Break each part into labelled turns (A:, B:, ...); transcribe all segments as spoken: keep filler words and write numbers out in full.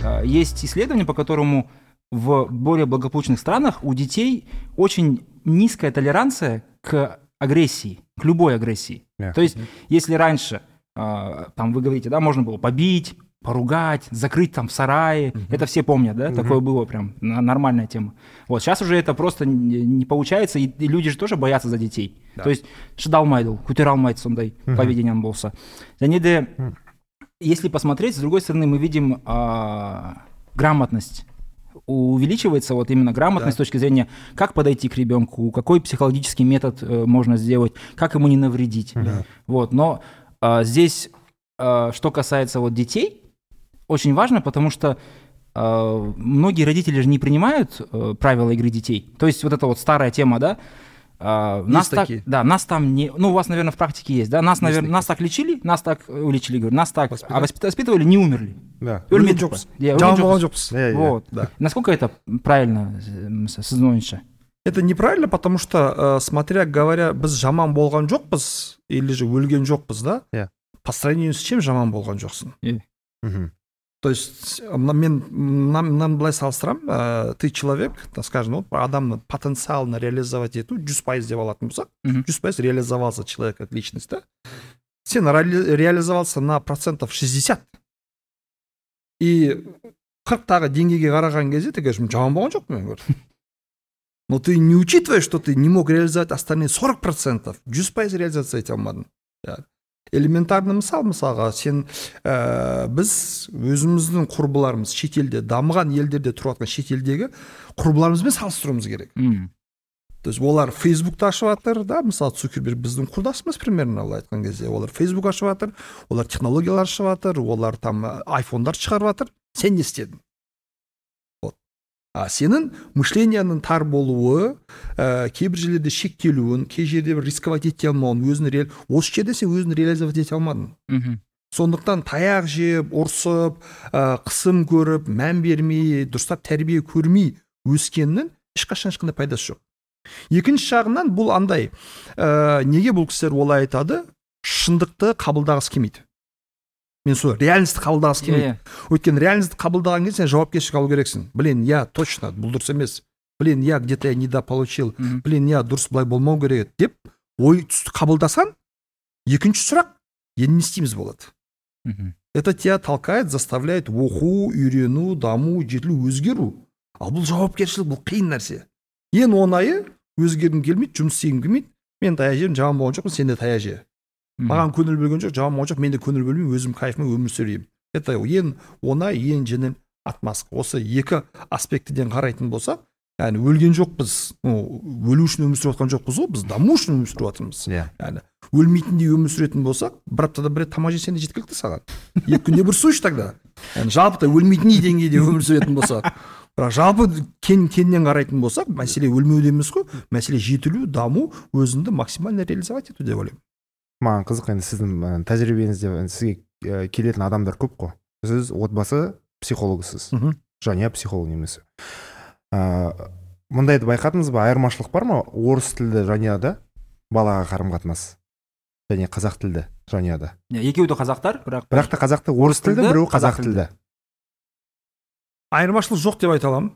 A: есть исследование, по которому в более благополучных странах у детей очень низкая толеранция к агрессии, к любой агрессии. Yeah. То есть, если раньше, там вы говорите, да, можно было побить, поругать, закрыть там в сарае, uh-huh. это все помнят, да, uh-huh. такое было прям нормальная тема. Вот, сейчас уже это просто не получается, и, и люди же тоже боятся за детей. Yeah. То есть, шыдалмайды, көтере сондай поведением болса. Және де, если посмотреть, с другой стороны, мы видим а, грамотность. Увеличивается вот именно грамотность да. с точки зрения, как подойти к ребенку, какой психологический метод э, можно сделать, как ему не навредить. Да. Вот, но э, здесь, э, что касается вот детей, очень важно, потому что э, многие родители же не принимают э, правила игры детей. То есть вот эта вот старая тема, да, э, нас так, да, нас там не, ну у вас, наверное, в практике есть, да, нас, наверное, нас так лечили, нас так уличили, говорю, нас так а воспитывали, не умерли.
B: Да.
A: Вот. Да. Насколько это правильно, сіздің?
C: Это неправильно, потому что, э, смотря говоря, біз жаман болған жоқпыз, или же өлген жоқпыз, да?
B: Yeah.
C: По сравнению с чем жаман болған жоқсың?
A: Yeah.
C: Mm-hmm. То есть, мен, нам, нам былай салыстырамын, ә, ты человек, скажем, вот, адамны потенциалны реализовать ету, жүз пайыз деп алатын болсақ, жүз пайыз реализовался человек как личность, да? Сен ре- реализовался на процентов шестьдесят. И қырықтағы деңгейге қараған кезде ты говоришь, жаман болған жоқ мен говорю. Но ты не учитываешь, что ты не мог реализовать остальные сорок процентов, жүз пайыз реализация ете алмадың. Элементарный мысал, мысалға, сен ә, біз өзіміздің құрбыларымыз шетелде, дамыған елдерде тұратын шетелдегі құрбыларымызбен салыстыруымыз керек.
A: Mm.
C: То есть олар Фейсбукты ашып жатыр, да, мысалы Цукерберг біздің құрдасымыз примерно олай айтқан кезде, олар Фейсбук ашып жатыр, олар технологиялар ашып жатыр, олар там айфондар шығарып жатыр, сен не істедің? Вот. А сенің мышленияның тар болуы, ә, кейбір жерлерде шектелуін, кей жерде рисковать ете алмауын, өзін реал... осы жерде сен өзін реализовать ете алмадың.
A: Mm-hmm.
C: Сондықтан таяқ жеп, ұрсып, ә, қысым көріп, мән бермей, дұрыстап тәрбие көрмей өскеннің ешқашан ешқандай пайдасы жоқ. Екінші жағынан бұл андай, ә, неге бұл кісілер олай айтады, шындықты қабылдағысы келмейді. Мен сол реальностьті қабылдағысы келмейді. Yeah, yeah. Өйткені реальностьті қабылдаған кезде сен жауапкершілік алу керексің. Блин, я точно, бұл дұрыс емес. Блин, я где-то я недополучил. Mm-hmm. Блин, я дұрыс былай болмау керек деп ой түсті қабылдасан, екінші сұрақ, енді не істейміз болады.
A: Mm-hmm.
C: Это тебя толкает, заставляет оқу, үйрену, даму, жетілу, өзгеру. Ал бұл жауапкершілік, бұл қиын нәрсе. Ең оңайы өзгергім келмейді, жұмыс істегім келмейді. Мен таяқ жерім, жаман болған жоқпын, сен де таяқ же. Маған көңіл бөлген жоқ, жаман болған жоқ, мен де көңіл бөлмеймін, өзім кайфыммен өмір сүреймін. Это ең оңай, ең жеңіл отмазка. Осы екі аспектіден қарайтын болсақ, яғни өлген жоқпыз, өлу үшін өмір сүріп жатқан жоқпыз ғой, біз даму үшін өмір сүріп жатырмыз. Яғни өлмейтіндей өмір сүретін болсақ, бір аптада бір рет тамақ жесең де жеткілікті саған. Екі күнде бір су іш тогда. Яғни жалпы өлмейтіндей деңгейде өмір сүретін болсақ, бірақ жалпы кен кеннен қарайтын болсақ, мәселе өлмеуде емес қой, мәселе жетілу, даму, өзіңді максимально реализовать ету деп ойлаймын.
B: Маған қызық, енді сіздің тәжірибеңізде сізге келетін адамдар көп қой. Сіз отбасы психологысыз, жанұя психолог немесе. Мұндайды байқадыңыз ба, айырмашылық бар ма орыс тілді жанұяда балаға қарым-қатынас және қазақ тілді жанұяда?
A: Екеуі де қазақтар, бірақ
B: бірақ та қазақты орыс тілді, біреуі қазақ тілді.
C: Айырмашылық жоқ деп айта аламын.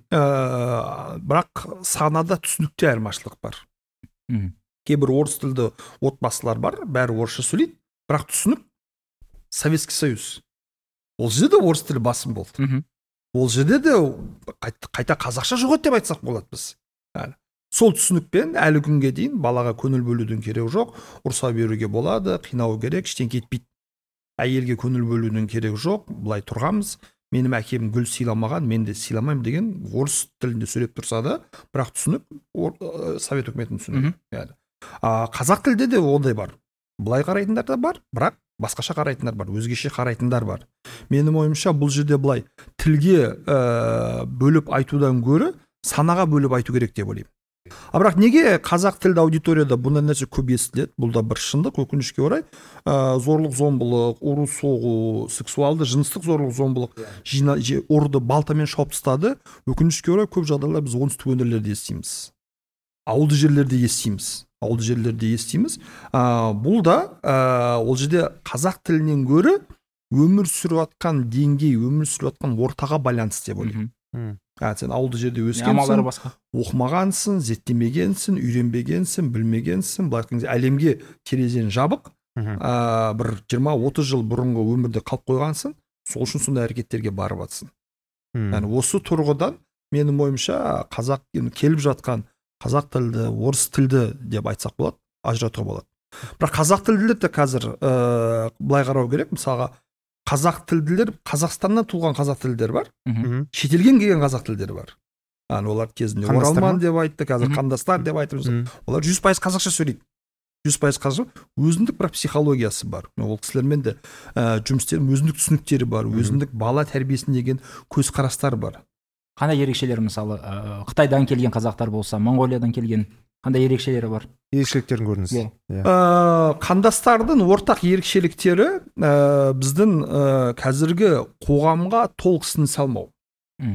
C: Бірақ санада түсінікте айырмашылық бар. Кейбір орыс тілді отбасылар бар, бәрі орысша сөйлейді, бірақ түсінік Советский Союз. Ол жерде де орыс тілі басым болды. Ол жерде де қайта қазақша жоқ деп айтсақ болады біз. Сол түсінікпен әлі күнге дейін балаға көңіл бөлудің керегі жоқ, ұрса беруге болады, қинау керек, ештеңе етпейді. Әйелге көңіл бөлудің керегі жоқ, былай тұрғанбыз. Менің әкем гүл сыйламаған, мен де сыйламаймын деген орыс тілінде сөйлеп тұрса да, бірақ түсінік Совет үкіметінің түсінігі. Қазақ тілде де ондай бар. Былай қарайтындар да бар, бірақ басқаша қарайтындар бар, өзгеше қарайтындар бар. Менің ойымша бұл жерде былай тілге ә, бөліп айтудан гөрі санаға бөліп айту керек деп ойлаймын. А бірақ неге қазақ тілді аудиторияда бұндай нәрсе көп естіледі? Бұл да бір шындық, өкінішке орай. Ә, зорлық, зомбылық, ұру, соғу, сексуалды, жыныстық зорлық, зомбылық, жина, ұрды балтамен шауып тастады. Өкінішке орай көп жағдайлар біз оңтүстік өңірлерде естиміз. Ауылды жерлерде естиміз. Ауылды жерлерде естиміз. Ә, бұл да ә, ол жерде қазақ тілінен гөрі өмір сүріп жатқан деңгей, өмір сүріп жатқан ортаға байланысты деп ойлаймын. ә, сен ауылды жерде өскенсің, оқымағансың, зерттемегенсің, үйренбегенсің, білмегенсің, былай айтқан кезде әлемге терезен жабық, ә, бір жиырма отыз жыл бұрынғы өмірде қалып қойғансың, сол үшін сондай әрекеттерге барып жатсың. Yani осы тұрғыдан менің ойымша қазақ келіп жатқан қазақ тілді, орыс тілді деп айтсақ болады, ажыратуға болады. Бірақ қазақ тілділер де қазір ә, былай қарау керек, мысалға қазақ тілділер, Қазақстаннан туылған қазақ тілділер бар, шетелден келген қазақ тілдері бар. Yani олар кезінде оралман деп айтты, қазір қандастар деп айтып жүрсің. Олар жүз пайыз қазақша сөйлейді. жүз пайыз қазақша, өзіндік бір психологиясы бар. Ол кісілермен де ә, жұмыс істедім, өзіндік түсініктері бар, өзіндік бала тәрбиесіне деген көзқарастар бар.
A: Қандай ерекшелері, мысалы, ә, Қытайдан келген қазақтар болса, Монғолиядан келген қандай ерекшелері бар?
B: Ерекшеліктерін көріңіз.
A: Yeah.
C: Yeah. Ә, қандастардың ортақ ерекшеліктері ә, біздің ә, қазіргі қоғамға толық сіңісе алмау. Mm.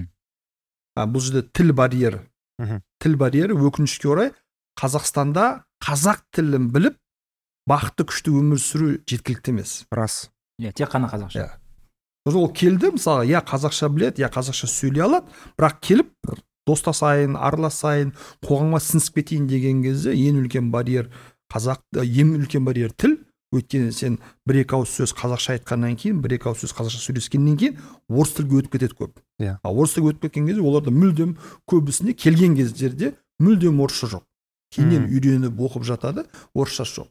C: Ә, бұл жерде тіл барьері. Mm-hmm. Тіл барьері өкінішке орай Қазақстанда қазақ тілін біліп, бақытты күшті өмір сүру жеткілікті емес.
B: Рас.
A: Иә, тек қана қазақша.
C: Иә. Ол келді, мысалы, я қазақша біледі, я қазақша сөйлей алады, бірақ келіп достасайын, араласайын, қоғамға сіңісіп кетейін деген кезде ең үлкен барьер қазақ, ең үлкен барьер тіл. Өйткені сен бір екі ауыз сөз қазақша айтқаннан кейін, бір екі ауыз сөз қазақша сөйлескеннен кейін орыс тілге өтіп кетеді көп.
B: Иә.
C: Ал орыс тілге өтіп кеткен кезде оларда мүлдем көбісіне келген кездерде мүлдем орысша жоқ. Кейіннен үйреніп оқып жатады, орысша жоқ.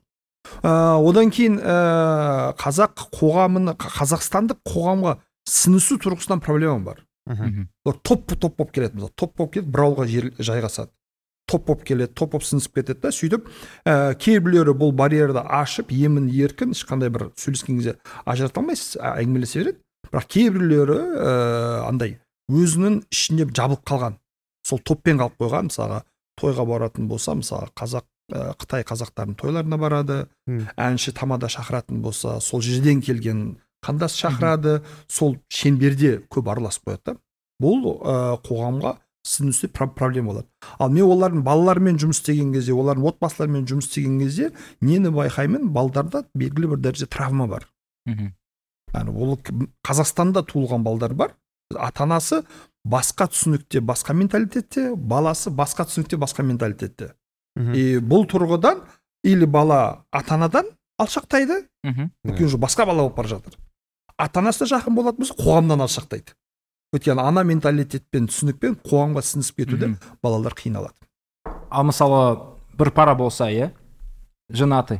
C: Ә, одан кейін ә, қазақ қоғамына, қазақстандық қоғамға сіңісу тұрғысынан проблема бар. Олар топ-топ болып келеді, мысалы, топ болып келеді, бір ауылға жайғасады. Топ болып келеді, топ болып сіңісіп кетеді да, сөйтіп ә, кейбіреулері бұл барьерді ашып, емін еркін, ешқандай бір сөйлескен кезде ажырата алмайсыз, әңгімелесе береді. Бірақ кейбіреулері ә, андай өзінің ішінде жабылып қалған, сол топпен қалып қойған, мысалға тойға баратын болса, мысалы, қазақ, ә, Қытай қазақтардың тойларына барады, hmm. әнші тамада шақыратын болса, сол жерден келген қандас шақырады, hmm. сол шеңберде көп араласып қояды. Бұл ә, қоғамға сіңісу проблема болады. Ал мен олардың балалармен жұмыс істеген кезде, олардың отбасыларымен жұмыс істеген кезде, нені байқаймын, балдарда белгілі бір дәрежеде травма бар. Hmm. Yani, ол Қазақстанда туылған балдар бар, ата-анасы басқа түсінікте, басқа менталитетте, баласы басқа түсінікте, басқа менталитетте. И бұл тұрғыдан или бала ата-анадан алшақтайды, өйткені басқа бала болып бара жатыр. Ата-анасы жақын болатын болса, қоғамнан алшақтайды. Өйткені ана менталитетпен, түсінікпен қоғамға сіңісіп кетуде балалар қиналады.
A: Ал мысалы бір пара болса, е, женаты.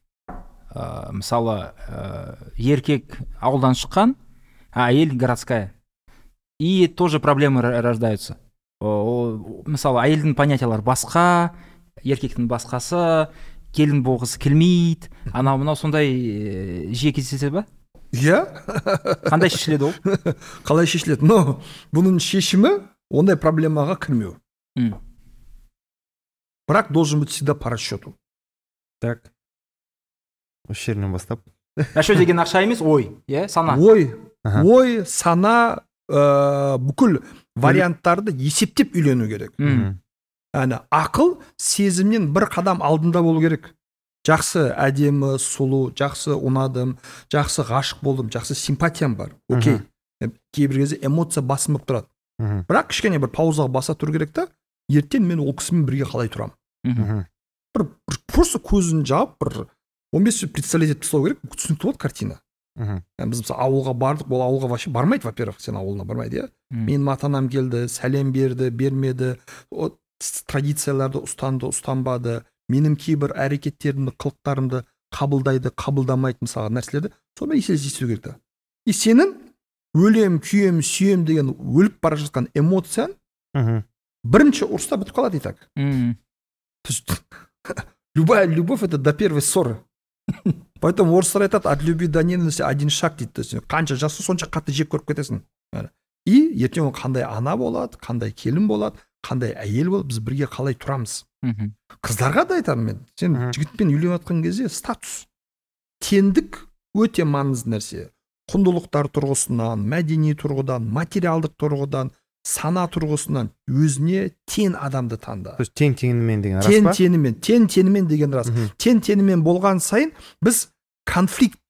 A: Ә, мысалы ә, еркек ауылдан шыққан, а әйел городская. И тоже проблемы рождаются. О, мысалы, әйелдің понятиялары басқа, еркектің басқасы, келін болғысы келмейді. Анау мынау сондай жиі кездеседі ба?
C: Иә.
A: Қандай шешіледі ол?
C: Қалай шешіледі? Но бұның шешімі ондай проблемаға кірмеу.
A: Hmm.
C: Бірақ должен быть всегда по расчету.
B: Так. Осы жерінен бастап.
A: Расчет деген ақша емес, ой, е, сана.
C: Ой, ой, сана, ә, бүкіл варианттарды есептеп үйлену керек. Әні, ақыл сезімнен бір қадам алдында болу керек. Жақсы әдемі, сұлу, жақсы ұнадым, жақсы ғашық болдым, жақсы симпатиям бар. Окей. Кейбір кезде эмоция басым болып тұрады. Бірақ кішкене бір паузаға баса тұру керек та, ертең мен ол кісімен бірге қалай тұрам. Бір, бір просто көзін жауып, бір он бес минут представлять етіп тастау керек, түсінікті болады картина. Біз мысалы ауылға бардық, ол ауылға вообще бармайды, во-первых, сен ауылына бармайды, иә. Менің ата-анам келді, сәлем берді, бермеді, традицияларды ұстанды, ұстанбады, менің кейбір әрекеттерімді, қылықтарымды қабылдайды, қабылдамайды, мысалы нәрселерді, сонымен есесі есту керек та. И сенің өлем, күйем, сүйем деген өліп бара жатқан эмоциян бірінші ұрыста бітіп қалады, и так. Любая любовь — это до первой ссоры. Поэтому орыстар айтады, от любви до ненависти один шаг дейді. Қанша жасы, сонша қатты жек көріп кетесің. И ертең ол қандай ана болады, қандай келін болады, қандай әйел болады, біз бірге қалай тұрамыз. Қыздарға да айтамын мен, сен жігітпен үйленіп жатқан кезде статус, теңдік өте маңызды нәрсе. Құндылықтар тұрғысынан, мәдени тұрғыдан, материалдық тұрғыдан, сана тұрғысынан өзіне тең адамды таңда.
B: Тең теңімен деген рас па?
C: Тең теңімен, тең теңімен деген рас. Тең теңімен болған сайын біз конфликт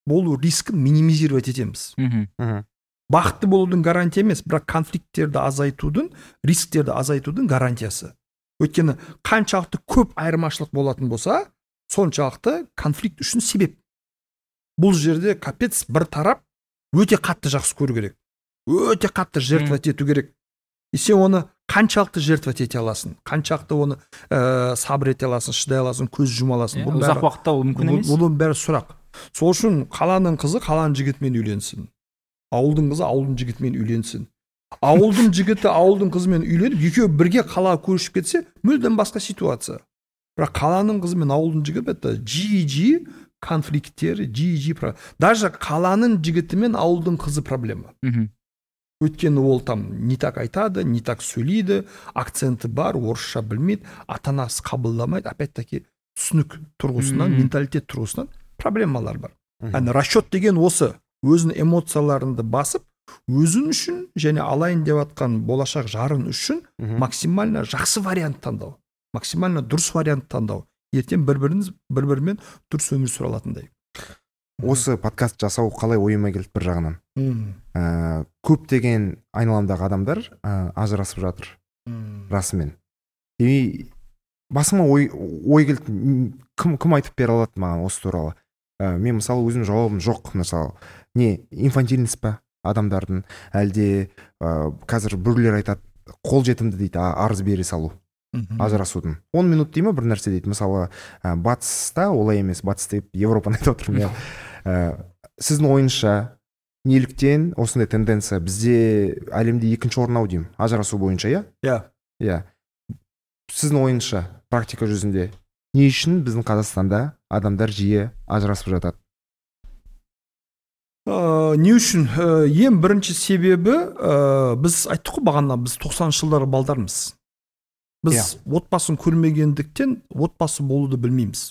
C: болу рискін минимизировать етеміз. Бақытты болудың гарантия емес, бірақ конфликттерді азайтудың, рисктерді азайтудың гарантиясы. Өйткені қаншалықты көп айырмашылық болатын болса, соншалықты конфликт үшін себеп. Бұл жерде капец бір тарап өте қатты жақсы көру керек. Өте қатты жертвовать ету керек. И сен оны қаншалықты жертвовать ете аласың, қаншалықты оны ә, сабыр ете аласың, шыдай аласың, көз жұма аласың.
A: Ә, ұзақ уақытта ол мүмкін емес.
C: Бұның бәрі сұрақ. Сол үшін қаланың қызы қаланың жігітімен үйленсін. Ауылдың қызы ауылдың жігітімен үйленсін. Ауылдың жігіті ауылдың қызымен үйленіп, екеуі бірге қалаға көшіп кетсе, мүлдем басқа ситуация. Бірақ қаланың қызы мен ауылдың жігіті это жиі-жиі конфликттер, жиі-жиі. Даже қаланың жігіті мен ауылдың қызы проблема. Өйткені ол там не так айтады, не так сөйлейді, акценті бар, орысша білмейді, ата-анасы қабылдамайды, опять-таки түсінік тұрғысынан, менталитет тұрғысынан проблемалар бар. Яғни расчет деген осы, өзінің эмоцияларыңды басып, өзің үшін және алайын деп атқан болашақ жарын үшін максимально жақсы вариант таңдау, максимально дұрыс вариант таңдау. Ертең бір-біріңіз бір-бірімен дұрыс өмір сүре алатындай.
B: Осы подкаст жасау қалай ойыма келді бір жағынан. Ә, көптеген айналамдағы адамдар ә, ажырасып жатыр. Расымен. И басыма ой, ой келді, кім, кім айтып бере алады маған осы туралы. Ә, мен мысалы өзім жауабым жоқ. Мысалы, не инфантильность па адамдардың, әлде ә, қазір біреулер айтады, қол жетімді дейді, арыз бере салу. Ажырасудың. он минут деймі бір нәрсе дейді. Мысалы, ә, батыста олай емес, батыс деп Европаны айтып отырмын. ә, сіздің ойынша неліктен осындай тенденция бізде әлемде екінші орын ау деймін, ажырасу бойынша, иә?
C: Иә.
B: Иә. Сіздің ойынша практика жүзінде не үшін біздің Қазақстанда адамдар жиі ажырасып жатады?
C: Ә, не үшін? Ә, ең бірінші себебі, ә, біз айттық қой бағана, біз тоқсаныншы жылдары балдармыз. Біз yeah. отбасын көрмегендіктен отбасы болуды білмейміз.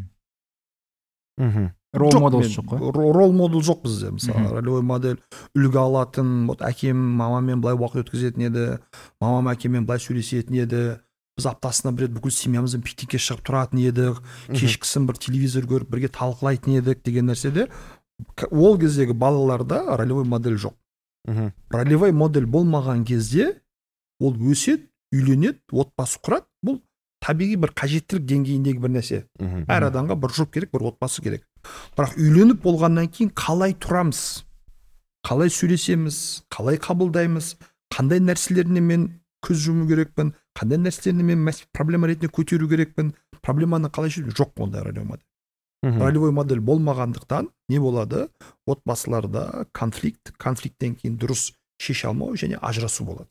A: Mm. Рол модел жоқ қой.
C: Рол модел жоқ бізде. Мысалы, ролевой модель үлгі алатын, вот әкем мамамен былай уақыт өткізетін еді, мамам әкеммен былай сөйлесетін еді. Біз аптасына бір рет бүкіл семьямызбен пикникке шығып тұратын едік, кешкісін бір телевизор көріп бірге талқылайтын едік деген нәрседе. Ол кездегі балаларда ролевой модель жоқ. Ролевой модель болмаған кезде ол өсет, үйленеді, отбасы құрады. Бұл табиғи бір қажеттілік деңгейіндегі бір нәрсе. Әр адамға бір жұп керек, бір отбасы керек. Бірақ үйленіп болғаннан кейін қалай тұрамыз, қалай сөйлесеміз, қалай қабылдаймыз, қандай нәрселеріне мен көз жұму керекпін, қандай нәрселеріне мен проблема ретінде көтеру керекпін, проблеманы қалай шешу, жоқ ондай ролевой модель. Ролевой модель болмағандықтан не болады? Отбасыларда конфликт, конфликттен кейін дұрыс шеше алмау және ажырасу болады.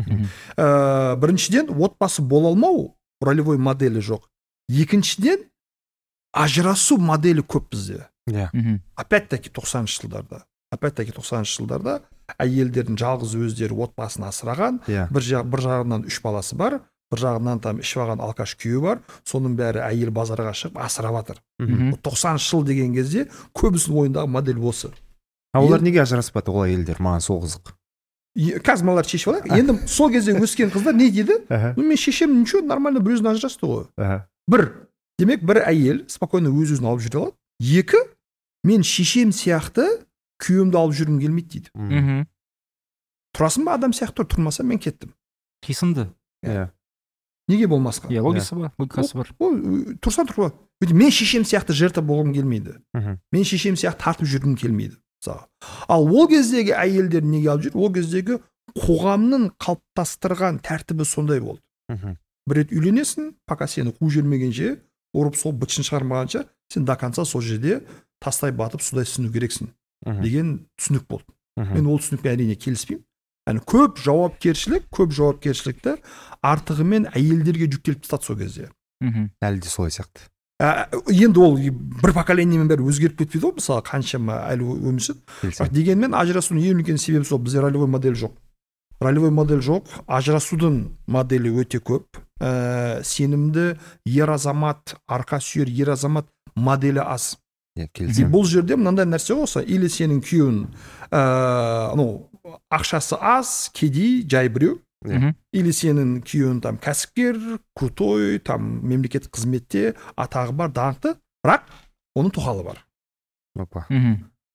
C: Ә, біріншіден отбасы бола алмау ролевой моделі жоқ. Екіншіден ажырасу моделі көп бізде.
B: Yeah.
C: Опять-таки тоқсаныншы жылдарда. Опять-таки тоқсаныншы жылдарда әйелдердің жалғыз өздері отбасын асыраған, yeah. бір, жақ, бір жағынан үш баласы бар, бір жағынан там ішіп алған алкаш күйеуі бар, соның бәрі әйел базарға шығып асырап жатыр. тоқсаныншы жыл деген кезде көбісінің ойындағы модель осы.
B: А олар неге ажыраспады ол әйелдер? Маған сол қызық.
C: Қазір малар шешіп алайық. Енді сол кезде өскен қыздар не дейді? Ну мен шешем ничего, нормально бір өзін ажырасты ғой. Бір, демек бір әйел спокойно өз-өзін алып жүре алады. Екі, мен шешем сияқты күйеуімді алып жүргім келмейді дейді. Тұрасың ба адам сияқты, тұрмаса мен кеттім.
A: Қисынды.
C: Неге болмасқа?
A: Иә, логикасы бар, логикасы бар.
C: Тұрсан тұрма. Мен шешем сияқты жертва болғым келмейді. Мен шешем сияқты тартып жүргім келмейді. Ал ол кездегі әйелдер неге алып жүр? Ол кездегі қоғамның қалыптастырған тәртібі сондай болды. Бір рет үйленесің, пока сені қу жүрмегенше, ұрып сол бытшын шығармағанша, сен до конца сол жерде тастай батып, судай сыну керексің деген түсінік болды. Мен ол түсінікпен әрине келіспеймін. Яғни көп жауапкершілік, көп жауапкершілікті артығымен әйелдерге жүктеліп тастады сол кезде.
B: Әлі де солай сияқты.
C: Ә, енді ол бір поколениемен бәрі өзгеріп кетпейді ғой, мысалы қаншама әлі өмір сүріп. Дегенмен ажырасудың ең үлкен себебі сол, бізде ролевой модель жоқ. Ролевой модель жоқ, ажырасудың моделі өте көп. Ә, сенімді ер азамат, арқа сүйер ер азамат моделі аз. Бұл жерде мынандай нәрсе болса, или сенің күйеуің ә, ну, ақшасы аз, кедей, жай біреу, или сенің күйеуің там кәсіпкер, крутой, там мемлекеттік қызметте атағы бар, даңқты, бірақ оның тоқалы бар.
B: Опа.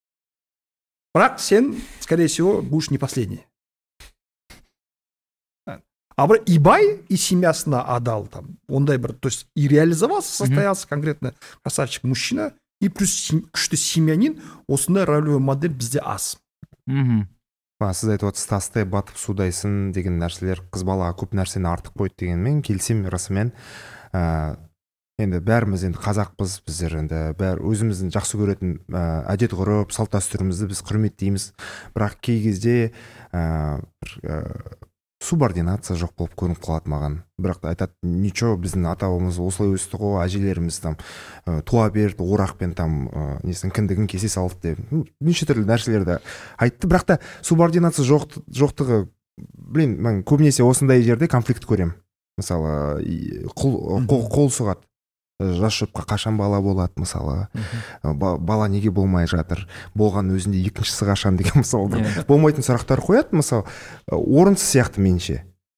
C: бірақ сен, скорее всего, будешь не последний. А бір и бай, и семьясына адал, там, ондай бір, то есть и реализовался, состоялся конкретно красавчик мужчина, и плюс күшті семьянин, осындай ролевой модель бізде аз.
A: Мхм.
B: Сіз айтып отырсыз, тастай батып судайсын деген нәрселер қыз балаға көп нәрсені артық қойды дегенмен келісемін расымен. ә, енді бәріміз енді қазақпыз, біздер енді бәрі өзіміздің жақсы көретін ә, әдет ғұрып салт дәстүрімізді біз құрметтейміз, бірақ кей кезде ә, ә, субординация жоқ болып көрініп қалады маған. Бірақ айтады, ничего, біздің ата бабамыз осылай өсті ғой, әжелеріміз там туа берді, орақпен там несін кіндігін кесе салды деп неше түрлі нәрселерді айтты. Бірақ та субординация жоқ, жоқтығы, блин, мен көбінесе осындай жерде конфликт көремін. Мысалы, қол, қол, қол сұғады. Жас жұпқа қашан бала болады, мысалы, бала неге болмай жатыр, болған өзінде екіншісі қашан деген, мысалы, болмайтын сұрақтар қояды, мысалы, орынсыз сияқты менше.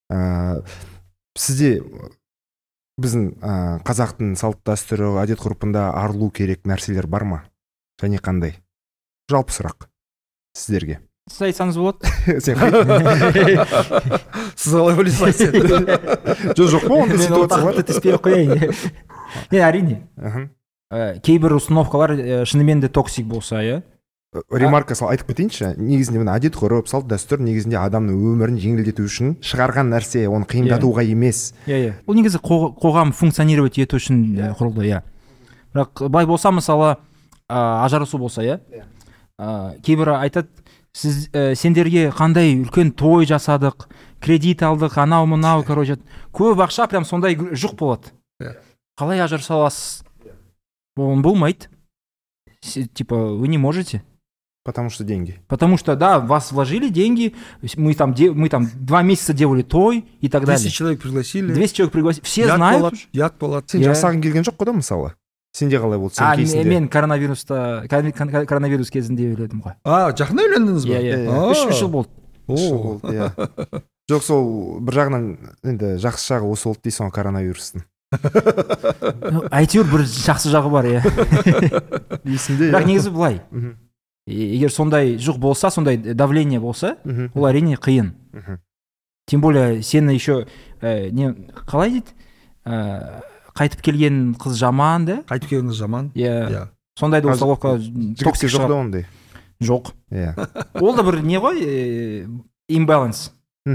B: Сізде біздің қазақтың салт дәстүрі, әдет ғұрпында арылу керек нәрселер бар ма? Және қандай? Жалпы сұрақ сіздерге.
A: Сіз айтсаңыз болады.
B: Сен қайт.
C: Сіз қалай ойлайсыз?
B: Жоқ, жоқ па, онда ситуация
A: теспей қояйын. Не, әрине. Кейбір установкалар шынымен де токсик болса, иә.
B: Ремарка сал айтып кетейінші, негізінде мына әдет ғұрып, салт дәстүр негізінде адамның өмірін жеңілдету үшін шығарған нәрсе, оны қиындатуға емес.
A: Иә, иә. Ол негізі қоғам функционировать ету үшін құрылды, иә. Бірақ бай болса, мысалы, ажырасу болса, иә. Кейбір айтады, сіз сендерге қандай үлкен той жасадық, кредит алдық, анау мынау, короче, көп ақша прям сондай жұқ болады. Қалай ажыраса аласыз? Он болмайды. Типа, вы не можете.
B: Потому что деньги.
A: Потому что, да, вас вложили деньги, мы там, де, мы там два месяца делали той и так далее.
C: двести человек пригласили.
A: двести человек пригласили. Все
C: ят
A: знают.
C: Болады, ят болады.
B: Сен жасағың келген жоқ қой да, мысалы? Сенде қалай болды? Сен
A: а,
B: кейсінде?
A: мен коронавируста, коронавирус кезінде үйледім ғой.
C: А, жақында үйлендіңіз ба?
A: Иә, иә. Үш жыл болды.
B: Үш жыл болды, иә. Жоқ, сол бір жағынан енді жақсы жағы осы болды дейсің ғой коронавирустың.
A: Әйтеуір бір жақсы жағы бар, иә.
B: Есімде,
A: бірақ негізі былай. Егер сондай жұқ болса, сондай давление болса, ол әрине қиын. Тем более сені еще не қалай дейді, қайтып келген қыз жаман, да?
C: Қайтып келген қыз жаман.
A: Иә. Сондайды установка
B: токсик жоқ да ондай.
A: Жоқ.
B: Иә.
A: Ол да бір не ғой, имбаланс.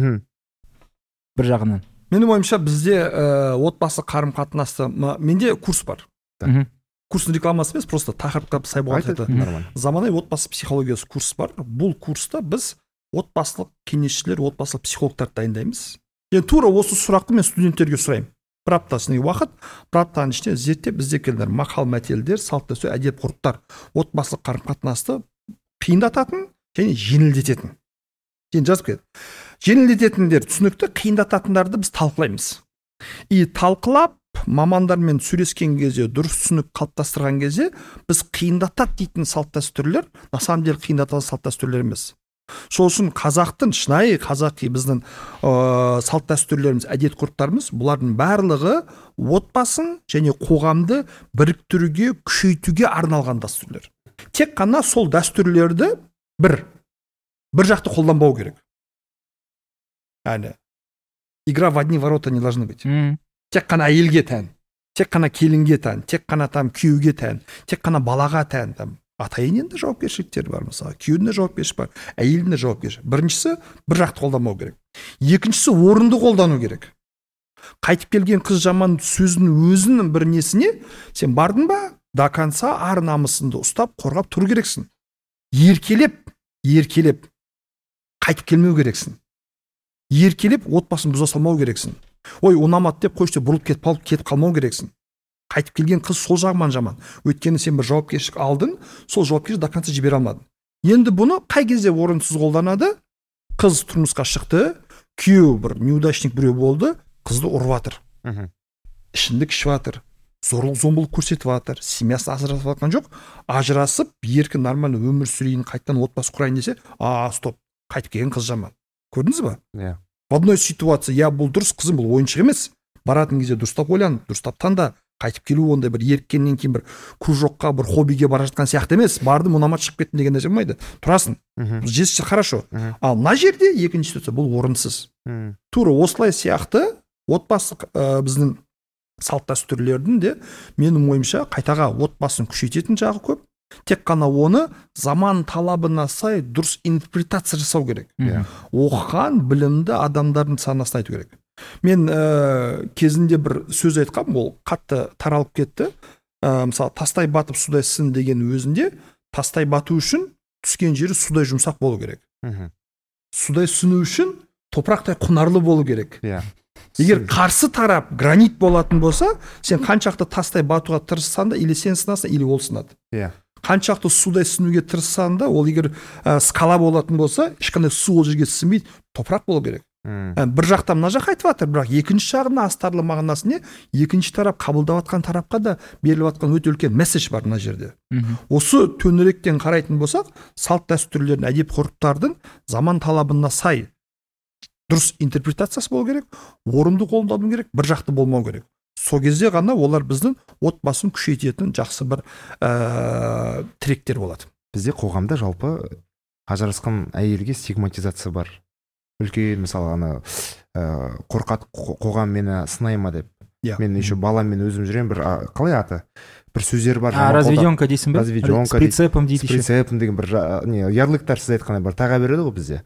A: Бір жағынан.
C: Менің ойымша бізде ә, отбасы қарым қатынасты, менде курс бар. Курстың рекламасы емес, просто тақырыпқа сай болған заманауи отбасы психологиясы курс бар. Бұл курста біз отбасылық кеңесшілер, отбасылық психологтарды дайындаймыз. Енді тура осы сұрақты мен студенттерге сұраймын. Бір аптасының уақыт, бір аптаның ішінде зерттеп бізде келдер мақал мәтелдер, салт дәстүр, әдет ғұрыптар, отбасылық қарым қатынасты қиындататын және жеңілдететін. Сен жазып кет. Жеңілдететіндер түсінікті, қиындататындарды біз талқылаймыз. И талқылап, мамандармен сөйлескен кезде, дұрыс түсінік қалыптастырған кезде, біз қиындатады дейтін салт дәстүрлер, на самом деле қиындататын салт дәстүрлер емес. Сол үшін қазақтың, шынайы қазақи біздің ә, салт дәстүрлеріміз, әдет ғұрыптарымыз, бұлардың барлығы отбасын және қоғамды біріктіруге, күшейтуге арналған дәстүрлер. Тек қана сол дәстүрлерді бір бір жақты қолданбау керек. Әне, игра в одни ворота не должны быть. Mm. Тек қана әйелге тән, тек қана келінге тән, тек қана там күйеуге тән, тек қана балаға тән. Там ата-ененің де жауапкершіліктері бар, мысалы, күйеудің де жауапкершілігі бар, әйелдің де жауапкершілігі. Біріншісі бір жақты қолданбау керек. Екіншісі орынды қолдану керек. Қайтып келген қыз жаман сөзінің өзінің бір несіне сен бардың ба, до конца ар намысыңды ұстап, қорғап тұру керексің. Еркелеп, еркелеп қайтып келмеу керексің. Еркелеп отбасын бұза салмау керексің. Ой, ұнамады деп қойшы бұрылып кетіп қалып кетіп қалмау керексің. Қайтып келген қыз сол жағынан жаман. Өйткені сен бір жауапкершілік алдың, сол жауапкершілікті до конца жібере алмадың. Енді бұны қай кезде орынсыз қолданады? Қыз тұрмысқа шықты, күйеу бір неудачник біреу болды, қызды ұрып жатыр. Ішімдік ішіп жатыр, зорлық зомбылық көрсетіп жатыр, семьясы ажырасып жатқан жоқ, ажырасып, еркін нормально өмір сүрейін, қайтадан отбасы құрайын десе, а, стоп, қайтып келген қыз жаман. Көрдіңіз ба?
B: Иә.
C: В одной ситуации, я бұл дұрыс, қызым бұл ойыншық емес. Баратын кезде дұрыстап ойлан, дұрыстап таңда, қайтып келу ондай бір еріккеннен кейін бір кружокқа бір хоббиге бара жатқан сияқты емес. Бардым, ұнамады, шығып кеттім деген нәрсе болмайды. Тұрасың, жесі хорошо. Ал мына жерде екінші ситуация, бұл орынсыз. Тура осылай сияқты отбасы ә, біздің салт дәстүрлердің де менің ойымша қайтаға отбасын күшейтетін жағы көп. Тек қана оны заман талабына сай дұрыс интерпретация жасау керек. Оқыған білімді адамдардың санасына айту керек. Мен ә, кезінде бір сөз айтқам, ол қатты таралып кетті. Ә, мысалы, тастай батып судай сін деген өзінде, тастай бату үшін түскен жері судай жұмсақ болу керек. Судай сіну үшін топырақтай құнарлы болу керек. Егер қарсы тарап гранит болатын болса, сен қаншақты тастай батуға тырыссаң да, или сен сынасың, или ол сынады. Қаншақты судай сінуге тырыссаң да, ол егер ә, скала болатын болса, ешқандай су ол жерге сіңбейді, топырақ болу керек. Ә, бір жақтан мына жақ айтып жатыр, бірақ екінші жағында астарлы мағынасы не? Екінші тарап қабылдап жатқан тарапқа да беріліп жатқан өте үлкен месседж бар мына жерде. Осы төңіректен қарайтын болсақ, салт дәстүрлердің, әдеп ғұрыптардың заман талабына сай дұрыс интерпретациясы болу керек, орынды қолдану керек, бір жақты болмау керек. Сол кезде ғана олар біздің отбасын күшейтетін жақсы бір ә, тіректер болады.
B: Бізде қоғамда жалпы ажырасқан әйелге стигматизация бар. Үлкен, мысалы, ана ә, қорқат қоғам мені сынай ма деп. Мен еще баламмен өзім жүрем, бір қалай аты? Бір сөздер бар.
A: А, разведенка дейсің бе?
B: Разведенка.
A: С прицепом дейді.
B: С прицепом деген бір не, ярлыктар сіз айтқандай бір таға береді ғой бізде.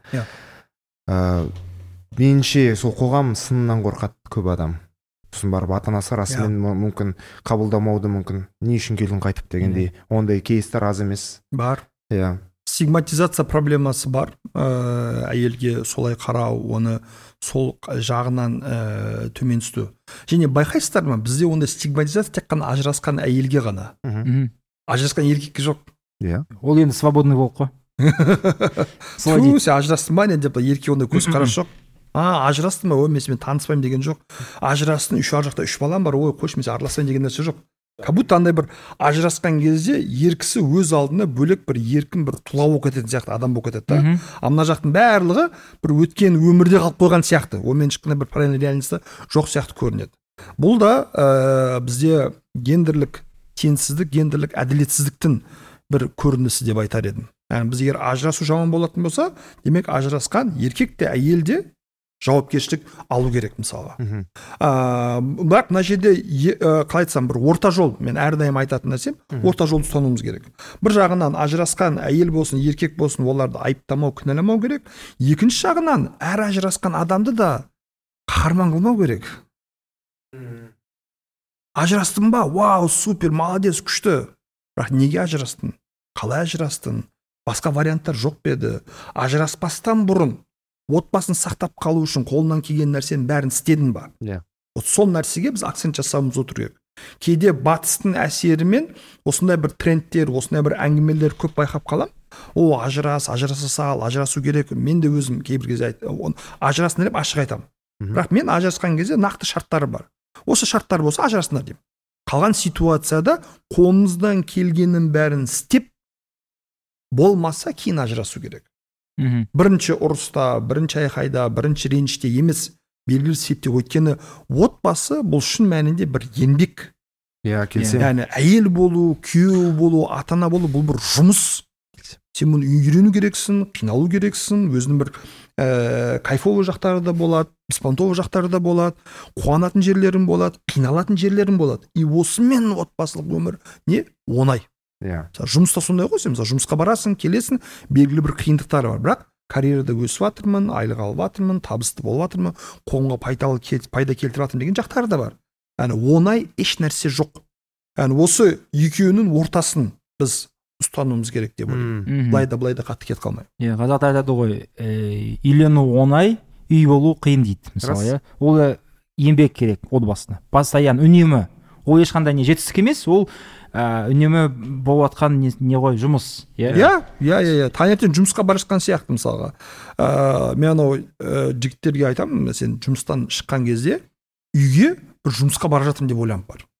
B: Ә, меніңше сол қоғам сынынан қорқады көп адам. Сосын барып ата-анасы расымен мүмкін қабылдамауды мүмкін. Не үшін келдің қайтып дегендей. Ондай кейстер аз емес.
C: Бар.
B: Иә.
C: Стигматизация проблемасы бар. Ә, әйелге солай қарау, оны сол жағынан ә, төмен түсті. Және байқайсыздар ма, бізде ондай стигматизация тек қана ажырасқан әйелге ғана. Ажырасқан еркекке жоқ.
B: Иә.
A: Ол енді свободный болып қой.
C: Ту, сен ажырастың ба не деп, еркекке ондай көз қарас жоқ. А, ажырастың ба, ой, мен сенімен таныспаймын деген жоқ. Ажырастың, үш ар жақта үш балам бар, ой, қойшы, мен сен араласпайын деген нәрсе жоқ. Как будто андай бір ажырасқан кезде еркісі өз алдына бөлек бір еркін бір тұла болып кететін сияқты адам болып кетеді да. А мына жақтың барлығы бір өткен өмірде қалып қойған сияқты. Онымен ешқандай бір параллель реальностьта жоқ сияқты көрінеді. Бұл да ә, бізде гендерлік теңсіздік, гендерлік әділетсіздіктің бір көрінісі деп айтар едім. Яғни біз егер ажырасу жаман болатын болса, демек ажырасқан еркек те әйел де жауапкершілік алу керек мысалға. Ә, бірақ мына жерде қалай айтсам, бір орта жол, мен әрдайым айтатын нәрсем, орта жолды ұстануымыз керек. Бір жағынан ажырасқан әйел болсын, еркек болсын, оларды айыптамау, кінәламау керек. Екінші жағынан әр ажырасқан адамды да қаһарман қылмау керек. Ажырастың ба? Вау, супер, молодец, күшті. Бірақ неге ажырастың? Қалай ажырастың? Басқа варианттар жоқ па еді? Ажыраспастан бұрын отбасын сақтап қалу үшін қолынан келген нәрсенің бәрін істедің ба?
B: Иә.
C: Вот сол нәрсеге біз акцент жасауымыз отыр керек. Кейде батыстың әсерімен осындай бір трендтер, осындай бір әңгімелер көп байқап қалам. О, ажырас, ажыраса сал, ажырасу керек. Мен де өзім кейбір кезде айтам, ажырасын деп ашық айтам. Бірақ мен ажырасқан кезде нақты шарттары бар. Осы шарттар болса ажырасыңдар деймін. Қалған ситуацияда қолымыздан келгеннің бәрін істеп болмаса кейін ажырасу керек.
A: Мхм.
C: Бірінші ұрыста, бірінші айқайда, бірінші реніште емес, белгілі себепте. Өйткені отбасы бұл шын мәнінде бір еңбек.
B: Иә, келсем.
C: Яғни әйел болу, күйеу болу, ата-ана болу, бұл бір жұмыс. Сен мұны үйрену керексің, қиналу керексің, өзінің бір ә, кайфовый жақтары да болады, беспонтовый жақтары да болады, қуанатын жерлерің болады, қиналатын жерлерің болады. И осымен отбасылық өмір не? Оңай.
B: Иә.
C: Жұмыста сондай ғой, сен жұмысқа барасың, келесің, белгілі бір қиындықтары бар. Бірақ карьерада өсіп жатырмын, айлық алып жатырмын, табысты болып жатырмын, қолға пайдалы пайда келтіріп жатырмын деген жақтары да бар. Яғни оңай еш нәрсе жоқ. Яғни осы екеуінің ортасын біз ұстануымыз керек деп ойлаймын. Былай да былай да қатты кетіп қалмай.
A: Иә, қазақта айтады ғой, үйлену оңай, үй болу қиын дейді, мысалы, иә. Ол еңбек керек отбасына. Постоянно, үнемі. Ол ешқандай не жетістік емес, ол үнемі болып жатқан не, не ғой, жұмыс.
C: Иә, иә, иә, таңертең жұмысқа бара жатқан сияқты мысалға. Ә, мен анау ә, жігіттерге айтамын, сен жұмыстан шыққан кезде үйге бір жұмысқа бара жатырмын деп ойланып бар.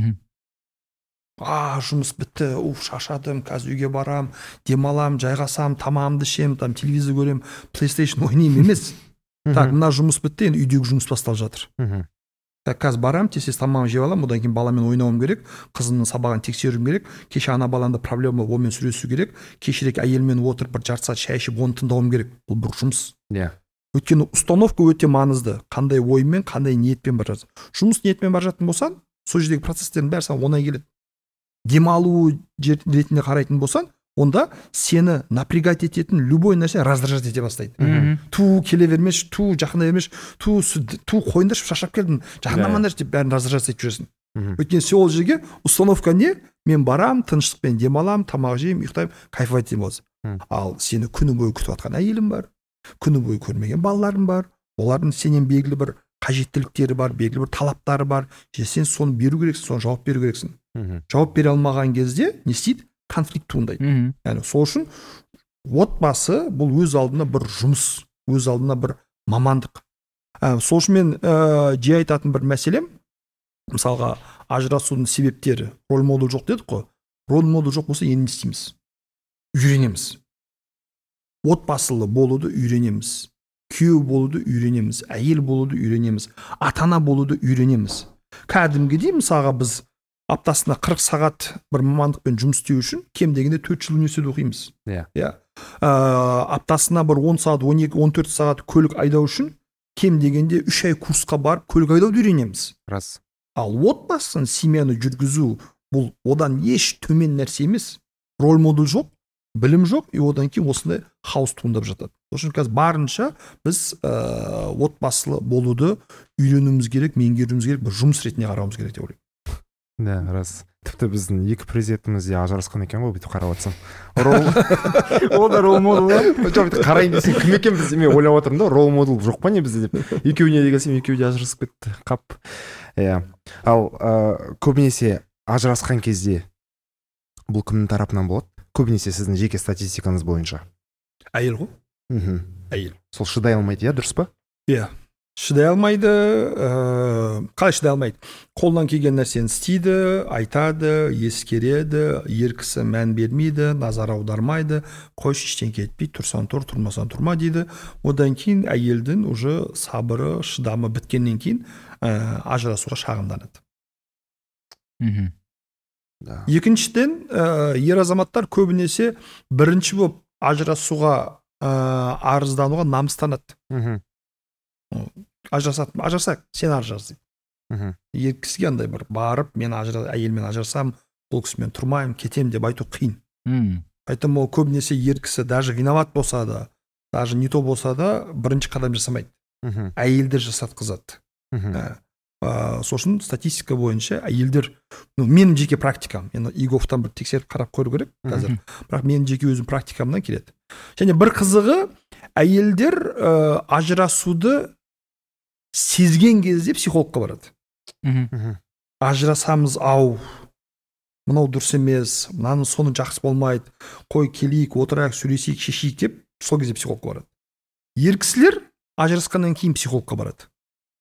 C: А, жұмыс бітті, уф, шашадым, қазір үйге барам, демалам, жайғасам, тамағымды ішем, там телевизор көрем, PlayStation ойнаймын емес. Так, мына жұмыс бітті, енді үйдегі жұмыс басталып жатыр. қазір барамын, тез тамағымды жеп аламын, одан кейін баламен ойнауым керек, қызымның сабағын тексеруім керек, кеше ана баламда проблема, онымен сөйлесу керек, кешірек әйелмен отырып бір жарты сағат шай ішіп оны тыңдауым керек. Бұл бір жұмыс.
B: Иә.
C: Өйткені установка өте маңызды. Қандай оймен, қандай ниетпен бар жатсың. Жұмыс ниетпен бар жатын болсаң, сол жердегі процестердің бәрі саған оңай келеді. Демалу ретінде қарайтын болсаң, онда сені напрягать ететін любой нәрсе раздражать ете бастайды. Ту келе бермеш, ту жақындай бермеш, ту ту қойында шаршап келдім, жақындамаңдар деп бәрін раздражать етіп жүресің. Өйткені сен ол жерге установка не? Мен барам, тыныштықпен демалам, тамақ жеймін, ұйықтаймын, кайфовать етемін болса. Ал сені күні бойы күтіп жатқан әйелім бар, күні бойы көрмеген балаларым бар, олардың сенен белгілі бір қажеттіліктері бар, белгілі бір талаптары бар. Сен соны беру керексің, соны жауап беру керексің. Жауап бере алмаған кезде не істейді? Конфликт туындайды. Яғни сол үшін отбасы бұл өз алдына бір жұмыс, өз алдына бір мамандық. Сол үшін мен жиі айтатын бір мәселем, мысалға ажырасудың себептері, роль модел жоқ дедік қой. Роль модел жоқ болса енді не істейміз? Үйренеміз. Отбасылы болуды үйренеміз. Күйеу болуды үйренеміз. Әйел болуды үйренеміз. Ата-ана болуды үйренеміз. Кәдімгідей мысалға біз аптасына қырық сағат бір мамандықпен жұмыс істеу үшін кем дегенде төрт жыл университет оқимыз.
B: Иә.
C: Иә. Аптасына бір он сағат, он екі, он төрт сағат көлік айдау үшін кем дегенде үш ай курсқа барып көлік айдауды үйренеміз.
B: Рас.
C: Ал отбасын, семьяны жүргізу бұл одан еш төмен нәрсе емес. Роль модел жоқ, білім жоқ, и одан кейін осындай хаос туындап жатады. Сосын қазір барынша біз ә, отбасылы болуды үйренуіміз керек, меңгеруіміз керек, бір жұмыс ретінде қарауымыз керек деп ойлаймын.
B: Да, рас. Тіпті біздің екі президентіміз де ажырасқан екен ғой, бүйтіп қарап отырсам.
A: Ол да рол модел ба?
B: Жоқ, бүйтіп қарайын десем, кім екен біз, мен ойлап отырмын да, рол модел жоқ па не бізде деп. Екеуіне де келсем, екеуі де ажырасып кетті. Қап. Иә. Ал көбінесе ажырасқан кезде бұл кімнің тарапынан болады? Көбінесе сіздің жеке статистикаңыз бойынша.
C: Әйел ғой?
B: Мхм.
C: Әйел.
B: Сол шыдай алмайды, иә, дұрыс па?
C: Иә. Шыдай алмайды, ә, қалай шыдай алмайды? Қолдан келген нәрсені істейді, айтады, ескереді, еркісі мән бермейді, назар аудармайды, қойшы ештеңке етпейді, тұрсаң тұр, тұрмасаң тұрма дейді. Одан кейін әйелдің уже сабыры, шыдамы біткеннен кейін ә, ажырасуға шағымданады.
B: Мхм. Да.
C: Екіншіден, ә, ер азаматтар көбінесе бірінші болып ажырасуға ә, арыздануға намыстанады.
B: Мхм.
C: Ажырасады, ажырасақ, сен ажырас дейді. Ер кісіге андай бір барып, мен ажырас, әйелмен ажырасам, бұл кісімен тұрмаймын, кетем деп айту қиын. Поэтому ол көбінесе ер кісі даже виноват болса да, даже не то болса да, бірінші қадам жасамайды. Әйелдер жасатқызады. Сосын статистика бойынша әйелдер, ну, менің жеке практикам, енді ИГОВтан бір тексеріп қарап көру керек қазір. Бірақ менің жеке өзім практикамнан келеді. Және бір қызығы, әйелдер ә, ажырасуды сезген кезде психологқа барады. Ажырасамыз, ау, мынау дұрыс емес, мынаның соны жақсы болмайды, қой келейік, отырайық, сөйлесейік, шешейік деп, сол кезде психологқа барады. Ер кісілер ажырасқаннан кейін психологқа барады.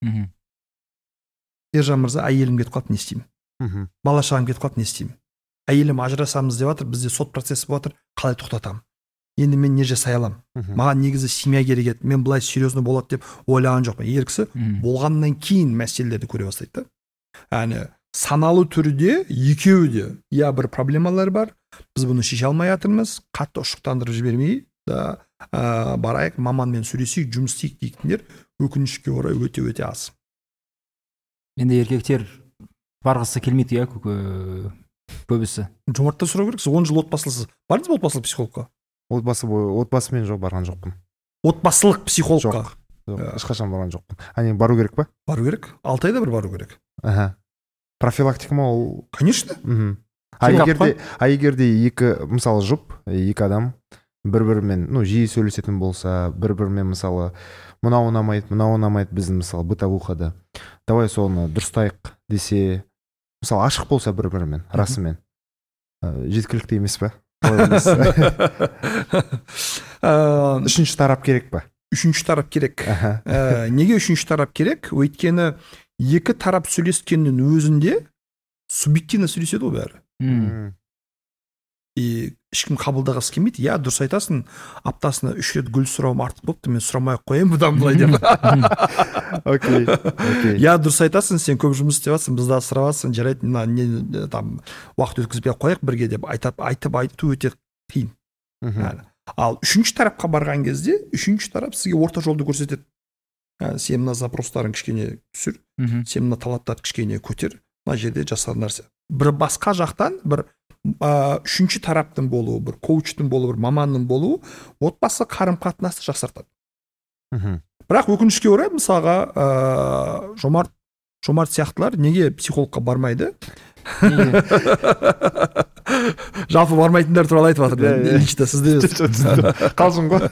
C: Ержан мырза, әйелім кетіп қалды, не істеймін? Бала шағам кетіп қалды, не істеймін? Әйелім ажырасамыз деп жатыр, бізде сот процесі болып жатыр, қалай тоқтатамын? Енді мен не жасай аламын? Маған негізі семья керек еді, мен былай серьезно болады деп ойлаған жоқпын. Ер кісі болғаннан кейін мәселелерді көре бастайды. Яғни саналы түрде екеуі де я бір проблемалар бар, біз бұны шеше алмай жатырмыз, қатты ұшықтандырып жібермей, да, ә, барайық, маманмен сөйлесейік, жұмыс істейік дейтіндер өкінішке орай өте-өте аз.
A: Енді еркектер барғысы келмейді, иә, көбісі.
C: Жомарттан сұрау керек, сіз он жыл отбасылысыз. Бардыңыз ба отбасылық психологқа?
B: Отбасы отбасымен жоқ, барған жоқпын.
C: Отбасылық психологқа?
B: Жоқ, жоқ, ешқашан барған жоқпын. Әне бару керек па?
C: Бару керек. Алты айда бір бару керек.
B: Аха. Профилактика ма ол?
C: Конечно.
B: А егерде, а егерде екі, мысалы, жұп, екі адам бір-бірімен, ну, жиі сөйлесетін болса, бір-бірімен, мысалы, мынау ұнамайды, мынау ұнамайды біздің, мысалы, бытовухада. Давай соны дұрыстайық десе, мысалы, ашық болса бір-бірімен, расымен. Жеткілікті емес па? Үшінші тарап керек па?
C: Үшінші тарап керек. Неге үшінші тарап керек? Өйткені екі тарап сөйлескеннің өзінде субъективно сөйлеседі ол бәрі. и ешкім қабылдағысы келмейді. Иә, дұрыс айтасың, аптасына үш рет гүл сұрауым артық болыпты, мен сұрамай ақ қояйын бұдан былай деп.
B: Окей, окей.
C: Иә, дұрыс айтасың, сен көп жұмыс істеп жатсың, бізді асырап жатсың, жарайды, мына не там уақыт өткізбей ақ қояйық бірге деп айтып айтып айту өте қиын. Ал үшінші тарапқа барған кезде, үшінші тарап сізге орта жолды көрсетеді. Сен мына запростарын кішкене түсір, сен мына талаптарды кішкене көтер, мына жерде жасаған нәрсе. Бір басқа жақтан бір үшінші тараптың болуы, бір коучтың болуы, бір маманның болуы отбасы қарым-қатынасты жақсартады. Бірақ өкінішке орай, мысалға, Жомарт Жомарт сияқтылар неге психологқа бармайды? Жалпы бармайтындар туралы айтып жатыр. Лично сізде
B: қалжың ғой.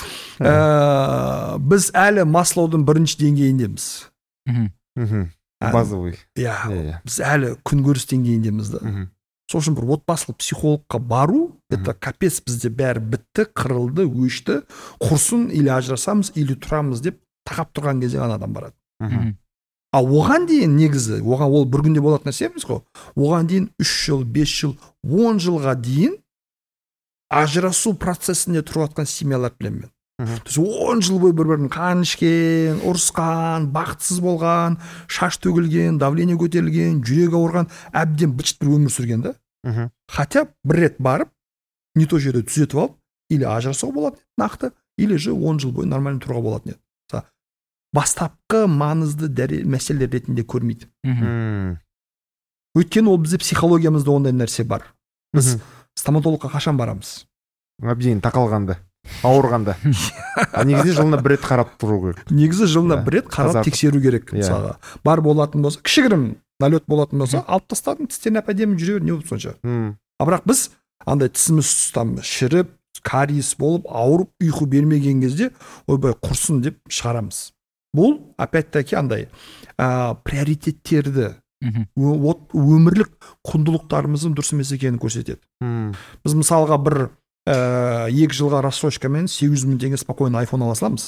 C: Біз әлі Маслоудың бірінші деңгейіндеміз.
B: Базовый.
C: Иә, біз әлі күнкөріс деңгейіндеміз да. Сол үшін бір отбасылық психологқа бару, это капец, бізде бәрі бітті, қырылды, өшті, құрсын, или ажырасамыз, или тұрамыз деп тақап тұрған кезде ғана адам барады. А оған дейін негізі, оған ол бір күнде болатын нәрсе емес қой. Оған дейін үш жыл, бес жыл, он жылға дейін ажырасу процесінде тұрып жатқан семьялар білемін мен. он жыл бойы бір-бірін қан ішкен, ұрысқан, бақытсыз болған, шаш төгілген, давление көтерілген, жүрегі ауырған, әбден бычыт бір өмір сүрген да. Хотя бір рет барып, не то жерде түзетіп алып, или ажырасуға болатын нақты, или же он жыл бойы нормально тұруға болатын еді. Бастапқы маңызды мәселелер ретінде көрмейді. Өйткені ол бізде психологиямызда ондай нәрсе бар. Біз стоматологқа қашан барамыз?
B: Әбден тақалғанда, ауырғанда. Негізі жылына бір рет қарап тұру керек.
C: Негізі жылына бір рет қарап тексеру керек. Мысалға, бар болатын болса, кішігірім налет болатын болса, алып тастадың, тістерін әп-әдемі жүре бер, не болып сонша. А бірақ біз андай тісіміз там шіріп, кариес болып, ауырып, ұйқы бермеген кезде, ойбай құрсын деп шығарамыз. Бұл, опять-таки, андай приоритеттерді, өмірлік құндылықтарымыздың дұрыс емес екенін көрсетеді. Біз мысалға бір екі жылға рассрочкамен сегіз жүз мың теңге спокойно айфон ала саламыз.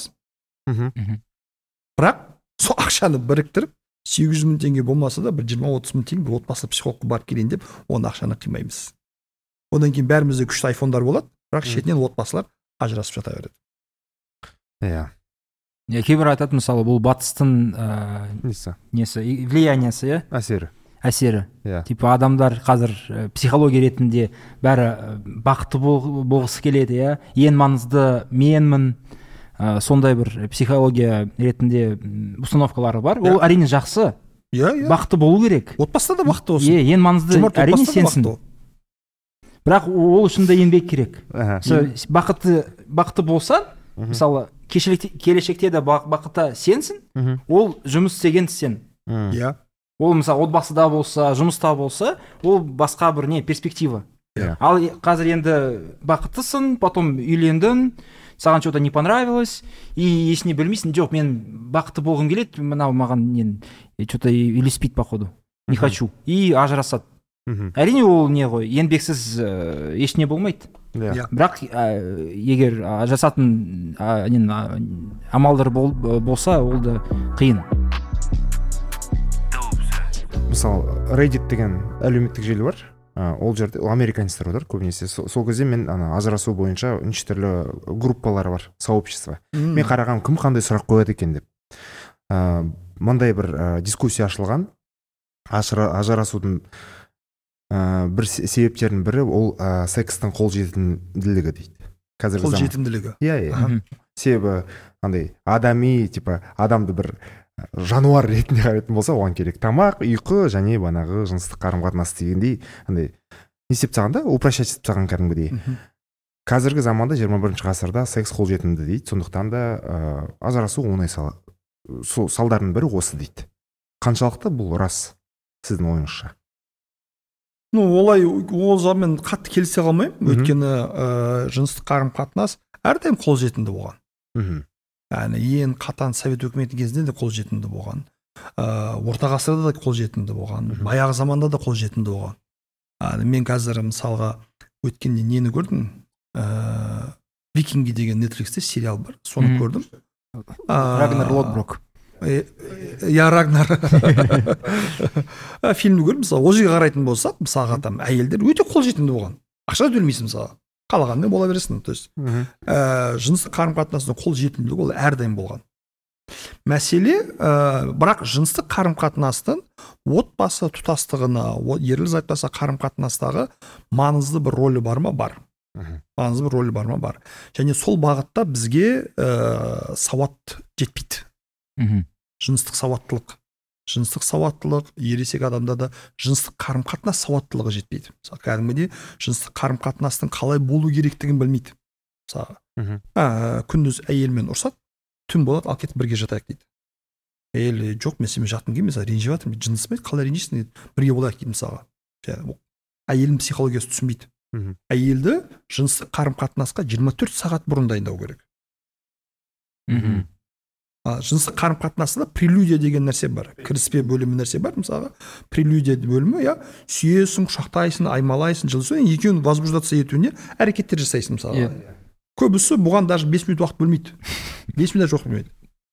C: Бірақ сол ақшаны біріктіріп, сегіз жүз мың теңге болмаса да бір жиырма отыз мың теңге бір отбасы психологқа барып келейін деп, оны ақшаны қимаймыз. Одан кейін бәрімізде күшті айфондар болады, бірақ шетінен отбасылар ажырасып жата береді.
B: Иә.
A: Кейбір айтады, мысалы, бұл батыстың несі, влияниясы, иә?
B: Әсері.
A: Әсері. Типа адамдар қазір психология ретінде бәрі бақытты болғысы келеді, иә? Ең маңызды менмін, сондай бір психология ретінде установкалары бар. Ол әрине жақсы. Бақытты болу керек.
C: Отбасыда да бақытты болсын.
A: Ең маңызды әрине сенсің. Бірақ ол үшін де еңбек керек. Бақытты болса, мысалы, келешекте де бақытта сенсің, ол жұмыс істеген сен. Ол, мысалы, отбасыда болса, жұмыста болса, ол басқа бір не перспектива. Ал қазір енді бақыттысың, потом үйлендің, саған что-то не понравилось, и есіне білмейсің, жоқ, мен бақытты болғым келеді, мынау маған что-то үйлеспейді, походу, не хочу, и ажырасады. Әрине ол не ғой, еңбексіз ешне болмайды. Бірақ егер ажырасатын амалдар болса, ол да қиын.
B: Мысалы, Reddit деген әлеуметтік желі бар. Ол жерде американецтер бар көбінесе. Сол кезде мен ажырасу бойынша неше түрлі группалар бар, сообщество. Мен қарағам, кім қандай сұрақ қояды екен деп. Мындай бір дискуссия ашылған. Ажырасудың бір себептерінің бірі ол секстің қолжетімділігі дейді.
C: Қолжетімділігі.
B: Иә, иә. Себебі андай адами, типа адамды бір жануар ретінде қарайтын болса, оған керек тамақ, ұйқы және банағы жыныстық қарым-қатынас дегендей, андай не істеп тастағанда, упрощать етіп тастаған кәдімгідей. Қазіргі заманда жиырма бірінші ғасырда секс қолжетімді дейді. Сондықтан да ажырасу оңай салдарының бірі осы дейді. Қаншалықты бұл рас сіздің ойыңызша?
C: Ну, олай ол жағымен қатты келісе қалмаймын, өйткені жыныстық қарым-қатынас әрдайым қолжетімді болған. Яғни ең қатаң совет өкіметі кезінде де қолжетімді болған. Орта ғасырда да қолжетімді болған. Баяғы заманда да қолжетімді болған. Мен қазір мысалға өткенде нені көрдім? Викинги деген Netflixте сериал бар. Соны көрдім.
A: Рагнар Лодброк.
C: Я Рагнар. Фильмді көрдім. Мысалы, ол жерге қарайтын болсақ, мысалға там әйелдер өте қолжетімді болған. ақша төлемейсің мысалы, қалағанмен бола бересің. То есть ә, жыныстық қарым қатынастың қол жетімділігі ол әрдайым болған. Мәселе ә, бірақ жыныстық қарым қатынастың отбасы тұтастығына, ерлі зайыптаса қарым қатынастағы маңызды бір рөлі бар ма? Бар. Маңызды бір рөлі бар ма? Бар. Және сол бағытта бізге ә, сауат жетпейді. Жыныстық сауаттылық. Жыныстық сауаттылық, ересек адамда да жыныстық қарым қатынас сауаттылығы жетпейді. Мысалы, кәдімгідей жыныстық қарым қатынастың қалай болу керектігін білмейді. Мысалы, ә, күндіз әйелмен ұрсады, түн болады, ал кетіп бірге жатайық дейді. Әйел, жоқ, мен сенімен жатқым келмейді, мысалы, ренжіп жатырмын, жынысым еді, қалай ренжисің дейді, бірге болайық дейді мысалға. Әйелдің психологиясы түсінбейді. Әйелді жыныстық қарым қатынасқа жиырма төрт сағат бұрын дайындау керек. Жыныстық қарым қатынасында прелюдия деген нәрсе бар, кіріспе бөлімі нәрсе бар. Мысалға, прелюдия бөлімі, я сүйесің, құшақтайсың, аймалайсың, жылысың, екеуін возбуждаться етуіне әрекеттер жасайсың мысалға. Көбісі бұған даже бес минут уақыт бөлмейді. бес минут жоқ бөлмейді.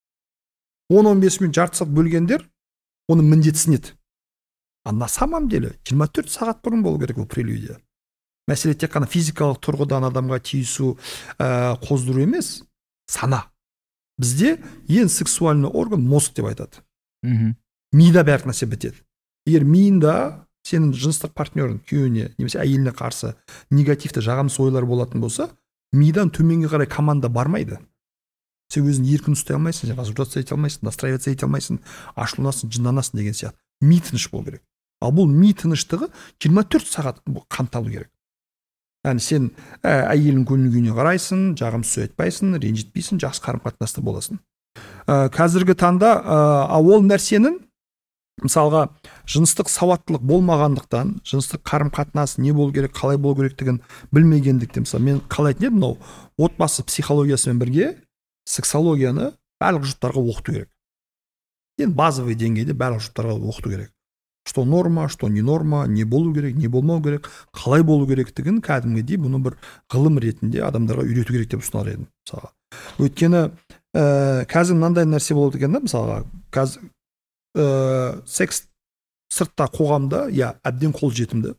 C: он он бес минут, жарты сағат бөлгендер оны міндетсінеді. А на самом деле жиырма төрт сағат бұрын болу керек ол прелюдия. Мәселе тек қана физикалық тұрғыдан адамға тиісу, ә, қоздыру емес, сана. Бізде ең сексуальный орган мозг деп айтады. Мида бәрі нәрсе бітеді. Егер миында сенің жыныстық партнерің күйеуіне немесе әйеліне қарсы негативті жағымсыз ойлар болатын болса, мидан төменге қарай команда бармайды. Сен өзін еркін ұстай алмайсың, сен возбуждаться ете алмайсың, настраиваться ете алмайсың, ашуланасың, жынданасың деген сияқты. Ми тыныш болу керек. Ал бұл ми тыныштығы жиырма төрт сағат қамталу керек. Яғни сен ә, әйелің көңіл күйіне қарайсың, жағымсыз айтпайсың, ренжітпейсің, жақсы қарым қатынаста боласың. Ә, қазіргі таңда ә, ол нәрсенің мысалға жыныстық сауаттылық болмағандықтан, жыныстық қарым қатынас не болу керек, қалай болу керектігін білмегендіктен, мысалы мен қалай айтын едім, мынау отбасы психологиясымен бірге сексологияны барлық жұрттарға оқыту керек. Енді базовый деңгейде барлық жұрттарға оқыту керек. Что норма, что не норма, не болу керек, не болмау керек, қалай болу керектігін кәдімгідей бұны бір ғылым ретінде адамдарға үйрету керек деп ұсынар едім мысалға. Өйткені ә, қазір мынандай нәрсе болады екен да, мысалға қазір ә, секс сыртта қоғамда я әбден қол жетімді.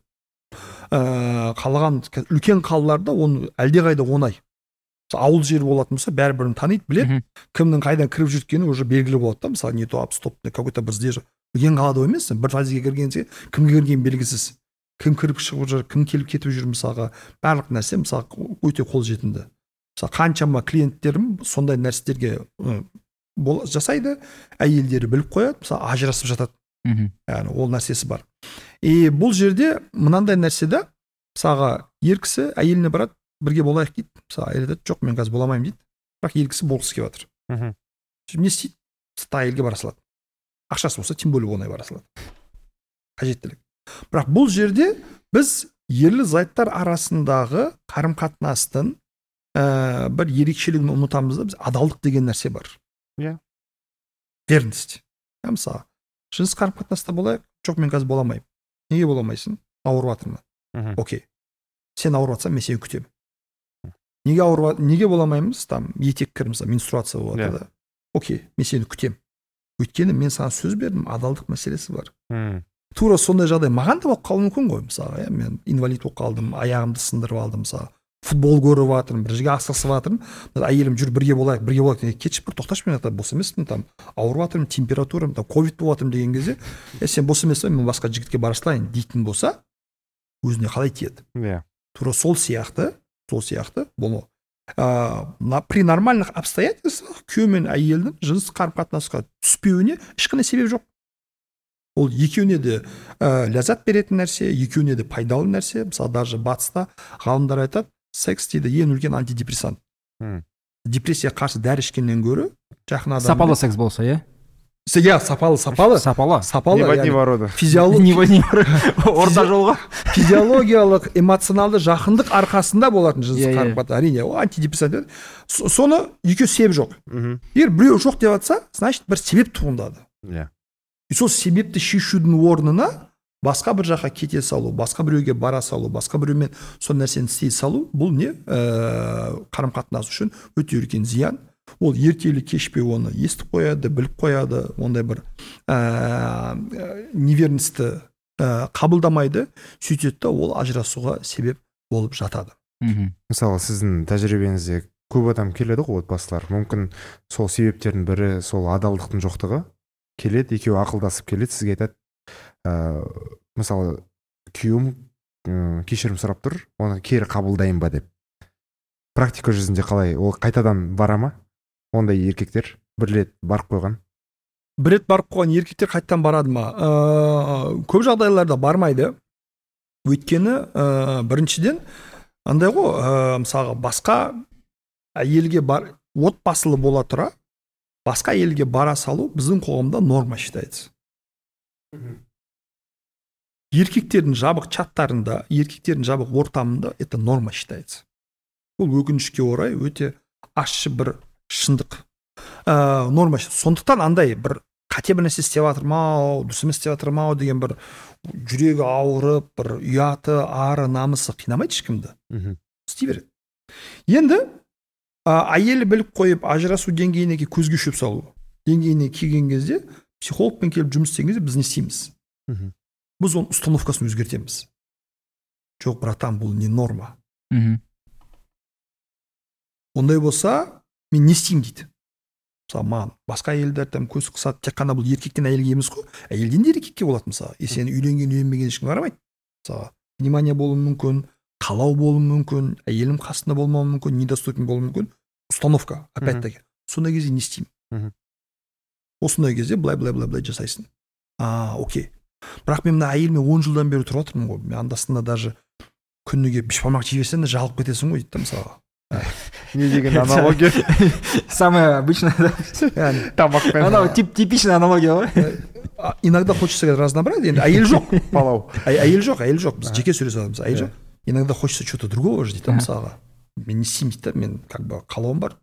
C: Ә, қалаған үлкен қалаларда оны әлдеқайда оңай. Ауыл жер болатын болса, бәрі-бірін таниды, біледі, кімнің қайдан кіріп жүргені уже белгілі болады да, мысалы не то стоп, какой-то бір здесь үлкен қалада емес, бір фазиге кіргенсе, кімге кірген белгісіз, кім кіріп шығып жүр, кім келіп кетіп жүр мысалға, барлық нәрсе мысалы өте қол жетімді. Мысалы қаншама клиенттерім сондай нәрселерге жасайды, әйелдері біліп қояды, мысалы ажырасып жатады. Яғни ол нәрсесі бар. И бұл жерде мынандай нәрседе мысалға ер кісі әйеліне барады, бірге болайық дейді. Мысалы әйел айтады, жоқ, мен қазір бола алмаймын дейді. Бірақ ер кісі болғысы келіп жатыр. Не істейді? Әйелге бара салады. Ақшасы болса, тем более оңай бара салады. Қажеттілік. Бірақ бұл жерде біз ерлі зайыптар арасындағы қарым қатынастың ә, бір ерекшелігін ұмытамыз да, біз адалдық деген нәрсе бар. Иә. Верность. Мысалы, жыныс қарым қатынаста болайық, жоқ, мен қазір бола алмаймын. Неге бола алмайсың? Ауырып жатырмын. Окей. Сен ауырып жатсаң, мен сені күтемін. Неге ауырып, неге бола алмаймыз? Там етек кір, мысалы, менструация болады да. Окей, мен сені күтемін. Өйткені мен саған сөз бердім, адалдық мәселесі бар. Hmm. Тура сондай жағдай маған да болып қалуы мүмкін ғой, мысалы, мен инвалид болып қалдым, аяғымды сындырып алдым, мысалы, футбол көріп жатырмын, бір жерге асығысып жатырмын, әйелім жүр, бірге болайық, бірге болайық, кетші бір тоқташы, мен бос емеспін, там ауырып жатырмын, температурам, там ковид болып жатырмын деген кезде, е сен бос емеспін, мен басқа жігітке бара салайын дейтін болса, өзіне қалай тиеді? Yeah. Тура сол сияқты, сол сияқты болу. Uh, при нормальных обстоятельствах күйеу мен әйелдің жыныс қарым қатынасқа түспеуіне ешқандай себеп жоқ. Ол екеуіне де ә, ләззат беретін нәрсе, екеуіне де пайдалы нәрсе. Мысалы даже батыста ғалымдар айтады, секс дейді ең үлкен антидепрессант. Hmm. Депрессия қарсы дәрі ішкеннен гөрі жақын адам.
A: Сапалы секс болса, иә?
C: Иә, сапалы, сапалы.
A: Сапалы.
C: Сапалы.
B: Неводневороды.
C: Орта жолға. Физиологиялық, эмоционалды жақындық арқасында болатын жыныстық қарым қатынас. Әрине, ол антидепрессант. Соны екеуі себеп жоқ. Егер біреу жоқ деп жатса, значит бір себеп туындады. Иә. И сол себепті шешудің орнына басқа бір жаққа кете салу, басқа біреуге бара салу, басқа біреумен сол нәрсені істей салу, бұл не қарым қатынас үшін өте үлкен зиян. Ол ертелі кешпей оны естіп қояды, біліп қояды, ондай бір ә, неверності ә, қабылдамайды, сөйтеді, ол ажырасуға себеп болып жатады.
B: Мысалы сіздің тәжірибеңізде көп адам келеді ғой, отбасылар, мүмкін сол себептердің бірі сол адалдықтың жоқтығы, келеді, екеуі ақылдасып келеді, сізге айтады, ә, мысалы күйеуім ә, кешірім сұрап тұр, оны кері қабылдайын ба деп. Практика жүзінде қалай, ол қайтадан бара ма? Ондай еркектер бір рет барып қойған.
C: Бір рет барып қойған еркектер қайтадан барады ма? Ә, көп жағдайларда бармайды. Өйткені ә, біріншіден андай ғой, ә, мысалға басқа әйелге бар, отбасылы бола тұра, басқа әйелге бара салу біздің қоғамда норма считается. Еркектердің жабық чаттарында, еркектердің жабық ортамында это норма считается. Бұл өкінішке орай өте ащы бір шындық. Ә, норма. Сондықтан андай бір қате бір нәрсе істеп жатырмау, дұрыс емес істеп жатырмау деген бір жүрегі ауырып, бір ұяты, ары, намысы қинамайды ешкімді. Істей береді. Енді әйелі біліп қойып ажырасу деңгейіне көзге шөп салу деңгейіне келген кезде психологпен келіп жұмыс істеген кезде біз не істейміз? Біз оның установкасын өзгертеміз. Жоқ, братан, бұл не норма. Ондай болса, мен не істеймін дейді. Мысалы, маған басқа әйелдер там көз қысады, тек қана бұл еркектен әйелге емес қой, әйелден де еркекке болады мысалы. Е, сен үйленген, үйленбеген ешкім қарамайды. Мысалы, внимание болуы мүмкін, қалау болуы мүмкін, әйелім қасында болмауы мүмкін, недоступен болуы мүмкін. Установка, опять-таки. Сондай кезде не істеймін? Осындай кезде былай былай былай былай жасайсың. А, окей. Бірақ мен мына әйелмен он жылдан бері тұрып отырмын ғой. Мен андасында даже күніге бешбармақ жей берсең де жалып кетесің ғой дейді мысалы.
B: Не деген аналогия?
A: Самая обычная, да? Она типичная аналогия ғой.
C: Иногда хочется разнообразия. Енді әйел жоқ. Палау. Әйел жоқ, әйел жоқ. Біз жеке сөйлесіп жатырмыз. Әйел жоқ. Иногда хочется что-то другого же дейді мысалға. Мен не істеймін дейді, мен как бы қалауым бар.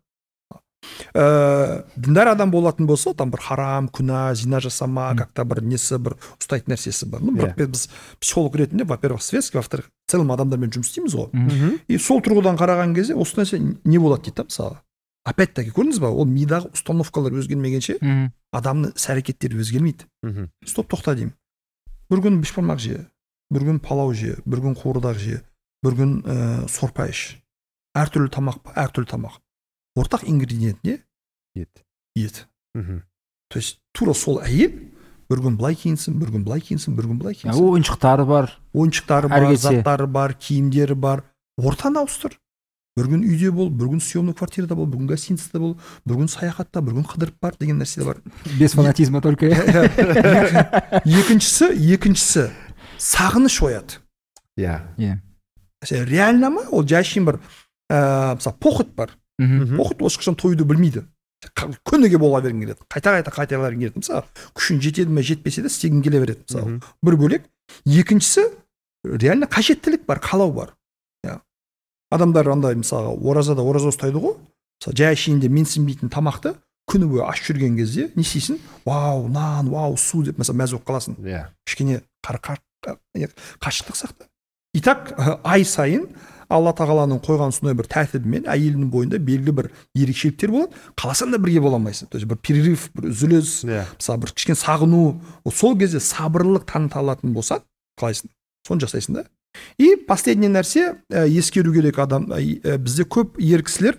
C: Діндар адам болатын болса, там бір харам, күнә, зина жасама, как-то бір несі, бір ұстайтын нәрсесі бар. Ну, бірақ біз психолог ретінде, во-первых, светский, во-вторых, целым адамдармен жұмыс істейміз ғой. И сол тұрғыдан қараған кезде осы нәрсе не болады дейді мысалы. Опять-таки, көрдіңіз ба, ол мидағы установкалар өзгермегенше адамның іс-әрекеттері өзгермейді. Стоп, тоқта деймін. Бір күн бешбармақ же, бір күн палау же, бір күн қуырдақ же, бір күн сорпа іш. Әртүрлі тамақ па, әртүрлі тамақ. Ортақ ингредиент не?
B: Ет.
C: Ет. То есть тура сол әйел бір күн былай киінсін, бір күн былай киінсін, бір күн былай киінсін.
A: Ойыншықтары бар.
C: Ойыншықтары бар, заттары бар, киімдері бар. Ортаны ауыстыр. Бір күн үйде бол, бір күн съемный квартирада бол, бір күн гостиницада бол, бір күн саяхатта, бір күн қыдырып бар деген нәрсе бар.
A: Без фанатизма только.
C: Екіншісі, екіншісі сағыныш ояды.
B: Иә.
C: Реально ма? Ол жайшын бір мысалы похоть бар. Похоть ол ешқашан тойды білмейді. Күніге бола берген келеді. Қайта-қайта қайталар келеді. Мысалы, күшін жетеді ме, жетпесе де істегің келе береді. Мысалы, бір бөлек. Екіншісі, реально қажеттілік бар, қалау бар. Адамдар андай мысалы оразада ораза ұстайды ғой. Мысалы, жай ішінде менсінбейтін тамақты күні бойы аш жүрген кезде не істейсің? Вау, нан, вау, су деп mesela мәз болып қаласың. Кішкене қашықтық сақта. И так ай сайын Алла тағаланың қойған сондай бір тәртібімен әйелінің бойында белгілі бір ерекшеліктер болады. Қаласаң да бірге бола алмайсың. То есть бір перерыв, бір үзіліс, мысалы бір кішкене сағыну, сол кезде сабырлылық таныта алатын болсаң, қалайсың? Соны жасайсың да. И последний нәрсе ескеру керек адам, бізде көп ер кісілер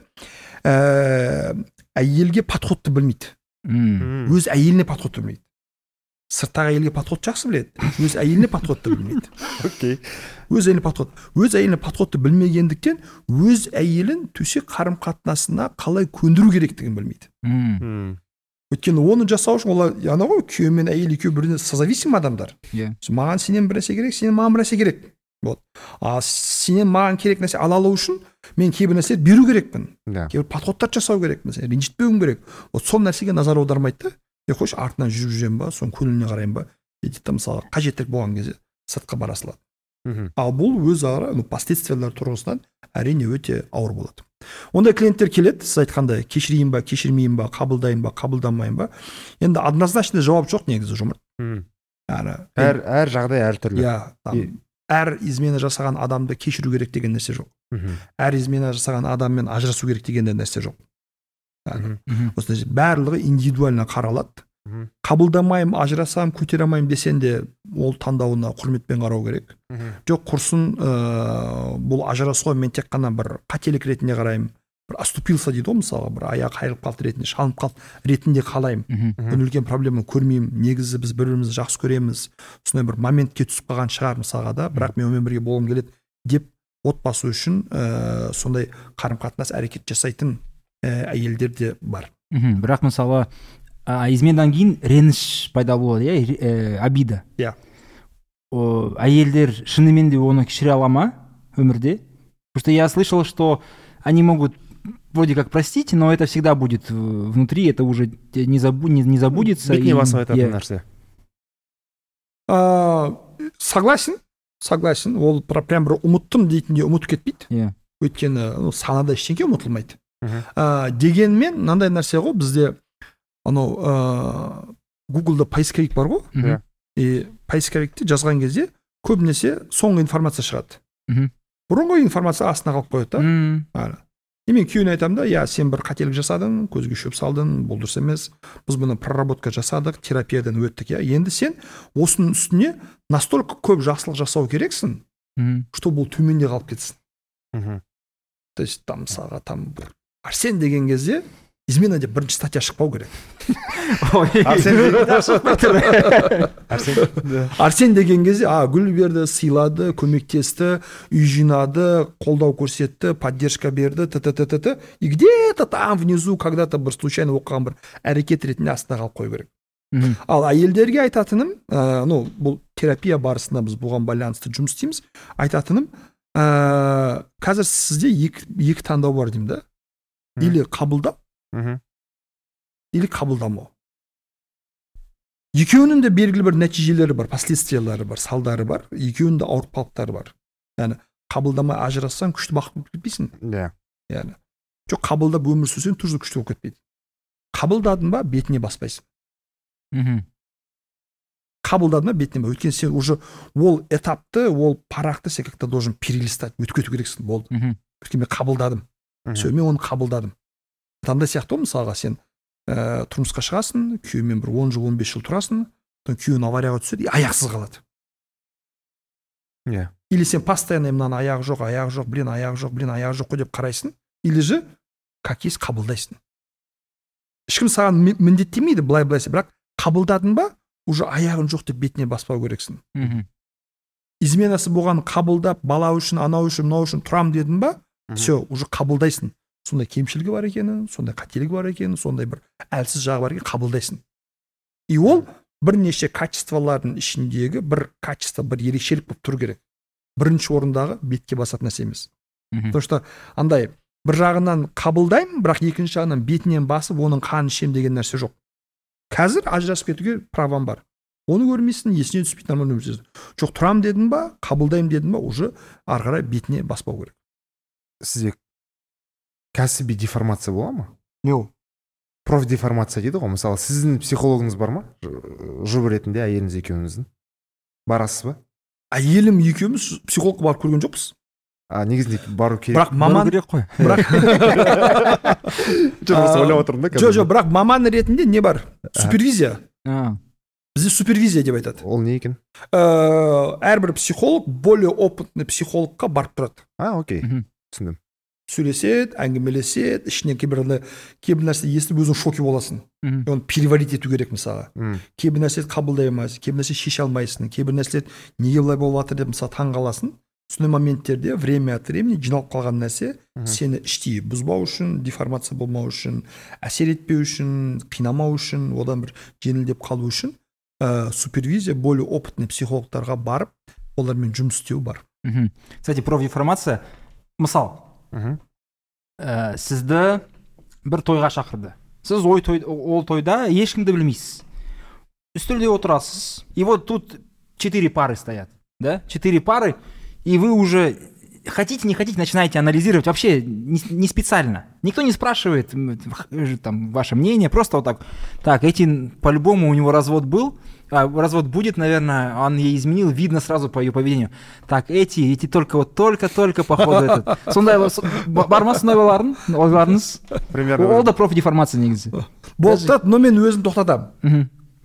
C: әйелге подходты білмейді. Өз әйеліне подходты білмейді. Сырттағы әйелге подход жақсы біледі, өз әйеліне подходты білмейді.
B: Окей.
C: Өз әйеліне подход. Өз әйеліне подходты білмегендіктен өз әйелін төсек қарым қатынасына қалай көндіру керектігін білмейді. Өйткені оны жасау үшін олар яна ғой, күйеу мен әйел екеуі біріне созависим адамдар. Маған сенен бір нәрсе керек, сенен маған бір нәрсе керек. Вот. А сенен маған керек нәрсе ала алу үшін мен кейбір нәрсе беру керекпін. Кейбір подходтар жасау керекпін, ренжітпеуім керек. Вот сол нәрсеге назар аудармайды да. Е қойшы артынан жүріп жүремін ба, соның көңіліне қараймын ба, дейді мысалы қажеттілік болған кезде сыртқа бара салады. Ал бұл өз ара последствиялар тұрғысынан әрине өте ауыр болады. Ондай клиенттер келеді, сіз айтқандай кешірейін ба, кешірмейін ба, қабылдайын ба, қабылдамайын ба. Енді однозначно жауап жоқ негізі жұмыр.
B: Әр әр жағдай әртүрлі.
C: Иә, әр измена жасаған адамды кешіру керек деген нәрсе жоқ. Әр измена жасаған адаммен ажырасу керек деген нәрсе жоқ. Осындай барлығы индивидуально қаралады. қабылдамаймын, ажырасамын, көтере алмаймын десең де ол таңдауына құрметпен қарау керек. Жоқ, құрсын ә, бұл ажырасуға мен тек қана бір қателік ретінде қараймын, бір оступился дейді ғой, мысалға бір аяғы қайырылып қалды ретінде, шалынып қалды ретінде қалаймын. Мен үлкен проблема көрмеймін. Негізі біз бір-бірімізді жақсы көреміз. Сондай бір моментке түсіп қалған шығар мысалға да, бірақ мен онымен бірге болғым келеді деп отбасы үшін ә, сондай қарым-қатынас әрекет жасайтын ә, әйелдер де бар.
A: Бірақ мысалы изменадан кейін реніш пайда болады, иә, обида.
C: Иә.
A: Әйелдер шынымен де оны кешіре ала ма өмірде? Потому что я слышал, что они могут вроде как простить, но это всегда будет внутри, это уже не, забу, не, не забудется.
B: Бетіне басып айтатын нәрсе.
C: Согласен, согласен. Ол прям бір ұмыттым дейтінде ұмытып кетпейді.
A: Иә.
C: Өйткені санада ештеңке ұмытылмайды. Дегенмен мынандай нәрсе ғой, бізде анау Google-да поисковик бар ғой. И поисковикте жазған кезде көбінесе соңғы информация шығады. Бұрынғы информация астына қалып қояды да. И мен күйеуіне айтамын да, я сен бір қателік жасадың, көзге шөп салдың, бұл дұрыс емес. Біз бұны проработка жасадық, терапиядан өттік, я. Енді сен осының үстіне настолько көп жақсылық жасау керексің, что бұл төменде қалып кетсін. То есть там мысалға там Арсен деген кезде измена деп бірінші статья шықпау керек. Арсен деген кезде а гүл берді, сыйлады, көмектесті, үй жинады, қолдау көрсетті, поддержка берді, т.т.т. И где-то там внизу когда-то бір случайно оқыған бір әрекет ретінде астына қалып қою керек. Ал әйелдерге айтатыным, ну бұл терапия барысында біз бұған байланысты жұмыс істейміз, айтатыным, қазір сізде екі таңдау бар деймін да. Или қабылдап, или қабылдамау. Екеуінің де белгілі бір нәтижелері бар, последствиялары бар, салдары бар, екеуінің де ауыртпалықтары бар. Яғни қабылдамай ажырассаң күшті бақыт болып кетпейсің.
B: Иә.
C: Яғни жоқ, қабылдап өмір сүрсең тоже күшті болып кетпейді. Қабылдадың ба, бетіне баспайсың. Қабылдадың ба, бетіне ба. Өйткені сен уже ол этапты, ол парақты сен как-то должен перелистать, өтіп кету керексің. Болды. Өйткені мен қабылдадым. Все, мен оны қабылдадым. Таңдай сияқты мысалға сен ә, тұрмысқа шығасың, күйеумен бір он жыл, он бес жыл тұрасың, күйеуің аварияға түседі, аяқсыз қалады.
B: Yeah.
C: Или сен постоянно мынаны аяғы жоқ, аяғы жоқ, блин, аяғы жоқ, блин, аяғы жоқ деп қарайсың, или же как есть қабылдайсың. Ешкім саған міндеттемейді былай-былай, бірақ қабылдадың ба, уже аяғың жоқ деп бетіне баспау керексің. Изменасы болған қабылдап, бала үшін, анау үшін, мынау үшін тұрам дедің ба, все, уже қабылдайсың. Сондай кемшілігі бар екенін, сондай қателігі бар екенін, сондай бір әлсіз жағы бар екенін қабылдайсың. И ол бірнеше качестволардың ішіндегі бір качество, бір ерекшелік болып тұру керек. Бірінші орындағы бетке басатын нәрсе емес. Потому что андай бір жағынан қабылдаймын, бірақ екінші жағынан бетінен басып, оның қанын ішем деген нәрсе жоқ. Қазір ажырасып кетуге правам бар. Оны көрмейсің, есіне түспейді, нормально өмір сүресің. Жоқ, тұрам дедің ба, қабылдаймын дедің ба, уже ары қарай бетіне баспау керек.
B: Сізде кәсіби деформация бола ма?
C: Не ол?
B: Профдеформация дейді ғой. Мысалы, сіздің психологыңыз бар ма? Жұбы ретінде әйеліңіз екеуіңіздің. Барасыз ба?
C: Әйелім екеуміз психологқа барып көрген жоқпыз.
B: А негізінде бару керек.
C: Бірақ маман
A: керек қой.
C: Бірақ
B: ойлап отырмын да.
C: Жоқ, жоқ, бірақ маман ретінде не бар? Супервизия. Бізде супервизия деп айтады.
B: Ол не екен?
C: Әрбір психолог более опытный психологқа барып тұрады.
B: А, окей. Түсіндім.
C: Сөйлеседі, әңгімелеседі, ішінен кейбір нәрсе естіп өзің шоке боласың. Оны переварить ету керек мысалға. Кейбір нәрсе қабылдай алмайсың, кейбір нәрсе шеше алмайсың, кейбір нәрсе неге былай болып жатыр деп мысалы таң қаласың. Сондай моменттерде время от времени жиналып қалған нәрсе сені іштей бұзбау үшін, деформация болмау үшін, әсер етпеу үшін, қинамау үшін, одан бір жеңілдеп қалу үшін супервизия, более опытный психологтарға барып, олармен жұмыс істеу бар.
A: Кстати, профдеформация, мысал, Ә, сізді бір тойға шақырды. Сіз ой той, ол тойда ешкімді білмейсіз. Үстелде отырасыз. И вот тут четыре пары стоят. Да? Четыре пары. И вы уже хотите, не хотите, начинаете анализировать. Вообще не, не специально. Никто не спрашивает там, ваше мнение. Просто вот так. Так, эти, по-любому у него развод был. А, развод будет, наверное, он ей изменил, видно сразу по ее поведению. Так, эти, эти только вот только-только походу этот. Сондай бар ма сондай ойларыңыз?
B: Примерно.
A: Ол да профдеформация негізі.
C: Болды, но мен өзім тоқтатамын.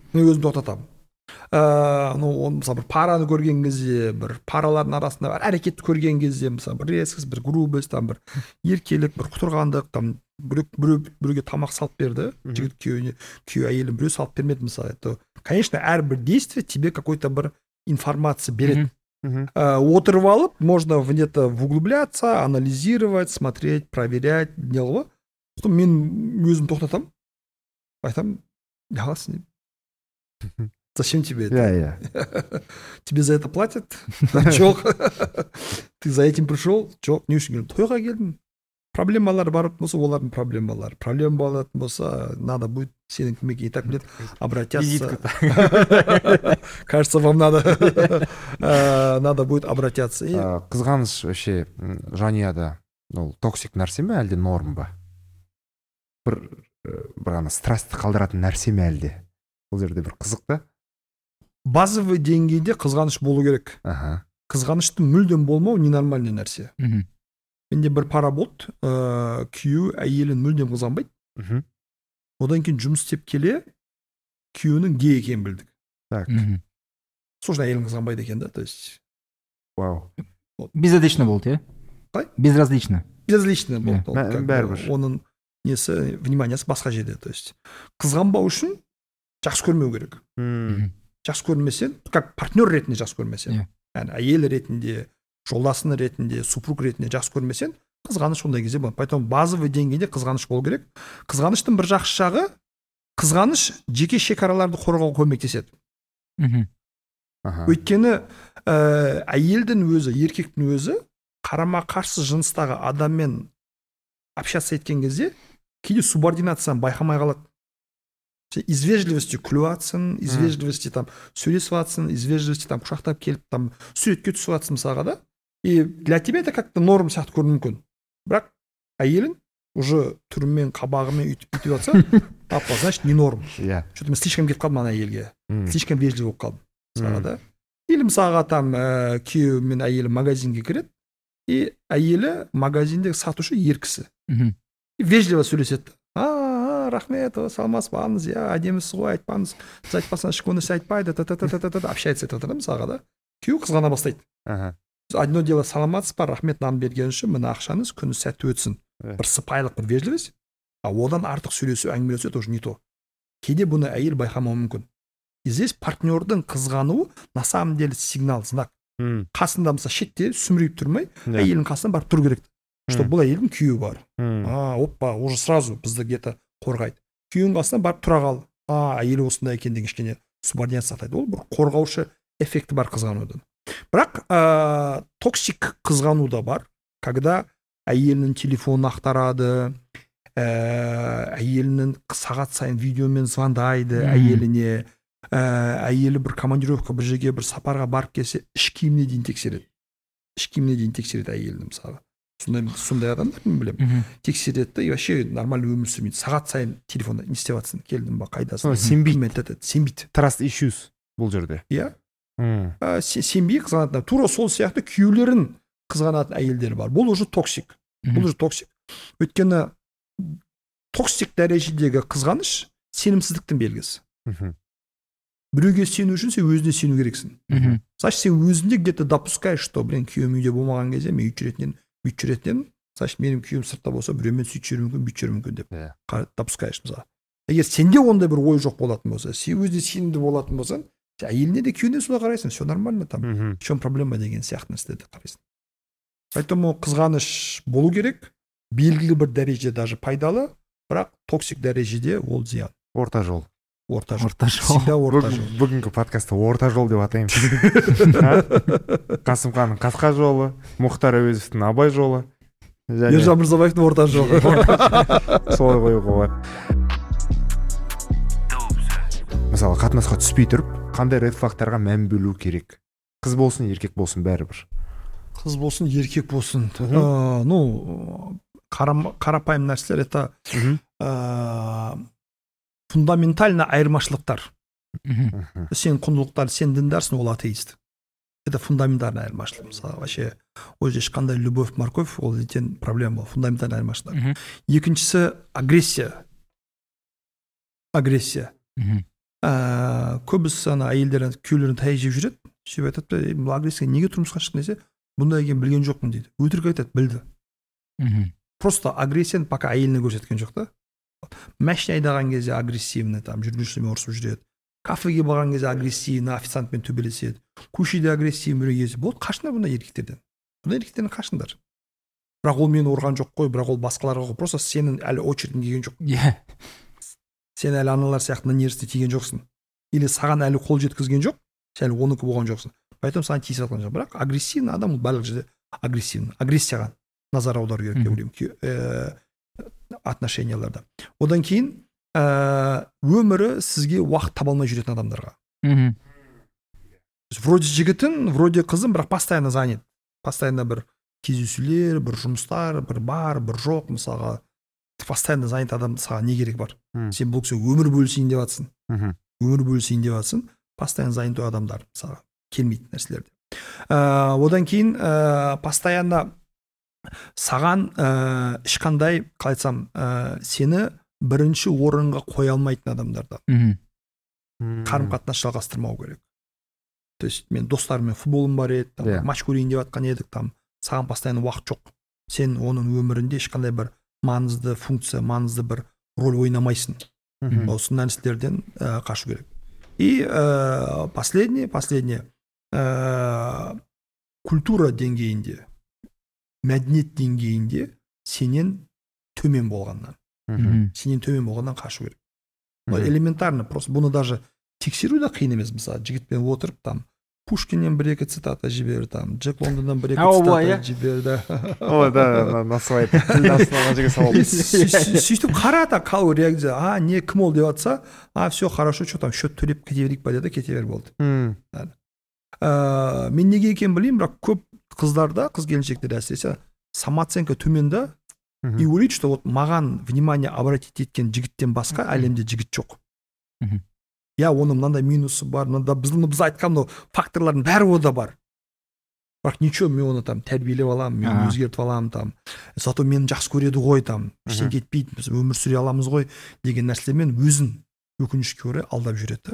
C: мен өзім тоқтатамын. ыыы ну оны мысалы бір параны көрген кезде, бір паралардың арасында бір әрекетті көрген кезде, мысалы бір резкость, бір грубость, там бір еркелік, бір құтырғандық, там біреу біреуге тамақ салып берді, жігіт күйеуіне, күйеу әйелін біреу салып бермеді мысалы. Это, конечно, әрбір действие тебе какой-то бір информация береді. Ә, отырып алып, можно в это углубляться, анализировать, смотреть, проверять, не ғой. Сосын мен өзім тоқтатамын, айтамын, не қыласың деймін. Зачем тебе это?
B: Yeah, yeah.
C: Тебе за это платят? Жоқ. Ты за этим пришел? Жоқ. Не үшін келдің? Тойға келдім. Проблемалар бар болса, олардың проблемалары. Проблема болатын болса, надо будет сенің кімге и так білет обратятся. Кажется, вам надо надо будет обратятся.
B: Қызғаныш вообще жанұяда ол токсик нәрсе ме әлде норм ба? Бір бір ғана страстты қалдыратын нәрсе ме әлде? Бұл жерде бір қызық та.
C: Базовый деңгейде қызғаныш болу керек.
B: Аха.
C: Қызғаныштың мүлдем болмау ненормальный нәрсе. Менде бір пара болды, ә, күйеуі әйелін мүлдем қызғанбайды.
B: Мхм.
C: Одан кейін жұмыс істеп келе, күйеуінің гей екенін білдік.
B: Так.
C: Сосын әйелін қызғанбайды екен да, то есть.
B: Вау.
A: Безразлично болды, иә?
C: Қалай?
A: Безразлично.
C: Безразлично болды.
B: Yeah. Бәрібір.
C: Оның несі, вниманиясы басқа жерде, то есть. Қызғанбау үшін жақсы көрмеу керек.
B: Hmm.
C: Жақсы көрмесен, как партнер ретінде жақсы көрмесен.
A: Yeah.
C: Yani әйел ретінде, жолдасыны ретінде, супруг ретінде жақсы көрмесен, қызғаныш ондай кезде болады. Поэтому базовый деңгейде қызғаныш болу керек. Қызғаныштың бір жақсы жағы, қызғаныш жеке шекараларды қорғауға көмектеседі. Өйткені ә, әйелдің өзі, еркектің өзі қарама қарсы жыныстағы адаммен общаться еткен кезде кейде субординацияны байқамай қалады. Из вежливости күліп атсын, из вежливости там сөйлесіп атсын, из вежливости там құшақтап келіп там суретке түсіп атсын мысалға да. И для тебя это как-то норм сияқты көрінуі мүмкін. Бірақ әйелің уже түрімен, қабағымен үйтіп бүйтіп жатса, апа, значит, не норм.
B: Yeah.
C: Что-то мен слишком кетіп қалдым ана әйелге. Слишком вежливый болып қалдым. Мысалға да. Или мысалға там ә, күйеуі мен әйелі магазинге кіреді, и әйелі магазиндегі сатушы ер кісі. И вежливо сөйлеседі. А, рахмет, саламатсыз ба, иә, әдемісіз ғой, айтпаңыз, сіз айтпасаңыз ешкім нәрсе айтпайды, общается етіп жатыр мысалға да. Күйеу қызғана бастайды. Одно дело саламатсыз ба, рахмет нан берген үшін мына ақшаңыз күні сәтті өтсін. Бір сыпайылық, бір вежливость. А одан артық сөйлесу, әңгімелесу это уже не то. Кейде бұны әйел байқамауы мүмкін. И здесь партнердің қызғануы на самом деле сигнал, знак. Қасында мысалы шетте сүмірейіп тұрмай, әйелдің қасынан барып тұру керек. Что бұл әйелдің күйеуі бар. А, опа, уже сразу бізді где-то қорғайды. Күйеуінің қасынан барып тұра қал. А, әйелі осындай екен деген кішкене субординация сақтайды. Ол бір қорғаушы эффекті бар қызғанудың. Бірақ ә, токсик қызғану да бар, когда әйелінің телефонын ақтарады, ә, әйелінің сағат сайын видеомен звондайды әйеліне, ә, әйелі бір командировка бір жерге бір сапарға барып келсе, іш киіміне дейін тексереді. Іш киіміне дейін тексереді әйелінің мысалы. Сондай, сондай адамдар мен білемін. Тексереді и вообще нормально өмір сүрмейді. Сағат сайын телефонда не істеп жатсың, келдің ба, қайдасың?
B: Сенбейді.
C: Сенбейді.
B: Trust issues бұл жерде.
C: Иә. Ә, сенбей қызғанатын. Тура сол сияқты күйеулерін қызғанатын әйелдер бар. Бұл уже токсик. Бұл уже токсик. Өйткені токсик дәрежедегі қызғаныш сенімсіздіктің белгісі. Біреуге сену үшін сен өзіне сену керексің. Значит, сен өзінде где-то допускаешь, что, блин, күйеуім үйде болмаған кезде мен үйтіп жүретінен, бүйтіп жүретінен, значит, менің күйеуім сыртта болса, біреумен сөйтіп жүру мүмкін, бүйтіп жүру мүмкін деп допускаешь мысалы. Егер сенде ондай бір ой жоқ болатын болса, сен өзіне сенімді болатын болсаң, әйеліне де күйеуіне солай қарайсың, все нормально там, в чем проблема деген сияқты нәрселерді қарайсың. Поэтому қызғаныш болу керек, белгілі бір дәреже даже пайдалы, бірақ токсик дәрежеде ол зиян.
B: Орта жол.
C: Орта жол.
A: Орта жол.
C: Всегда орта жол.
B: Бүгінгі подкастта орта жол деп атаймыз. Қасымханның қасқа жолы, Мұхтар Әуезовтің Абай жолы.
C: Ержан Мырзабаевтың орта жолы.
B: Солай қоюға болады. Мысалы, қатынасқа түспей тұрып, қандай ред флагтарға мән бөлу керек? Қыз болсын, еркек болсын, бәрібір.
C: Қыз болсын, еркек болсын. Ә, ну, қарапайым нәрселер, это ә, фундаментально айырмашылықтар. Сен құндылықтар, сен діндарсың, ол атеист. Это фундаментальный айырмашылық. Мысалы, вообще, ол же ешқандай любовь, морковь, ол ертең проблема бол. Фундаментальный айырмашылықтар. Екіншісі агрессия. Агрессия. ә, көбісі ана әйелдер күйеулерін таяқ жеп жүреді, сөйтіп айтады, бұл агрессия неге тұрмысқа шықтың десе, бұндай екенін білген жоқпын дейді. Өтірік айтады, білді.
A: Мхм.
C: Просто агрессияны пока әйеліне көрсеткен жоқ та. Машина айдаған кезде агрессивный, там жүргізушімен ұрысып жүреді. Кафеге барған кезде агрессивный, официантпен төбелеседі. Көшеде агрессивный біреу кезі. Болды, қашыңдар бұндай еркектерден. Бұндай еркектерден қашыңдар. Бірақ ол мені ұрған жоқ қой, бірақ ол басқаларға қой. Просто сенің әлі очередің келген жоқ.
A: Иә.
C: Сен әлі аналар сияқты на нервісіне тиген жоқсың. Или саған әлі қол жеткізген жоқ, сен әлі оныкі болған жоқсың. Поэтому саған тиісіп жатқан жоқ. Бірақ агрессивный адам ол барлық жерде агрессивный. Агрессияға назар аудару керек деп ойлаймын отношенияларда. Одан кейін өмірі сізге уақыт таба алмай жүретін адамдарға. Вроде жігітін, вроде қызын, бірақ постоянно занят. Постоянно бір кездесулер, бір жұмыстар, бір бар, бір жоқ, мысалға постоянно занят адам саған не керек бар? Сен бұл кісі өмір бөлісейін деп жатсың. Өмір бөлісейін деп жатсың, постоянно занят адамдар мысалға келмейтін нәрселерде. Одан кейін постоянно саған ешқандай, қалай айтсам, сені бірінші орынға қоя алмайтын адамдарда қарым-қатынас жалғастырмау керек. То есть мен достарыммен футболым бар еді, там, матч көрейін деп жатқан едік, там саған постоянно уақыт жоқ. Сен оның өмірінде ешқандай бір маңызды функция, маңызды бір роль ойнамайсың. Осы нәрселерден қашу керек. И последнее, последнее культура деңгейінде, мәдениет деңгейінде сенен төмен болғаннан. Сенен төмен болғаннан қашу керек. Элементарно, просто бұны даже тексеру да қиын емес. Мысалы, жігітпен отырып, там Пушкиннен бір-екі цитата жібер, там Джек Лондоннан бір-екі цитата жіберді.
B: Ой, да, насылай тілді астынан жерге салып.
C: Сөйтіп қарата қалу реакция. А, не, кім ол деп жатса, а, все хорошо, что там счет төлеп кете берейік па деді, кете бер болды. Мен неге екенін білеймін, бірақ көп қыздарда, қыз келіншектер әсіресе самооценка төмен да, и ойлайды, что вот маған внимание обратить еткен жігіттен басқа әлемде жігіт жоқ. Я, оның мынандай минусы бар, мынандай біз айтқан факторлардың бәрі ода бар. Бірақ ничего, мен оны там тәрбиелеп аламын, мен өзгертіп аламын, там. Зато мені жақсы көреді ғой, там, іштен кетпейді, біз өмір сүре аламыз ғой деген нәрселермен өзін өкінішке орай алдап жүреді.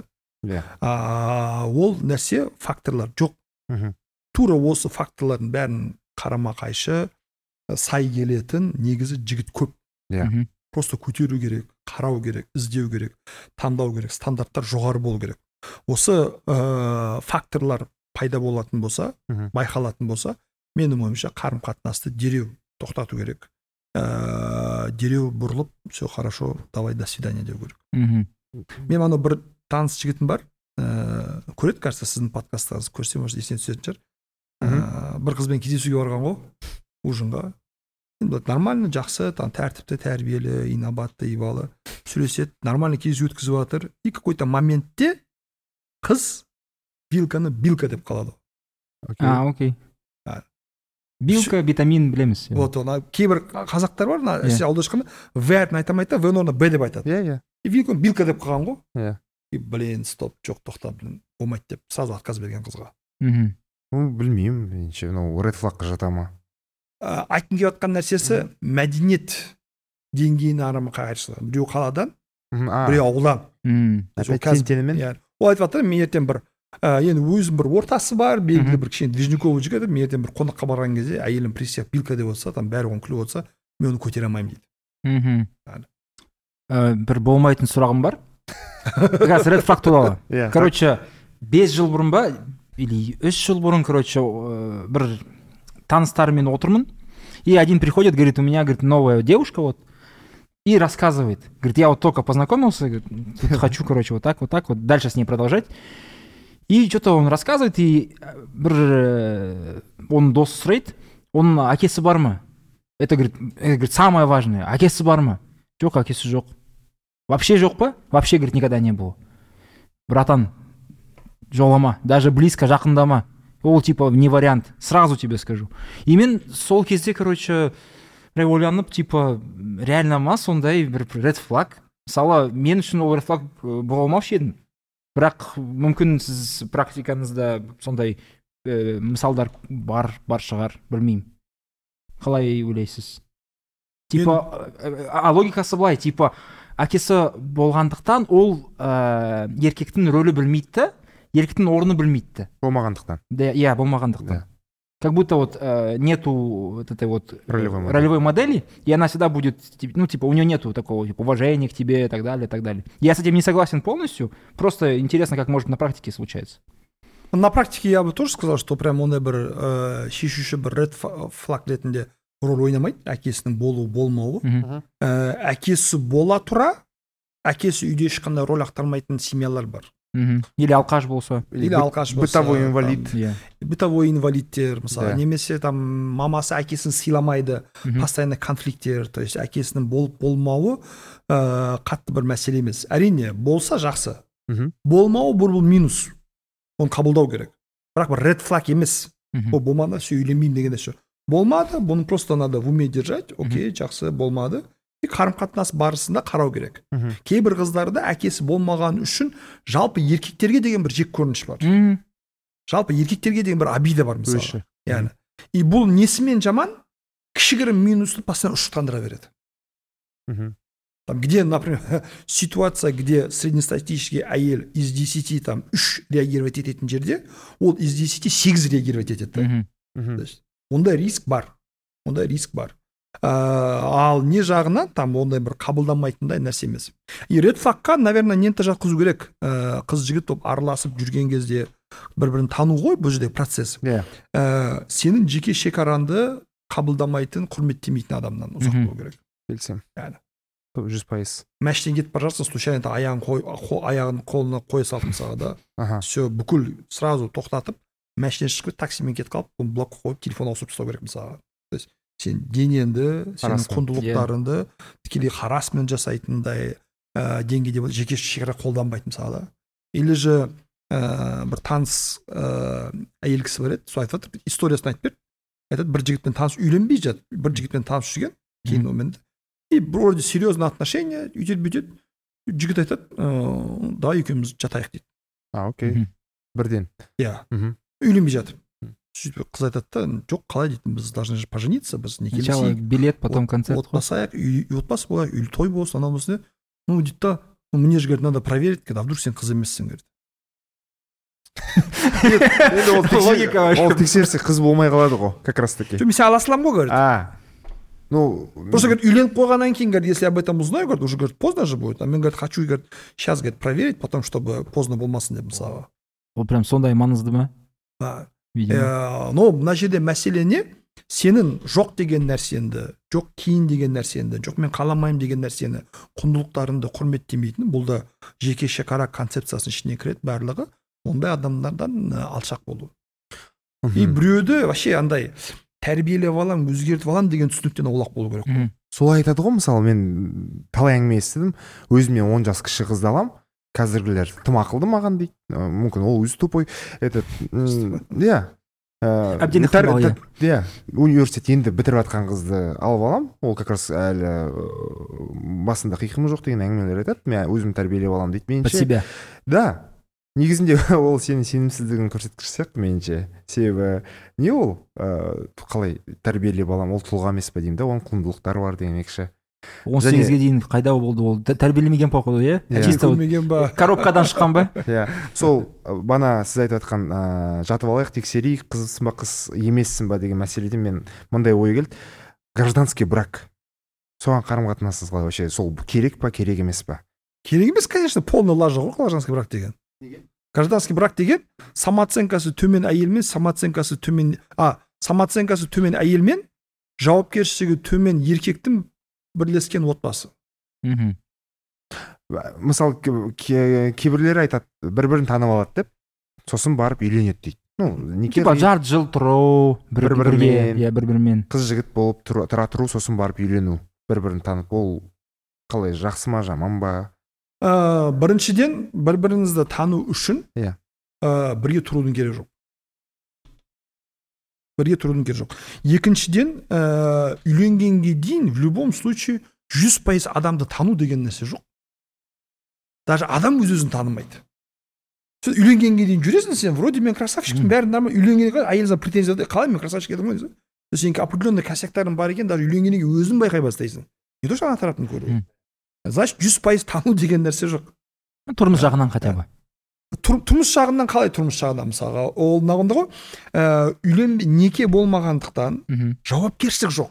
C: Ол нәрсе факторлар жоқ. Тура осы факторлардың бәрін қарама қайшы сай келетін негізі жігіт көп. Просто көтеру керек, қарау керек, іздеу керек, таңдау керек, стандарттар жоғары болу керек. Осы факторлар пайда болатын болса, байқалатын болса, менің ойымша қарым-қатынасты дереу тоқтату керек. Дереу бұрылып, все хорошо, давай до свидания деу керек. Мен ана бір таныс жігітім бар, көреді, кажется, сіздің подкасттарыңызды көрсе, может, есіне түсетін шығар. Бір қызбен кездесуге барған ғой, ужинға. Нормально, жақсы, там тәртіпті, тәрбиелі, инабатты, ибалы сөйлеседі, нормально кездесу өткізіп жатыр. И какой-то моментте қыз вилканы билка деп қалады.
A: А, окей. Билка, витамин білеміз.
C: Вот, ona кейбір қазақтар бар, на аударышқанда в әрпін айтамайды, в орнына б деп айтады.
B: Иә, иә.
C: И вилканы билка деп қалған ғой.
B: Иә.
C: И блин, стоп, жоқ, тоқта, блин, болмайды деп сразу отказ берген қызға.
B: Мхм. Білмеймін, меніңше, мынау ред флагқа жата ма?
C: Айтқым келіп жатқан нәрсесі мәдениет деңгейіне арама қайыршылар. Біреу қаладан, біреу ауылдан. Ол айтып жатыр, мен ертең бір, енді өзім бір ортасы бар, белгілі бір кішкене движниковый жігіт, мен ертең бір қонаққа барған кезде әйелім присяг билка деп отса, там бәрі оң күліп отса, мен оны көтере алмаймын дейді.
A: Бір болмайтын сұрағым бар. Қазір ред флаг туралы. Короче, бес жыл бұрын ба, или үш жыл бұрын, короче, бір таныстарымен отырмын, и один приходит, говорит, у меня, говорит, новая девушка, вот, и рассказывает, говорит, я вот только познакомился, говорит, тут хочу, короче, вот так, вот так, вот, дальше с ней продолжать, и что-то он рассказывает, и бір, он дос сұрайды, он әкесі бар ма? Это, говорит, это, говорит, самое важное, әкесі бар ма? Жоқ, әкесі жоқ. Вообще жоқ па? Вообще, говорит, никогда не было. Братан, жолама, даже близко жақындама. Ол типа не вариант, сразу тебе скажу. И мен сол кезде, короче, ойланып, типа, реально ма сондай бір ред флаг. Мысалы, мен үшін ол ред флаг бола алмаушы едім. Бірақ мүмкін сіз практикаңызда сондай ә, мысалдар бар, бар шығар, білмеймін. Қалай ойлайсыз? Типа, мен... а логикасы былай, типа, әкесі болғандықтан ол ә, еркектің рөлі білмейді, еркектің орны білмейді.
B: Болмағандықтан.
A: Иә, болмағандықтан.
B: Да.
A: Как будто вот э, нету вот этой вот
B: ролевой модели.
A: ролевой модели, и она всегда будет, ну, типа, у нее нету такого типа, уважения к тебе и так далее, и так далее. Я с этим не согласен полностью, просто интересно, как может на практике случаться.
C: На практике я бы тоже сказал, что прям ондай бір ә, шешуші бір ред флаг ретінде роль ойнамайды, әкесінің болу болмауы. Ә, әкесі бола тұра, әкесі үйде ешқандай роль ақтармайтын семьялар бар.
A: Мхм. Или алқаш болса.
C: Или алқаш болса.
B: Бытовой инвалид.
A: Там, yeah.
C: Бытовой инвалидтер, мысалы.
B: Да.
C: Немесе там мамасы әкесін сыйламайды,
A: Мхм.
C: постоянно конфликттер, то есть әкесінің болып болмауы ә, қатты бір мәселе емес. Әрине, болса жақсы.
B: Мгм.
C: Болмауы бұл бұл минус. Оны қабылдау керек. Бірақ бір ред флаг емес.
A: Мгм.
C: Ол болмады, все, үйленбеймін деген нәрсе. Болмады, бұны просто надо в уме держать. Окей, жақсы, болмады. И қарым-қатынас барысында қарау керек.
B: Мгм.
C: Кейбір қыздарда әкесі болмаған үшін жалпы еркектерге деген бір жек көрініш бар.
A: Мгм.
C: Жалпы еркектерге деген бір обида бар мысалы.
B: Өші.
C: Яғни. И бұл несімен жаман? Кішігірім минусты постоянно ушықтандыра береді.
B: Мгм.
C: Там, где, например, ситуация, где среднестатистический әйел из десяти там үш реагировать ететін жерде, ол из десяти сегіз реагировать етеді. да.
A: Мгм.
B: Мгм.
C: То есть, ондай риск бар. Ондай риск бар. Ә, ал не жағынан там ондай бір қабылданмайтындай нәрсе емес. И ред флагқа, наверное, нені жатқызу керек. Ә, қыз жігіт болып араласып жүрген кезде бір-бірін тану ғой бұл жерде процесс.
B: Иә.
C: Ә, сенің жеке шекаранды қабылдамайтын, құрметтемейтін адамнан ұзақ
A: Мгм.
C: болу керек.
B: Келсем.
C: Яғни.
B: Жүз пайыз.
C: Мәштен кетіп бара жатсың, случайно аяғын қой, қо- аяғын қолына қоя салып мысалға да,
B: Аха.
C: все бүкіл сразу тоқтатып, мәштен шығып кетіп, таксимен кетіп қалып, оны блокқа қойып, телефон ауысып тастау керек мысалға. То есть сен денеңді, сенің
B: Харасмент.
C: құндылықтарыңды тікелей харасмент жасайтындай ә, деңгейде жеке шекара қолданбайды мысалға да. Или же ә, бір таныс ә, әйел кісі бар еді, сол айтып жатыр, историясын айтып берді. Айтады, бір жігітпен таныс үйленбей жатыр, бір жігітпен таныс жүрген, кейін онымен и вроде серьезный отношения, үйтеді бүйтеді, жігіт айтады, ә, давай екеуміз жатайық дейді.
B: А, окей.
A: Мгм.
B: Бірден.
C: Иә,
B: Мгм.
C: үйленбей жатыр. Сөйтіп қыз айтады да, жоқ, қалай дейді, біз должны же пожениться, біз
A: Сначала
C: некелесейік,
A: билет, потом концерт.
C: отбасаяқ, үй отбасы болайық, үй той болсын, анау болсын. Ну, дейді да, ну, мне же, говорит, надо проверить, а вдруг сен қыз емессің, говорит.
B: Енді ол тексер-
A: Логика вообще.
B: ол тексерсе қыз болмай қалады ғой, как раз таки.
C: Жоқ, мен сен ала саламын ғой, говорит.
B: А, ну,
C: Просто, говорит, үйленіп қойғаннан кейін, говорит, если об этом узнаю, говорит, уже, говорит, поздно же будет. А мен, говорит, хочу, говорит, сейчас, говорит, проверить, потом, чтобы поздно болмасын деп мысалға.
A: Ол прям сондай маңызды ма?
C: А,
A: Видимо.
C: Ә, но мына жерде мәселе не? Сенің жоқ деген нәрсенді, жоқ кейін деген нәрсенді, жоқ мен қаламаймын деген нәрсені, құндылықтарыңды құрметтемейтін, бұл да жеке шекара концепциясының ішіне кіреді барлығы. Ондай адамдардан ә, алшақ болу. И біреуді вообще андай тәрбиелеп алам, өзгертіп алам деген түсініктен аулақ болу керек.
A: Мгм.
B: солай айтады ғой, мысалы мен талай әңгіме естідім, өзіме он жас кіші қызды алам, қазіргілер тым ақылды маған дейді, Ә, мүмкін ол өзі тупой, этот, м, иә, Ә,
A: Әбден
B: тәр-
A: ықтимал, иә.
B: тәр- иә, университет енді бітіріп жатқан қызды алып алам, ол как раз әлі ә, басында қиқымы жоқ деген әңгімелер айтады, мен өзім тәрбиелеп алам дейді,
A: Под
B: меніңше.
A: себя.
B: Да, негізінде ол сенің сенімсіздігін көрсеткіш сияқты меніңше. Себебі не ол ә, қалай тәрбиелеп алам, ол тұлға емес па деймін да, оның құндылықтары бар демекші.
A: он сегізге дейін қайда болды ол? Тә- Тәрбиелемеген походу, иә?
B: Иә.
A: Чисто вот
C: Көрмеген ба?
A: коробкадан шыққан ба?
B: Иә, сол ә, бана сіз айтып жатқан ә, жатып алайық, тексерейік, қызсың ба қыз емессің ба деген мәселеден мен мындай ой келді. Гражданский брак. Соған қарым-қатынасыңыз қалай вообще? Сол керек па, керек емес па?
C: Керек емес, конечно, полный лажа ғой гражданский брак деген. Гражданский брак деген самооценкасы төмен әйел мен самооценкасы төмен, а, самооценкасы төмен әйел мен жауапкершілігі төмен еркектің бірлескен отбасы.
A: Мгм.
B: Мысалы, ке- кейбірлері айтады, бір-бірін танып алады деп, сосын барып үйленеді дейді. Ну, неке
A: Типа жарты жыл тұру, бір
B: Бір-бірімен.
A: бірге, иә, бір-бірімен.
B: қыз жігіт болып тұра тұра тұру, сосын барып үйлену, бір-бірін танып, ол қалай, жақсы ма, жаман ба?
C: Ә, біріншіден, бір-біріңізді тану үшін
B: Иә.
C: ә, бірге тұрудың керегі жоқ. Бірге тұрудың керегі жоқ. Екіншіден, ә, үйленгенге дейін в любом случае жүз пайыз адамды тану деген нәрсе жоқ. Даже адам өз өзін танымайды. Сен үйленгенге дейін жүресің, сен вроде мен красавчикпін, бәрін нормально, үйленгенге дейін әйеліңе претензия, қалай мен красавчик едім ғой дейсің. Сенің определенный косяктарың бар екен, даже үйленгеннен кейін өзің байқай бастайсың. Не то что ана тараптан көру. значит жүз пайыз тану деген нәрсе жоқ.
A: Тұрмыс жағынан хотя бы.
C: Тұрмыс жағынан қалай тұрмыс жағынан мысалға ол нағында ғой, үйлен неке болмағандықтан жауапкершілік жоқ.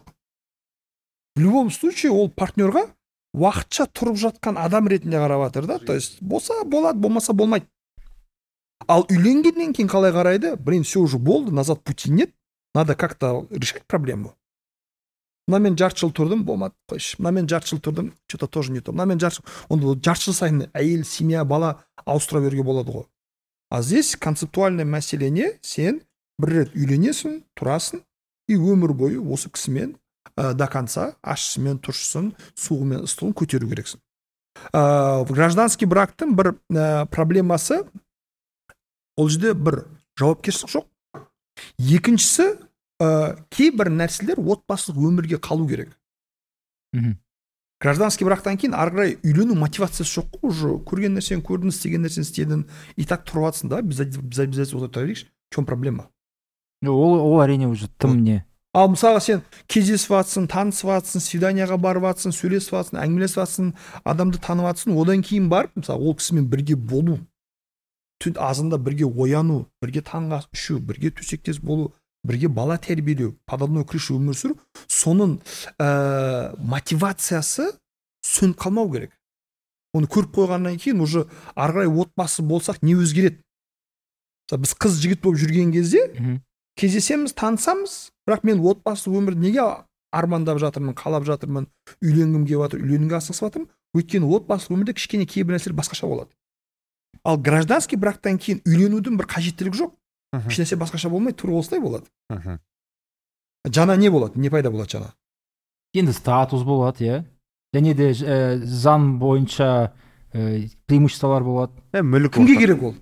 C: В любом случае ол партнерға уақытша тұрып жатқан адам ретінде қарап жатыр да, то есть болса болады, болмаса болмайды. Ал үйленгеннен кейін қалай қарайды? Блин, все уже болды, назад пути нет, надо как-то решать проблему. Мына мен жарты жыл тұрдым, болмады, қойшы. Мына мен жарты жыл тұрдым, что-то тоже не то. Мына мен жарты жыл, онда жарты жыл сайын әйел, семья, бала ауыстыра беруге болады ғой. А здесь концептуальный мәселе не? Сен бір рет үйленесің, тұрасың, и өмір бойы осы кісімен ә, до конца ащысымен, тұщысын, суығымен, ыстығын көтеру керексің. Ә, гражданский брактың бір ә, проблемасы, ол жерде бір жауапкершілік жоқ. Екіншісі, ә, кейбір нәрселер отбасылық өмірге қалу керек.
A: Мхм.
C: Гражданский брактан кейін ары қарай үйлену мотивациясы жоқ қой, уже көрген нәрсені көрдің, істеген нәрсені істедің, и так тұрып жатсың да, біз обязательно отыра берейікші. В чем проблема?
A: Ол, ол әрине уже тым не.
C: Ал мысалға сен кездесіп жатсың, танысып жатсың, свиданияға барып жатсың, сөйлесіп жатсың, әңгімелесіп жатсың, адамды танып жатсың, одан кейін барып, мысалы, ол кісімен бірге болу, түн азында бірге ояну, бірге таңғы ас ішу, бірге төсектес болу, бірге бала тәрбиелеу, подобной крыша өмір сүру, соның ә, мотивациясы сөніп қалмау керек. Оны көріп қойғаннан кейін уже ары қарай отбасы болсақ не өзгереді? Біз қыз жігіт болып жүрген кезде кездесеміз, танысамыз, бірақ мен отбасы өмірді неге армандап жатырмын, қалап жатырмын, үйленгім келіп жатыр, үйленуге асығысып жатырмын? Өйткені отбасы өмірде кішкене кейбір нәрселер басқаша болады. Ал гражданский брактан кейін үйленудің бір қажеттілігі жоқ. Еш нәрсе басқаша болмайды, тура осылай болады. Жаңа не болады? Не пайда болады жаңа?
A: Енді статус болады, иә. Және де ә, заң бойынша ә, преимуществолар болады.
B: Ә, мүлік
C: кімге керек ол?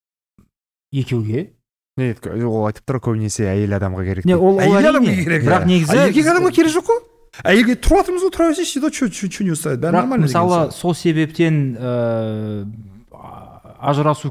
A: Екеуге.
B: Не, ол айтып тұр, көбінесе әйел адамға керек.
A: Не, ол
C: әйел адамға керек.
A: Бірақ негізі
C: еркек адамға керек жоқ қой. Әйелге тұрып жатырмыз ғой, тұра берсейші, да, что не устраивает? Бәрі нормально.
A: Мысалы, сол себептен ә, ажырасу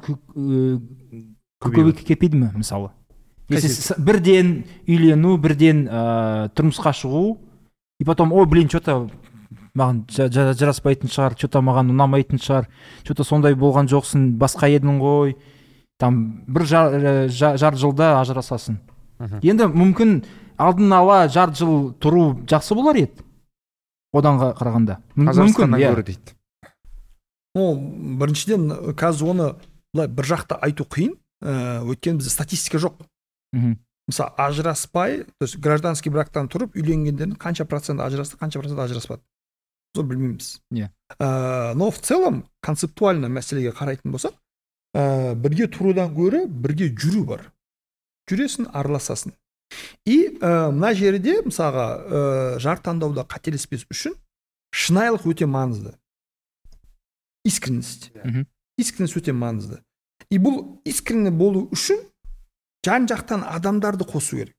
A: көбейіп кетпейді ме, мысалы? Если бірден үйлену, бірден ә, тұрмысқа шығу, и потом, ой, блин, что-то маған жараспайтын шығар, что-то маған ұнамайтын шығар, что-то сондай болған жоқсың, басқа едің ғой, там бір жар, жар, жар жылда ажырасасың. Енді мүмкін алдын ала жарты жыл тұру жақсы болар еді, одан қарағанда.
B: Қазақстаннан гөрі дейді.
C: Ол біріншіден қазір оны бір жақта айту қиын, өйткені бізде статистика жоқ. Мысалы, ажыраспай, то есть гражданский брактан тұрып үйленгендердің қанша процент ажырасты, қанша процент ажыраспады. Сол білмейміз. Но в целом концептуально мәселеге қарайтын болсақ, бірге тұрудан гөрі бірге жүру бар. Жүресің, араласасың. И мына жерде мысалға жар таңдауда қателеспес үшін шынайылық өте маңызды. Искренность. Искренность өте маңызды. И бұл искренне болу үшін жан жақтан адамдарды қосу керек.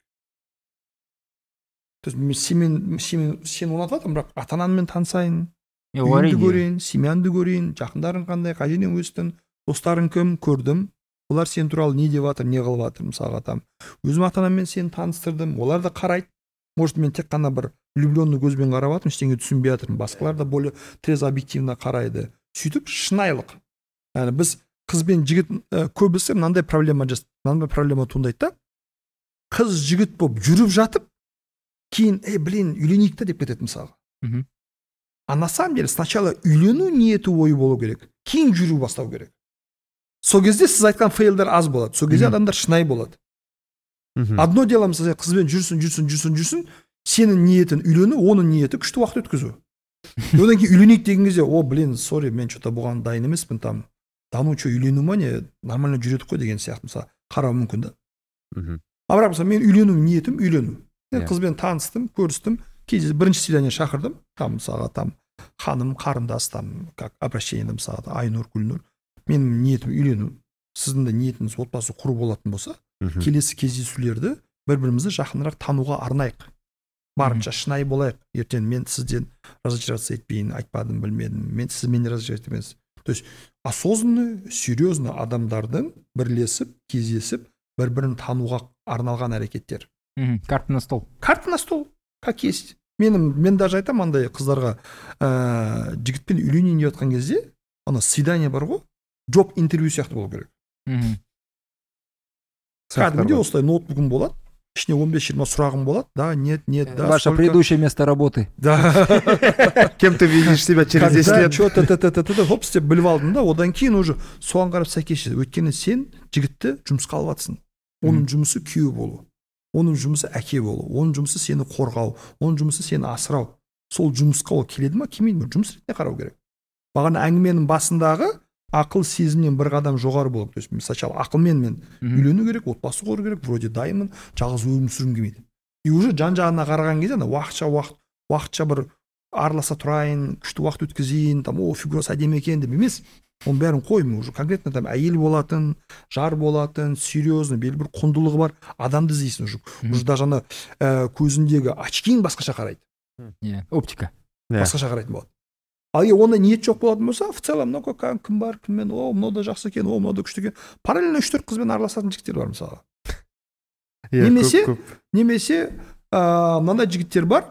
C: То есть сен сен ұнатып жатырмын, бірақ ата-анаңмен танысайын, үйіңді көрейін, семьянды көрейін, жақындарың қандай, қай жерден өстің, достарың кім, көрдім, олар сен туралы не деп жатыр, не қылып жатыр, мысалға там. Өзім ата-анаммен сені таныстырдым, олар да қарайды. Может, мен тек қана бір влюбленный көзбен қарап жатырмын, ештеңе түсінбей жатырмын. Басқалар да более трезво объективно қарайды. Сөйтіп шынайылық. Яғни біз қыз бен жігіт көбісі мынандай проблема жасайды, мынандай проблема туындайды да. Қыз жігіт болып жүріп жатып, кейін, ей, блин, үйленейік та деп кетеді мысалға. А на самом деле сначала үйлену ниеті ойы болу керек, кейін жүру бастау керек. Сол кезде сіз айтқан фейлдер аз болады. Сол кезде адамдар шынайы болады. Одно дело, мысалы, қызбен жүрсін, жүрсін, жүрсін, жүрсін, сенің ниетің үйлену, оның ниеті күшті уақыт өткізу. Одан кейін үйленейік деген кезде, о, блин, сорри, мен что-то бұған дайын емеспін, там, даму что, үйлену ма не, нормально жүредік қой деген сияқты, мысалы, қарау мүмкін да. А бірақ мысалы, мен үйлену ниетім үйлену. Мен қызбен таныстым, көрістім, кейде бірінші свидание шақырдым, там, мысалға, там, ханым, қарындас, там, как обращение, мысалға, Айнұр, Гүлнұр. Менің ниетім үйлену. Сіздің де ниетіңіз отбасы құру болатын болса, келесі кездесулерді бір-бірімізді жақынырақ тануға арнайық. Барынша шынайы болайық. Ертең мен сізден разочароваться етпейін, айтпадым, білмедім. Мен сіз мені разочаровать етемеңіз. То есть осознанно, серьезно адамдардың бірлесіп, кездесіп, бір-бірін тануға арналған әрекеттер.
A: Карта на стол.
C: Карта на стол, как есть. менің мен даже айтамын андай қыздарға, ә, жігітпен үйленейін деп жатқан кезде ана свидание бар ғой, жоп интервью сияқты болу керек. Кәдімгідей осылай ноутбугым болады, ішіне он бес жиырма сұрағым болады, да, нет, нет, да.
A: Ваше предыдущее место работы.
C: Да.
B: Кем ты видишь себя через десять лет?
C: Что-то хоп істеп біліп алдым да, одан кейін уже соған қарап сәйкес. Өйткені сен жігітті жұмысқа алып жатсың. Оның жұмысы күйеу болу, оның жұмысы әке болу, оның жұмысы сені қорғау, оның жұмысы сені асырау. Сол жұмысқа ол келеді ма, келмейді ме, жұмыс ретінде қарау керек. Бағана әңгіменің басындағы ақыл сезімнен бір қадам жоғары болып, то есть сначала ақылмен мен үйлену керек, отбасы құру керек, вроде дайынмын, жалғыз өмір сүргім келмейді. И уже жан-жағына қараған кезде ана уақытша уақыт, уақытша бір араласа тұрайын, күшті уақыт өткізейін, там о фигурасы әдемі екен деп емес. Оның бәрін қоймын, уже конкретно там әйел болатын, жар болатын, серьезный, белгілі бір құндылығы бар адамды іздейсің уже. Уже даже ана көзіндегі очкиң басқаша қарайды.
A: Оптика.
C: Басқаша қарайтын болады. Ал егер ондай ниет жоқ болатын болса, в целом мынау кім бар, кіммен, о, мынау да жақсы екен, о, мынау да күшті екен. Параллельно үш төрт қызбен араласатын жігіттер бар мысалы. Немесе, немесе мынандай жігіттер бар,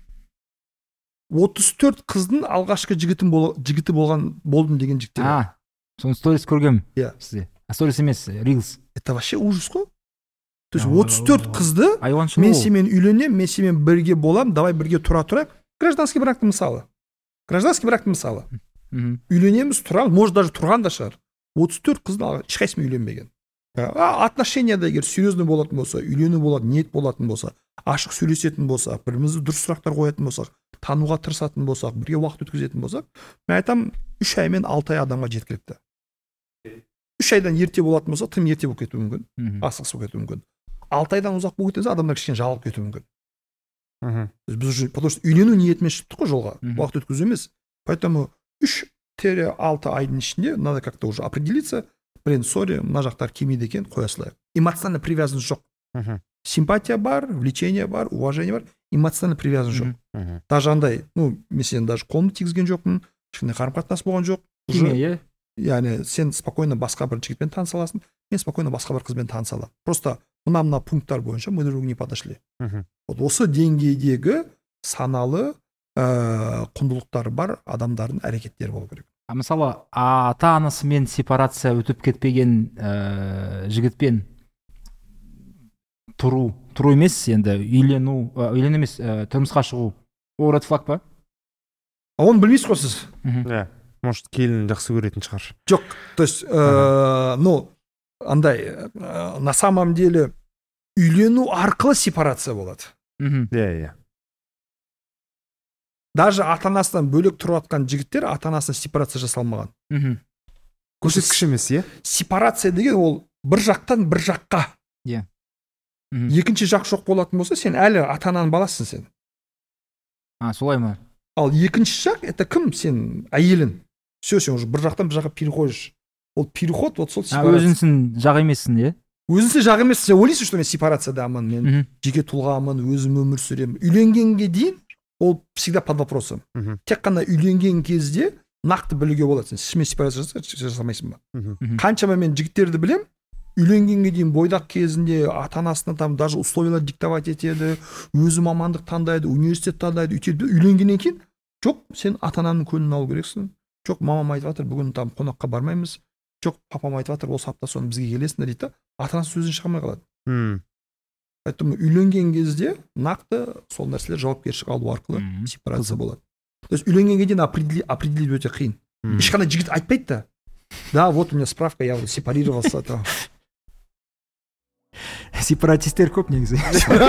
C: отыз төрт қыздың алғашқы жігітім жігіті болған болдым деген жігіттер.
A: А, соны сторис көргем.
C: Иә.
A: Сізде. А сторис емес, рилс.
C: Это вообще ужас қой. То есть отыз төрт қызды мен сенімен үйленем, мен сенімен бірге болам, давай бірге тұра тұрайық. Гражданский брактың мысалы. Гражданский брактың мысалы. Үйленеміз, тұрамыз, может даже тұрған да шығар. отыз төрт қыздың ешқайсымен үйленбеген. Отношенияда егер серьезный болатын болса, үйлену болады, ниет болатын болса, ашық сөйлесетін болсақ, бірімізді дұрыс сұрақтар қоятын болсақ, тануға тырысатын болсақ, бірге уақыт өткізетін болсақ, мен айтам, үш ай мен алты ай адамға жеткілікті. Үш айдан ерте болатын болса, тым ерте болып кетуі мүмкін, асығыс болып кетуі мүмкін. Алты айдан ұзақ болып кетсе, адамдар кішкене жалығып кетуі мүмкін. Біз уже, потому что үйлену ниетімен шықтық қой жолға, уақыт өткізу емес. Поэтому үш алты айдың ішінде надо как-то уже определиться, блин, сори, мына жақтар келмейді екен, қоя салайық. Эмоциональный привязанность жоқ. Симпатия бар, влечение бар, уважение бар, эмоциональный привязанность жоқ. Даже андай, ну, мен сен даже қолымды тигізген жоқпын, ешқандай қарым-қатынас болған жоқ.
A: Химия,
C: яғни сен спокойно басқа бір жігітпен таныса аласың, мен спокойно басқа бір қызбен таныса аламын. Просто мына-мына пункттар бойынша мы друг другу не подошли. Вот осы деңгейдегі саналы құндылықтары бар адамдардың әрекеттері болу керек.
A: А мысалы, ата-анасымен сепарация өтіп кетпеген жігітпен тұру, тұру емес енді, үйлену, үйлену емес, тұрмысқа шығу, ол ред флаг па?
C: А оны білмейсіз ғой сіз?
B: Иә, может, келін жақсы көретін шығар.
C: Жоқ, то есть, ну, андай, на самом деле, үйлену арқылы сепарация болады.
B: Иә, иә.
C: Даже ата-анасынан бөлек тұрып жатқан жігіттер ата-анасына сепарация жасалмаған.
B: Көрсеткіш емес, иә?
C: Сепарация деген ол бір жақтан бір жаққа.
A: Иә.
C: Екінші жақ жоқ болатын болса, сен әлі ата-ананың баласың сен.
A: А, солай ма?
C: Ал екінші жақ, это кім? Сен әйелін. Все, сен уже бір жақтан бір жаққа переходишь. Ол переход, вот сол сепарация.
A: Өзіңсің жақ емессің, иә?
C: Өзіңсің жақ емессің, сен ойлайсың, что мен сепарациядамын, мен жеке тұлғамын, өзім өмір сүремін. Үйленгенге дейін ол всегда под вопросом. Тек қана үйленген кезде нақты білуге болады. Сен шынымен сепарация жасамайсың ба? Қаншама мен жігіттерді білем, үйленгенге дейін бойдақ кезінде ата-анасына там даже условиялар диктовать етеді, өзі мамандық таңдайды, университет таңдайды, үйтеді. Үйленгеннен кейін жоқ, сен ата-ананың көңілін алу керексің. Жоқ, мамам айтып жатыр, бүгін там қонаққа бармаймыз. Жоқ, папам айтып жатыр, осы апта соны бізге келесіңдер дейді. Ата-анасы сөзін шығармай қалады. Поэтому үйленген кезде нақты сол нәрселер жауапкершілік алу арқылы сепарация болады. То есть үйленгенге дейін определить өте қиын. Ешқандай жігіт айтпайды да. Да, вот у меня справка, я сепарировался.
A: Сепаратистер көп негізі.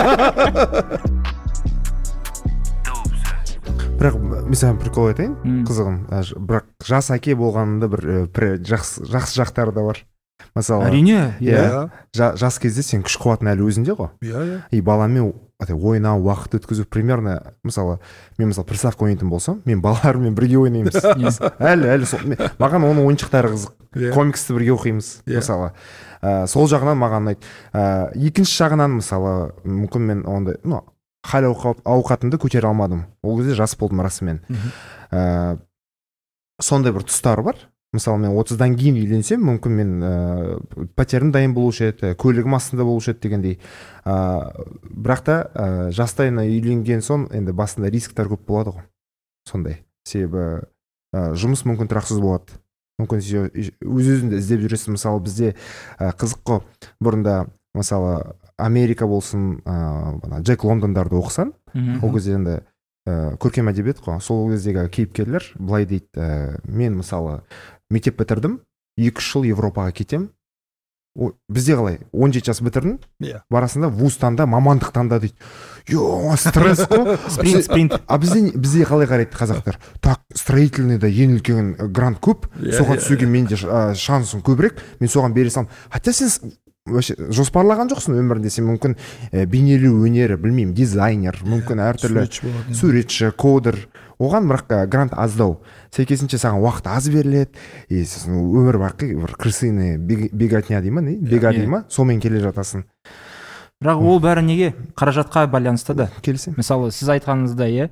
B: Бірақ мен саған прикол айтайын, қызығым. Бірақ жас әке болғанында бір жақсы жақтары да бар. Мысалы,
A: әрине,
B: иә. Жас кезде сен күш қуатын әлі өзінде ғой.
C: Иә, иә.
B: И баламен ойнау, уақыт өткізу примерно, мысалы, мен мысалы приставка ойнайтын болсам, мен балалармен бірге ойнаймыз. Әлі, әлі маған оның ойыншықтары қызық. Комиксті бірге оқимыз, мысалы. Сол жағынан маған ұнайды. Екінші жағынан, мысалы, мүмкін мен ондай, ну, хал ауқатымды көтере алмадым. Ол кезде жас болдым расымен. Сондай бір тұстары бар. мысалы мен отыздан кейін үйленсем мүмкін мен ә, пәтерім дайын болушы еді, көлігім астында болушы еді дегендей. ә, бірақ та ә, жастайына үйленген соң енді басында рисктер көп болады ғой, сондай. Себебі ә, жұмыс мүмкін тұрақсыз болады, мүмкін өз-өзіңді іздеп жүресің. Мысалы бізде ә, қызық қой, бұрында мысалы Америка болсын, ә, Джек Лондондарды оқысан, ол кезде енді ә, көркем әдебиет қой, сол кездегі кейіпкерлер былай дейді, ә, мен мысалы мектеп бітірдім, екі үш жыл Европаға кетем. О, бізде қалай, он жеті жас бітірдің,
C: yeah.
B: барасында вуз таңда, мамандық таңда дейді. Йо, стресс қой.
A: Спринт, спринт.
B: А бізде, бізде қалай қарайды қазақтар? Так, строительныйда ең үлкен грант көп, yeah, соған түсуге yeah, менде yeah. шансым көбірек, мен соған бере салам. Хотя сен вообще жоспарлаған жоқсың өмірінде, сен мүмкін ә, бейнелеу өнері, білмеймін, дизайнер, мүмкін әртүрлі суретші, кодер, оған бірақ грант аздау. Сәйкесінше саған уақыт аз беріледі, и сосын өмір бақи бір крысыны беготня дей ма, не? Бега дей ма, сонымен келе жатасың.
A: Бірақ ол бәрі неге? Қаражатқа байланысты да.
B: Келісем.
A: Мысалы, сіз айтқаныңызда, е,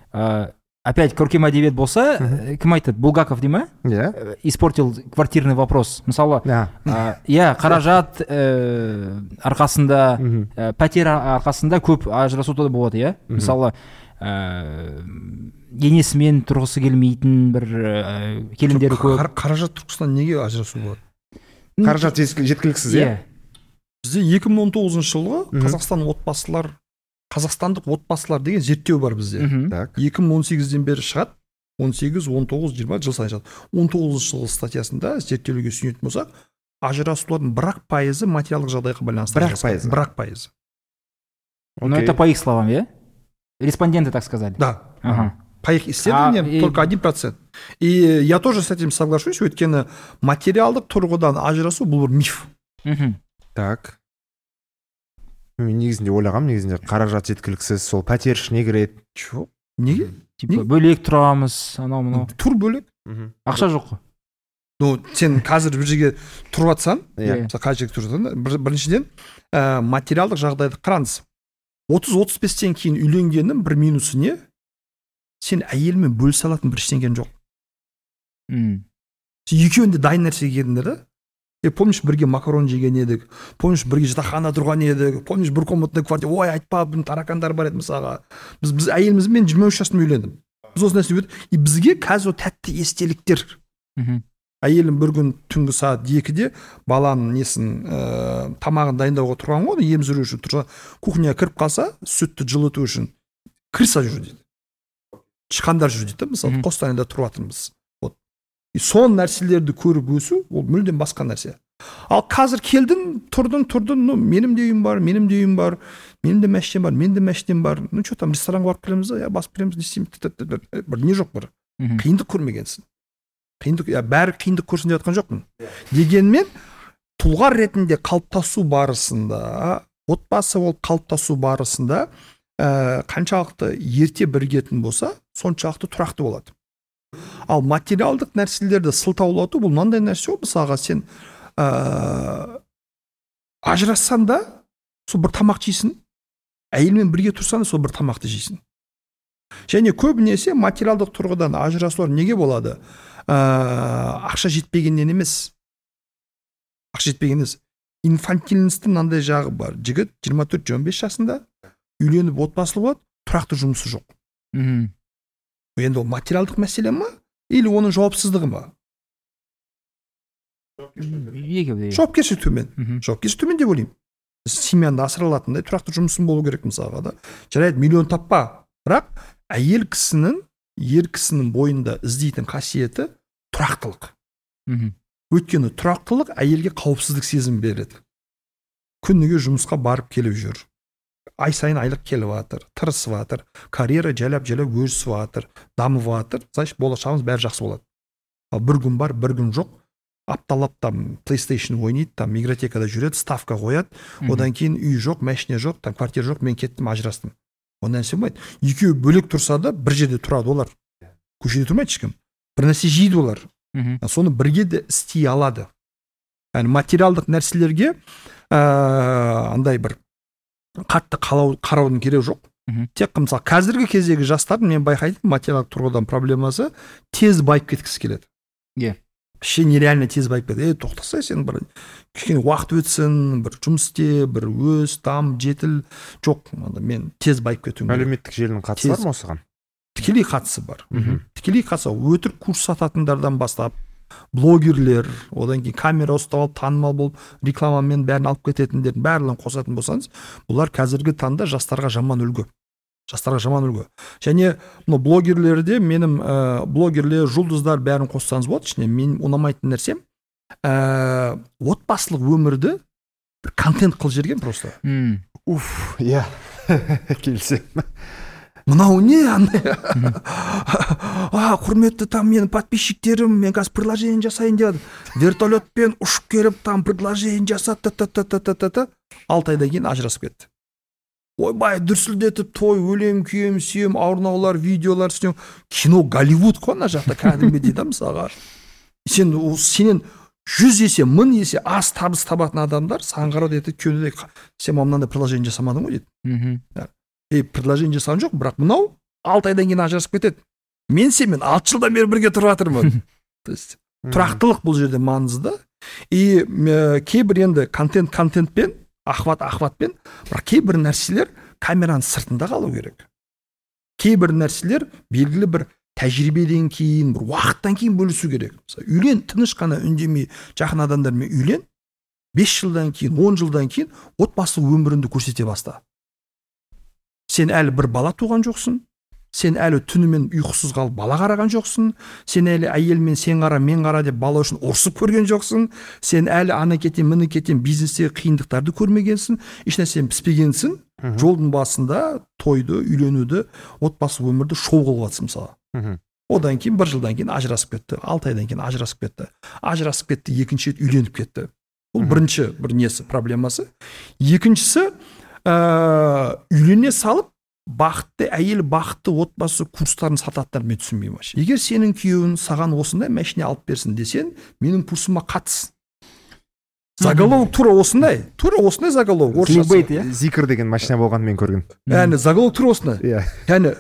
A: опять көркем әдебиет болса, uh-huh. кім айтады? Булгаков дей ма?
B: Иә. Yeah.
A: Испортил квартирный вопрос. Мысалы, иә, yeah. yeah, қаражат ә, арқасында, uh-huh. ә, пәтер арқасында көп ажырасу да болады, иә. Uh-huh. Мысалы, ә, енесімен тұрғысы келмейтін бір ә, келіндері көп.
C: Қаражат тұрғысынан неге ажырасу болады?
B: Қаражат жеткіліксіз, иә?
C: Yeah. Бізде екі мың он тоғызыншы жылғы uh-huh. Қазақстан отбасылар, қазақстандық отбасылар деген зерттеу бар бізде.
B: Uh-huh.
C: екі мың он сегізден бері шығады. он сегіз, он тоғыз, жиырма жыл сайын шығады. он тоғызыншы жылғы статьясында зерттеуге сүйенетін болсақ, ажырасулардың бірақ пайызы материалдық жағдайға байланысты.
B: Бірақ пайызы.
C: Бірақ пайызы.
A: Okay. Ну, это по их словам, я? Респонденты так сказали.
C: Да.
A: Ага.
C: По их исследованиям а, только один процент. И я тоже с этим соглашусь, өйткені материалдық тұрғыдан ажырасу бұл бір миф.
A: Мхм.
B: Так. Мен негізінде ойлағам, негізінде қаражат жеткіліксіз, сол пәтер ішіне кіреді.
C: Жоқ. Неге?
A: Типа бөлек тұрамыз, анау мынау.
C: Тур бөлек.
A: Ақша жоқ қой.
C: Ну, сен қазір бір жерге тұрып жатсаң,
B: иә,
C: мысалы қай жерге тұрып жатсаң, біріншіден ә, материалдық жағдайды қараңыз. отыз отыз бестен кейін үйленгеннің бір минусы не? Сен әйелмен бөлісе алатын бір ештеңең жоқ.
A: Мм.
C: Сен екеуінде дайын нәрсеге келдіңдер да? Е, помнишь, бірге макарон жеген едік, помнишь, бірге жатақханада тұрған едік, помнишь, бір комнатный квартира, ой, айтпа, бұның таракандар бар еді мысалға. Біз, біз әйелімізбен жиырма үш жасымда үйлендім. Біз осы нәрсе өтіп, и бізге қазір тәтті естеліктер.
A: Мхм.
C: Әйелім бір күн түнгі сағат екіде баланың несін ә, тамағын дайындауға тұрған ғой, ем жүру үшін тұрса, кухняға кіріп қалса, сүтті жылыту үшін крыса жүр дейді. Тышқандар жүр дейді, мысалы, Қостанайда тұрып жатырмыз. Вот. И сон нәрселерді көріп өсу, ол мүлдем басқа нәрсе. Ал қазір келдің, тұрдың, тұрдың, ну, менің де үйім бар, менің де үйім бар, менің де мәштем бар, менің де мәштем бар. Ну, что там, ресторанға барып келеміз, я басып келеміз, не істейміз, бір не жоқ бір. Қиындық көрмегенсің. Қиындық, я бәрі қиындық көрсін деп жатқан жоқпын. Дегенмен, тұлға ретінде қалыптасу барысында, отбасы болып қалыптасу барысында, ә, қаншалықты ерте бірігетін болса, соншалықты тұрақты болады. Ал материалдық нәрселерді сылтаулату, бұл мынандай нәрсе ғой, мысалға сен ә, ажырассан да, сол бір тамақ жейсің, әйелмен бірге тұрсан да сол бір тамақты жейсің. Және көбінесе материалдық тұрғыдан ажырасулар неге болады? Ә, ақша жетпегеннен емес. Ақша жетпеген емес. Инфантильностың мынандай жағы бар. Жігіт жиырма төрт жиырма бес жасында үйленіп отбасылы болады, тұрақты жұмысы жоқ.
A: Мхм.
C: Енді ол материалдық мәселе ма? Или оның жауапсыздығы ма? Жауапкершілік төмен. Жауапкершілік төмен деп ойлаймын. Семьяны асыра алатындай тұрақты жұмысын болу керек мысалға да. Жарайды, миллион таппа. Бірақ әйел кісінің, ер кісінің бойында іздейтін қасиеті тұрақтылық. Өйткені тұрақтылық әйелге қауіпсіздік сезім береді. Күніге жұмысқа барып келіп жүр. Ай сайын айлық келіп жатыр, тырысып жатыр, карьера жайлап-жайлап өсіп жатыр, дамып жатыр. Значит, болашағымыз бәрі жақсы болады. Ал бір күн бар, бір күн жоқ. Апталап там PlayStation ойнайды, там игротекада жүреді, ставка қояды. Одан кейін үй жоқ, машина жоқ, там квартира жоқ, мен кеттім, ажырастым. Онdan нәрсе болмайды. Екеуі бөлек тұрса да, бір жерде тұрады олар. Көшеде тұрмайды ешкім. бір нәрсе жейді олар. Соны бірге де істей алады. Yani материалдық нәрселерге ә, андай бір қатты қараудың керегі жоқ. Тек мысалы қазіргі кездегі жастардың мен байқайтын материалдық тұрғыдан проблемасы тез байып кеткісі келеді.
A: Yeah.
C: вообще нереально тез байып кетеді. Е, тоқтаса, сен бір кішкене уақыт өтсін, бір жұмыс істе, бір өс, дам, жетіл. Жоқ, мен тез байып кетуім керек.
B: Әлеуметтік желінің қатысы бар ма осыған?
C: Тікелей қатысы бар. Тікелей қатысы. Өтірік курс сататындардан бастап, блогерлер, одан кейін камера ұстап алып, танымал болып, рекламамен бәрін алып кететіндердің барлығын қосатын болсаңыз, бұлар қазіргі таңда жастарға жаман үлгі. Жастарға жаман үлгі. Және мына блогерлерде менің ә, блогерлер, жұлдыздар бәрін қоссаңыз болады. Ішіне мен ұнамайтын нәрсем, ә, отбасылық өмірді бір контент қыл жерген просто.
B: Уф, иә. Келсем.
C: Мынау не андай? А, құрметті там менің подписчиктерім, мен қазір предложение жасайын деді. Вертолетпен ұшып келіп, там предложение жасады, та-та-та-та-та-та. Алты айдан кейін ажырасып кетті. Ойбай, дүрсілдетіп, той, өлем, күйем, сүйем, ауырнаулар, видеолар істеу. Кино Голливуд қой ана жақта кәдімгідей да мысалға. Сен сенен жүз есе, мың есе аз табыс табатын адамдар саған қарап айтады, көнеде сен мынандай предложение жасамадың ғой дейді. Ей, предложение жасаған жоқ, бірақ мынау алты айдан кейін ажырасып кетеді. Мен сенімен алты жылдан бері бірге тұрып жатырмын. То есть тұрақтылық бұл жерде маңызды. И кейбір енді контент контентпен, ахват ахватпен, бірақ кейбір нәрселер камераның сыртында қалу керек. Кейбір нәрселер белгілі бір тәжірибеден кейін, бір уақыттан кейін бөлісу керек. Үйлен, тыныш қана үндемей жақын адамдармен үйлен, бес жылдан кейін, он жылдан кейін отбасылық өміріңді көрсете баста. Сен әлі бір бала туған жоқсың, сен әлі түнімен ұйқысыз қалып бала қараған жоқсың, сен әлі әйелмен сен қара, мен қара деп бала үшін ұрсып көрген жоқсың, сен әлі ана кетен, міне кетен бизнестегі қиындықтарды көрмегенсің, ешнәрсен піспегенсің, жолдың басында тойды, үйленуді, отбасылық өмірді шоу қылып жатсың мысалы. Одан кейін бір жылдан кейін ажырасып кетті, алты айдан кейін ажырасып кетті, ажырасып кетті, екінші рет үйленіп кетті. Бұл бірінші бір несі, проблемасы. Екіншісі, Ә, үйлене салып, бақытты әйел, бақытты отбасы курстарын сататтар мен түсінбеймін. Егер сенің күйеуің саған осындай машина алып берсін десен, менің курсыма қатыс. Заголовок тура осындай, тура осындай заголовок.
B: Зикр деген машина болған мен көрген.
C: Яғни заголовок тура осындай. Яғни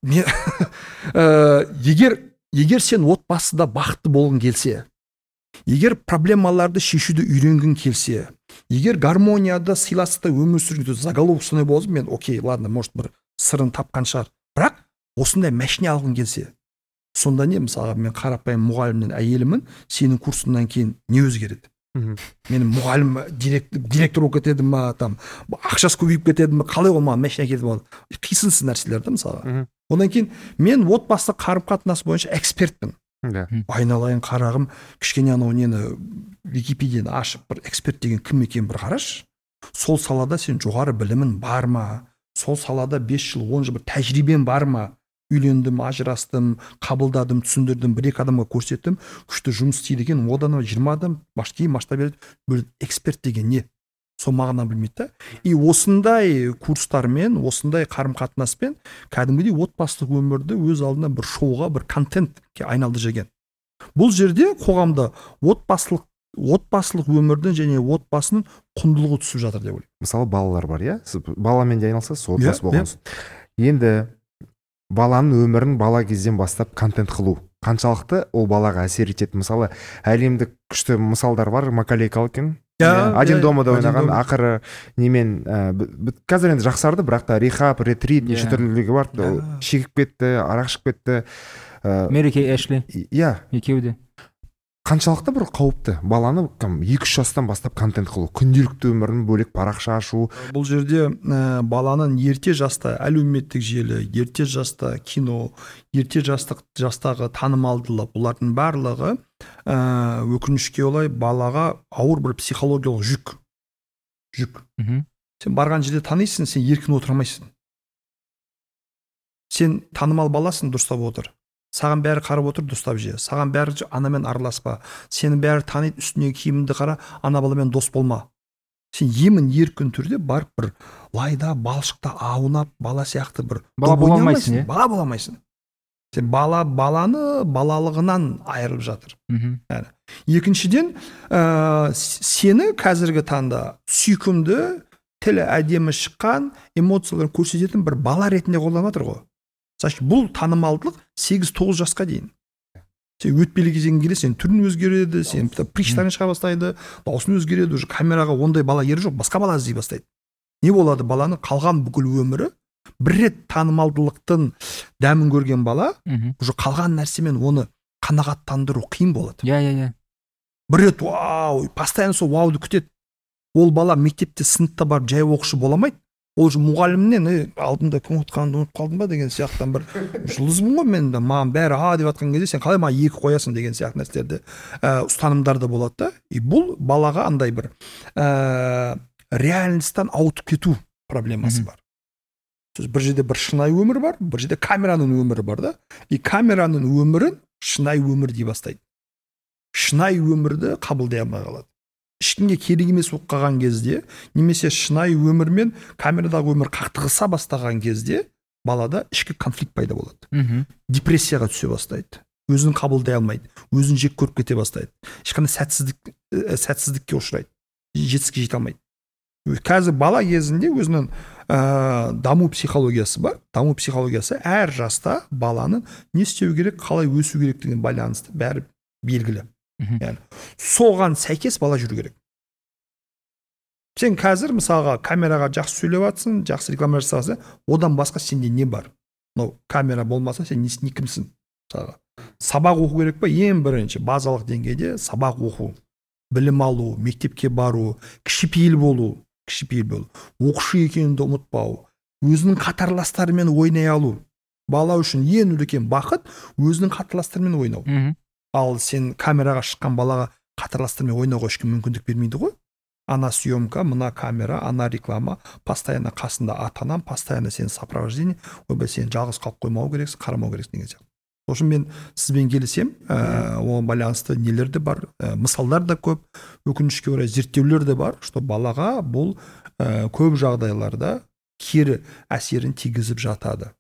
C: егер егер сен отбасыда бақытты болғың келсе, егер проблемаларды шешуді үйренгің келсе, егер гармонияда, сыйластықта өмір сүрген заголовок сондай болса, мен окей, ладно, может бір сырын тапқан шығар. Бірақ осындай машина алғың келсе, сонда не, мысалға мен қарапайым мұғалімнен әйелімін, сенің курсыңнан кейін не өзгереді? Менің мұғалім директор, директор болып кетеді ма, там ақшасы көбейіп кетеді ме, қалай ол маған машина кетіп алды? Қисынсыз нәрселер да мысалға. Одан кейін мен отбасы қарым-қатынас бойынша экспертпін. Айналайын қарағым, кішкене анау нені Википедияны ашып бір эксперт деген кім екен бір қараш. Сол салада сен жоғары білімін бар ма? Сол салада бес жыл, он жыл бір тәжірибен бар ма? Үйлендім, ажырастым, қабылдадым, түсіндірдім, бір екі адамға көрсеттім, күшті жұмыс істейді екен, одан жиырма адам кейін масштаб береді. Бір эксперт деген не? Сол мағына білмейді да. И осындай курстармен, осындай қарым-қатынаспен кәдімгідей отбасылық өмірді өз алдына бір шоуға, бір контентке айналды жеген. Бұл жерде қоғамда отбасылық отбасылық өмірдің және отбасының құндылығы түсіп жатыр деп ойлаймын.
B: Мысалы балалар бар, иә? Сіз баламен де айналысасыз, отбасы болғансыз. Енді баланың өмірін бала кезден бастап контент қылу қаншалықты ол балаға әсер етеді? Мысалы, әлемдік күшті мысалдар бар, Макалей Калкин один домада ойнаған, ақыры немен қазір енді жақсарды, бірақ та рехаб, ретрит, неше түрлілігі бар, шегіп кетті, арақ ішіп кетті.
A: Мэри Кей Эшли.
B: Иә.
A: Екеуі де.
B: Қаншалықты бір қауіпті баланы екі үш жастан бастап контент қылу, күнделікті өмірін бөлек парақша ашу.
C: Бұл жерде ә, баланың ерте жаста әлеуметтік желі, ерте жаста кино, ерте жастық жастағы танымалдылық, бұлардың барлығы ә, өкінішке олай балаға ауыр бір психологиялық жүк. Жүк.
A: Мхм.
C: Сен барған жерде танисың, сен еркін отырмайсың. Сен танымал баласың, дұрыстап отыр. Саған бәрі қарап отыр, дұрыстап же. Саған бәрі анамен араласпа. Сені бәрі таниды, үстіне киіміңді қара, ана баламен дос болма. Сен емін еркін түрде барып бір лайда, балшықта аунап, бала сияқты бір
A: бала бола алмайсың,
C: бала бола алмайсың. Сен бала баланы балалығынан айырылып жатыр. Yani, екіншіден, ә, сені қазіргі таңда сүйкімді, тілі әдемі шыққан, эмоцияларын көрсететін бір бала ретінде қолданып жатыр ғой. Бұл танымалдылық сегіз тоғыз жасқа дейін. сен өтпелі кезеңге келе сен түрін өзгереді, сен приштарың шыға бастайды, даусын өзгереді, уже камераға ондай бала ері жоқ, басқа бала іздей бастайды. Не болады? Баланың қалған бүкіл өмірі бір рет танымалдылықтың дәмін көрген бала уже қалған нәрсемен оны қанағаттандыру қиын болады.
A: Иә, иә, иә.
C: Бір рет вау, постоянно сол вауды күтеді. Ол бала мектепте сыныпта барып жай оқушы бола алмайды. Ол же мұғалімнен алдымда кім ұтқанды ұмытып қалдым ба деген сияқтан бір жұлдызбын ғой мен, маған бәрі а деп жатқан кезде сен қалай маған екі қоясың деген сияқты нәрселерді ә, ұстанымдарда болады да. И бұл балаға андай бір ә, реальностьтан ауытып кету проблемасы бар. Бір жерде бір шынайы өмір бар, бір жерде камераның өмірі бар да. И камераның өмірін шынайы өмір дей бастайды. Шынайы өмірді қабылдай алмай қалады. Ешкімге керек емес болып қалған кезде, немесе шынайы өмір мен камерадағы өмір қақтығыса бастаған кезде балада ішкі конфликт пайда болады.
A: Мхм.
C: Депрессияға түсе бастайды. Өзін қабылдай алмайды, өзін жек көріп кете бастайды. Ешқандай сәтсіздік сәтсіздікке ұшырайды. Жетістікке жете алмайды. Қазір бала кезінде өзінің ә, даму психологиясы бар. Даму психологиясы әр жаста баланың не істеу керек, қалай өсу керектігіне байланысты бәрі белгілі. Yani, соған сәйкес бала жүру керек. Сен қазір мысалға камераға жақсы сөйлеп жатсың, жақсы реклама жасасың, одан басқа сенде не бар? Но камера болмаса сен не кімсің? Мысалға сабақ оқу керек па? Ең бірінші базалық деңгейде сабақ оқу, білім алу, мектепке бару, кішіпейіл болу, кішіпейіл болу, оқушы екеніңді ұмытпау, өзінің қатарластарымен ойнай алу. Бала үшін ең үлкен бақыт өзінің қатарластарымен ойнау. Ал сен камераға шыққан балаға қатарластармен ойнауға ешкім мүмкіндік бермейді ғой. Ана съемка, мына камера, ана реклама, постоянно қасында ата-анам, постоянно сен сопровождение, ойбай сен жалғыз қалып қоймау керексің, қарамау керексің деген сияқты. Сол үшін мен сізбен келісем, оған байланысты нелер де бар, мысалдар да көп, өкінішке орай зерттеулер де бар, что балаға бұл көп жағдайларда кері әсерін тигізіп жатады.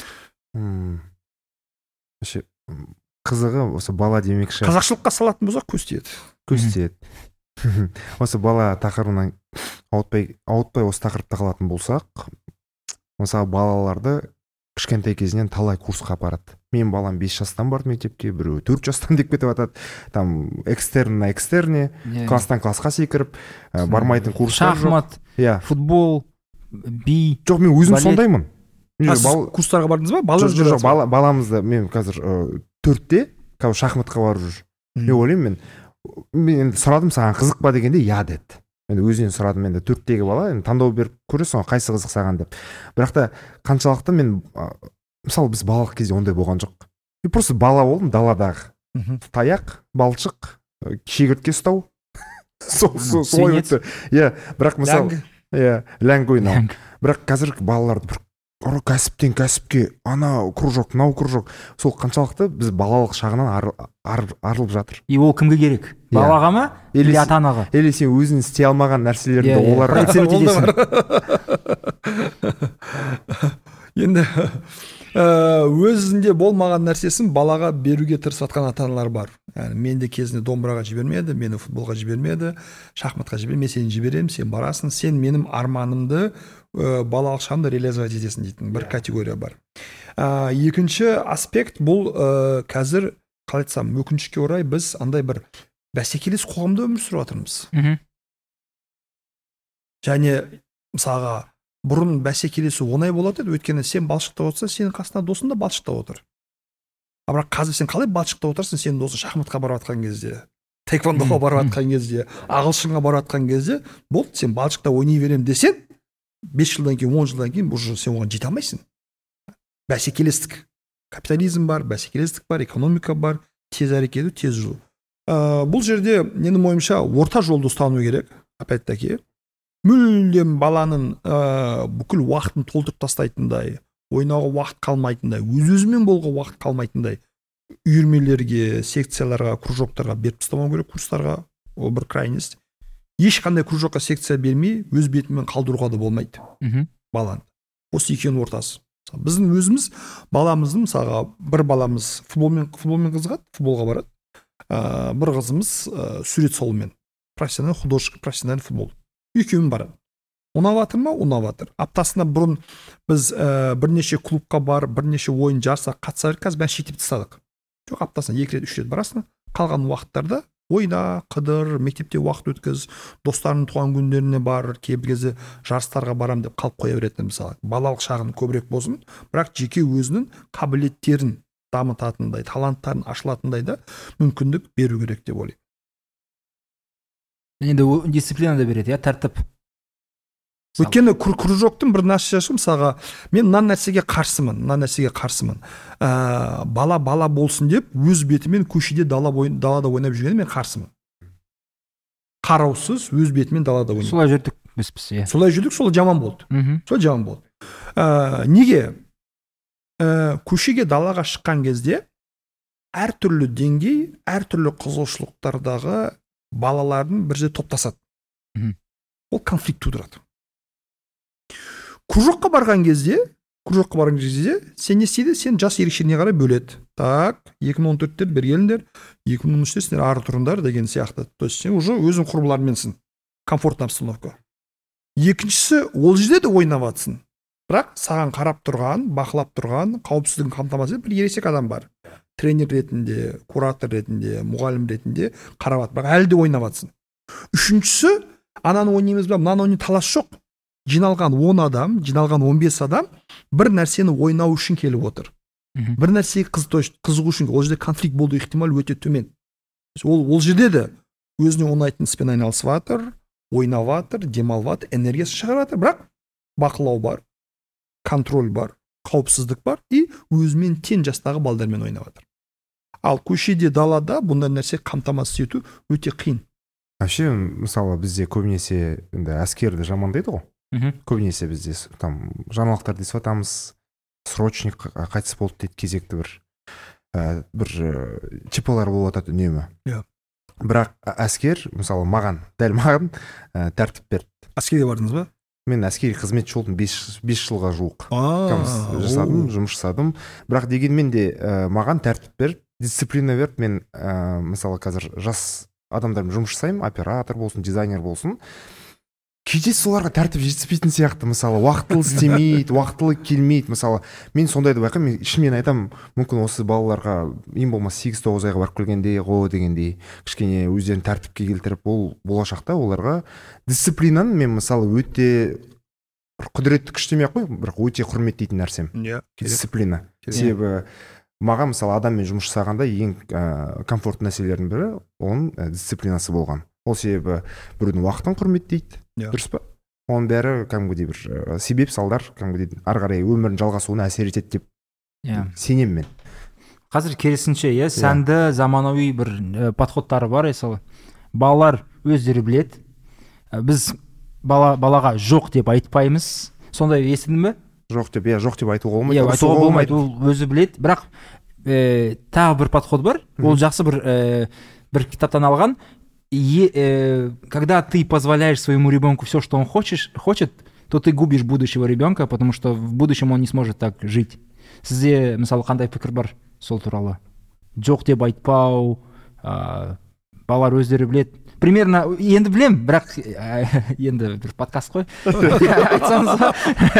B: Қызығы осы бала демекші.
C: Қазақшылыққа салатын болсақ көз тиеді.
B: Көз тиеді. Осы бала тақырыбынан ауытпай, ауытпай осы тақырыпта қалатын болсақ, мысалы балаларды кішкентай кезінен талай курсқа апарады. Мен балам бес жастан барды мектепке, біреу төрт жастан деп кетіп жатады. Там экстерн на экстерне, класстан классқа секіріп, бармайтын курстар жоқ.
A: Шахмат, футбол, би.
B: Жоқ, мен өзім сондаймын.
C: Курстарға бардыңыз ба?
B: Жоқ, баламызды мен қазір төртте қазір шахматқа барып жүр. Мен ойлаймын, мен енді сұрадым, саған қызық па дегенде я деді. Мен өзінен сұрадым, енді төрттегі бала, енді таңдау беріп көресің ғой, қайсы қызық саған деп. Бірақ та қаншалықты мен, мысалы біз балалық кезде ондай болған жоқ. Мен просто бала болдым даладағы. Таяқ, балшық, шегіртке ұстау. Солай өтті. Иә, бірақ мысалы, иә, ләңгі ойнау. Бірақ қазір балаларды бір ұры кәсіптен кәсіпке, ана кружок, мынау кружок. Сол қаншалықты біз балалық шағынан арылып жатыр.
A: И ол кімге керек? Балаға ма? Или ата-анаға?
B: Или сен өзің істей алмаған нәрселерді оларға
C: енді өзінде болмаған нәрсесін балаға беруге тырысып жатқан ата-аналар бар. Yani, мен де кезінде домбыраға жібермеді, мені футболға жібермеді, шахматқа жібермеді, мен сені жіберемін, сен барасың, сен менің арманымды балалық шағымда реализовать етесің дейтін бір категория бар. Екінші аспект бұл қазір, қалай айтсам, өкінішке орай біз андай бір бәсекелес қоғамда өмір сүріп жатырмыз. Және мысалға бұрын бәсекелесу оңай болады еді, өйткені сен балшықта отырсың, сенің қасында досың да балшықта отыр. А бірақ қазір сен қалай балшықта отырсың, сенің досың шахматқа барып жатқан кезде, таэквондоға барып жатқан кезде, ағылшынға барып жатқан кезде, болды, сен балшықта ойнай беремін десең, бес жылдан кейін, он жылдан кейін уже сен оған жете алмайсың. Бәсекелестік. Капитализм бар, бәсекелестік бар, экономика бар, тез әрекет ету, тез жүру. Бұл жерде менің ойымша орта жолды ұстану керек, опять-таки. Мүлдем баланың бүкіл уақытын толтырып тастайтындай, ойнауға уақыт қалмайтындай, өз-өзімен болуға уақыт қалмайтындай үйірмелерге, секцияларға, кружоктарға беріп тастамау керек, курстарға. Ол бір крайность. Ешқандай кружокқа, секция бермей, өз бетімен қалдыруға да болмайды баланы. Осы екеуінің ортасы. Біздің өзіміз баламыздың, мысалға, бір баламыз футболмен, футболмен қызығады, футболға барады. Бір қызымыз сурет салумен. Профессиональный художник, профессиональный футбол. Екеуін барады. Ұнап жатыр ма? Ұнап жатыр. Аптасында бұрын біз бірнеше клубқа бар, бірнеше ойын жарса қатыса бердік, қазір бәрін шектеп тастадық. жоқ, аптасына екі рет үш рет барасың. Қалған уақыттарда ойна, қыдыр, мектепте уақыт өткіз, достарының туған күндеріне бар, кейбір кезде жарыстарға барам деп қалып қоя беретін. Мысалы, балалық шағын көбірек болсын, бірақ жеке өзінің қабілеттерін дамытатындай, таланттарын ашылатындай да мүмкіндік беру керек деп ойлаймын.
A: Енді дисциплина да береді, иә, тәртіп.
C: Өйткені кружоктың бір нәрсесі, мысалға, мен мына нәрсеге қарсымын, мына нәрсеге қарсымын. Ә, бала бала болсын деп, өз бетімен көшеде дала ойын, далада ойнап жүргенде мен қарсымын. Қараусыз өз бетімен далада ойнап.
A: Солай жүрдік біз біз, иә.
C: Солай жүрдік, сол жаман болды. Сол жаман болды. Ә, неге? Ә, көшеге далаға шыққан кезде әртүрлі деңгей, әртүрлі қызығушылықтардағы балалардың бір жерде топтасады. Ол конфликт тудырады. Кружокқа барған кезде, кружокқа барған кезде, сен не істейді? Сен жас ерекшелігіне қарай бөледі. Так, екі мың он төрттер бір келіңдер, екі мың он үштер сендер ары тұрыңдар деген сияқты. То есть сен уже өзің құрбыларыңменсің. Комфортный обстановка. Екіншісі, ол жерде де ойнап жатсың. Бірақ саған қарап тұрған, бақылап тұрған, қауіпсіздігін қамтамасыз ететін бір ересек адам бар. Тренер ретінде, куратор ретінде, мұғалім ретінде қарап жатыр. Бірақ әлі де ойнап жатсың. Үшіншісі, ананы ойнаймыз ба, мынаны ойнай талас жоқ. Жиналған он адам, жиналған он бес адам бір нәрсені ойнау үшін келіп отыр. Бір нәрсеге қызығу үшін, ол жерде конфликт болу ықтимал өте төмен. Ол, ол жерде де өзіне ұнайтын іспен айналысып жатыр, ойнап жатыр, демалып жатыр, энергиясын шығарып жатыр, бірақ бақылау бар, контроль бар, қауіпсіздік бар и өзімен тең жастағы балдармен ойнап жатыр. Ал көшеде, далада бұндай нәрсе қамтамасыз ету өте қиын.
B: Вообще, мысалы, бізде көбінесе әскерді жамандайды ғой. Көбінесе бізде там жаңалықтар десіп атамыз, срочник қайтыс болды дейді, кезекті бір ә, бір чипалар болып атады үнемі.
C: Yeah.
B: Бірақ әскер, мысалы, маған, дәл маған ә, тәртіп берді.
C: Әскерге бардыңыз ба?
B: Мен әскери қызметші болдым, бес жылға жуық. жасадым, жұмыс жасадым. Бірақ дегенмен де ә, маған тәртіп берді, дисциплина берді. Мен ә, мысалы, қазір жас адамдармен жұмыс жасаймын, оператор болсын, дизайнер болсын. Кейде соларға тәртіп жетіспейтін сияқты, мысалы, уақытылы істемейді, уақытылы келмейді, мысалы, мен сондайды байқаймын, мен ішімнен айтамын, мүмкін осы балаларға ең болмаса сегіз тоғыз айға барып келгенде ғо дегендей кішкене өздерін тәртіпке келтіріп, ол болашақта оларға дисциплинаны мен мысалы өте құдіретті күш демей ақ қой, бірақ өте құрметтейтін нәрсем.
C: Yeah,
B: дисциплина. Себебі маған мысалы адаммен жұмыс жасағанда ең ә, комфортты нәрселердің бірі оның ә, дисциплинасы болған. Ол себебі біреудің уақытын құрметтейді.
C: Yeah.
B: Дұрыс па? Оның бәрі кәдімгідей бір ә, себеп салдар, кәдімгідей ары қарай өмірдің жалғасуына әсер етеді деп
A: yeah.
B: сенемін мен.
A: Қазір керісінше, иә, сәнді yeah. заманауи бір ә, подходтары бар, мысалы. Балалар өздері біледі. Ә, біз бала, балаға жоқ деп айтпаймыз. Сондай естідің бе?
B: Жоқ деп, иә, жоқ деп айтуға болмайды.
A: Иә, айтуға болмайды, ол өзі біледі. Бірақ ә, тағы бір подход бар. Ол жақсы бір ә, бір кітаптан алған. И, э, когда ты позволяешь своему ребенку все, что он хочешь, хочет, то ты губишь будущего ребенка, потому что в будущем он не сможет так жить. Сізде, мысалы, қандай пікір бар сол туралы? Жоқ деп айтпау, ә, балалар өздері біледі. Примерно, енді білем, бірақ ә, енді бір подкаст қой. Айтсаңыз ба?